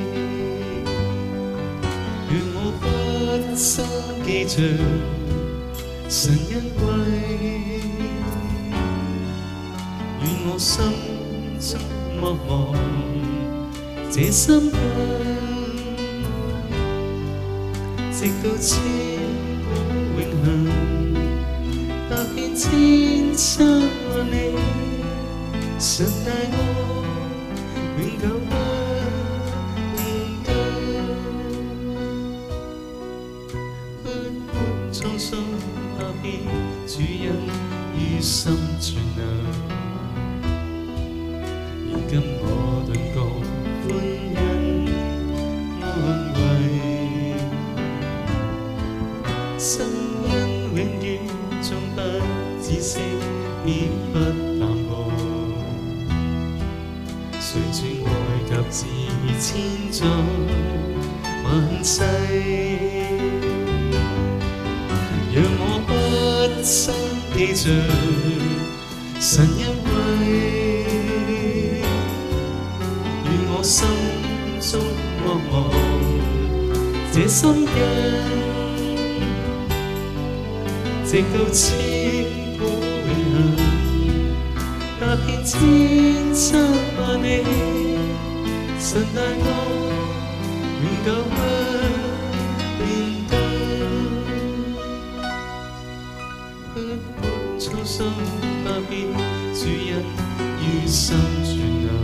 讓我不生記着神恩惠，願我心中莫忘這心印。直到千古永恆，踏遍千山萬里，神大愛永久不變更。不管滄桑踏遍，主恩於心存留。現今我頓覺歡欣安慰。心恩永遠終不止息，必不淡薄。誰主愛及至千載萬世，讓我不生記着神恩惠，願我心中莫忘這心印。直到千古永恆，踏遍千山萬里，神大愛永久不變更。不管滄桑踏遍，主恩於心存留。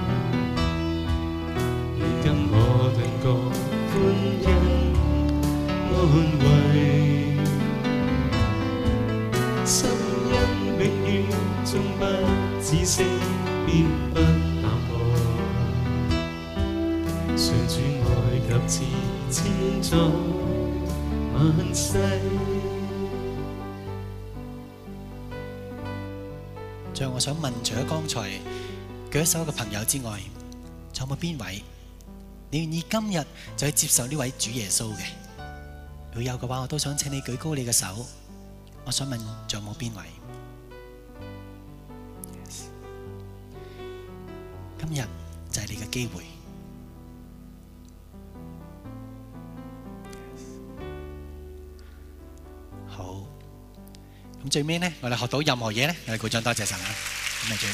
如今我頓覺歡欣安慰。心恩永遠終不止息，必不淡薄。誰主愛及至千載萬世。 最後我想問，除咗剛才舉手嘅朋友之外，仲有冇邊位你願意今日就去接受呢位主耶穌嘅？如果有嘅話，我都想請你舉高你嘅手。我想問，仲有冇邊位？ Yes. 今日就係你嘅機會。Yes. 好，咁最尾呢，我哋學到任何嘢呢，我哋鼓掌多謝神啊！咁啊最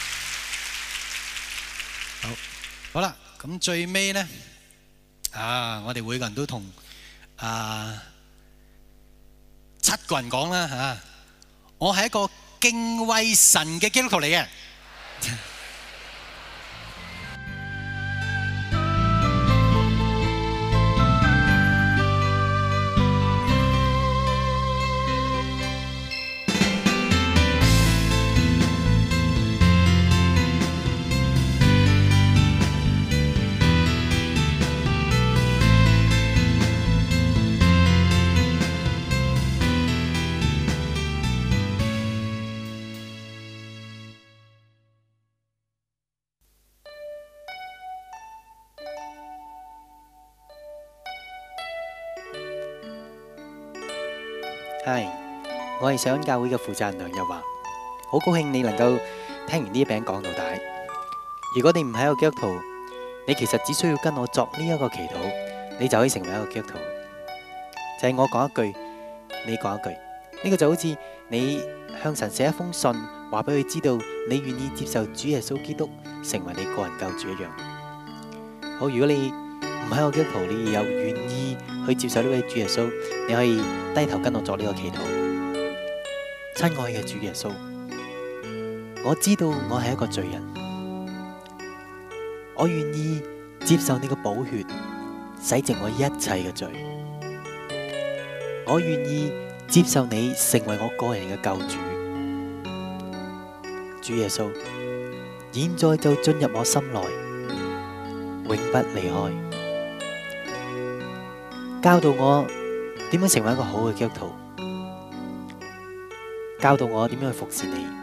好，好啦，咁最尾呢，啊，我哋每個人都同啊。七個人講啦嚇，我係一個敬畏神嘅基督徒嚟嘅。 係，我係上恩教會嘅負責人梁日華，好高興你能夠聽完呢一餅講到底。如果你唔係一個基督徒，你其實只需要跟我作呢一個祈禱，你就可以成為一個基督徒。就係我講一句，你講一句，呢個就好似你向神寫一封信，話俾佢知道你願意接受主耶穌基督成為你個人救主一樣。好，如果你唔係一個基督徒，你又願意去接受呢位主耶穌，你可以低頭跟我作呢個祈禱。親愛嘅主耶穌，我知道我係一個罪人，我願意接受你嘅寶血洗淨我一切嘅罪，我願意接受你成為我個人嘅救主。主耶穌，現在就進入我心內，永不離開，教導我點樣成為一個好嘅基督徒，教導我點樣去服侍你。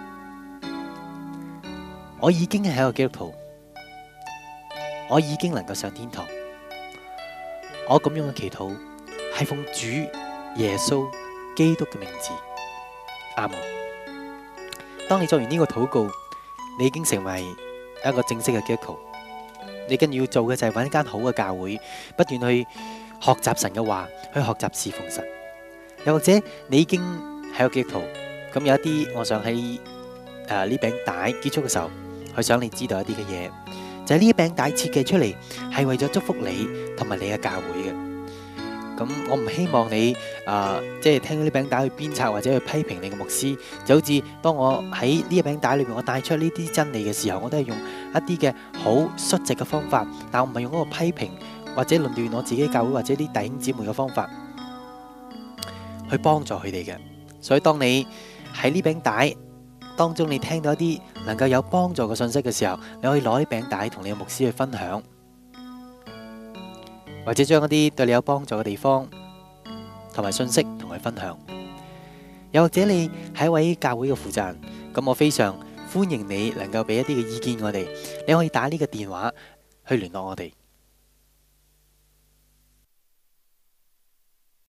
我已經係一個基督徒，我已經能夠上天堂。我咁樣嘅祈禱係奉主耶穌基督嘅名字，阿門。當你做完呢個禱告，你已經成為一個正式嘅基督徒。你跟住要做嘅就係揾一間好嘅教會，不斷去學習神嘅話，去學習侍奉神。又或者你已經係個基督徒，咁有一啲，我想喺誒呢餅帶結束嘅時候，去想你知道一啲嘅嘢，就係呢一餅帶設計出嚟係為咗祝福你同埋你嘅教會嘅。咁我唔希望你誒即係聽到呢餅帶去鞭策或者去批評你嘅牧師，就好似當我喺呢一餅帶裏面我帶出呢啲真理嘅時候，我都係用一啲嘅好率直嘅方法，但我唔係用嗰個批評或者論斷我自己教會或者啲弟兄姊妹嘅方法去幫助佢哋嘅。所以當你喺呢餅帶當中你聽到一啲能夠有幫助嘅信息嘅時候，你可以攞呢餅帶同你嘅牧師去分享，或者將一啲對你有幫助嘅地方同埋信息同佢分享。又或者你係一位教會嘅負責人，咁我非常歡迎你能夠俾一啲嘅意見我哋。你可以打呢個電話去聯絡我哋，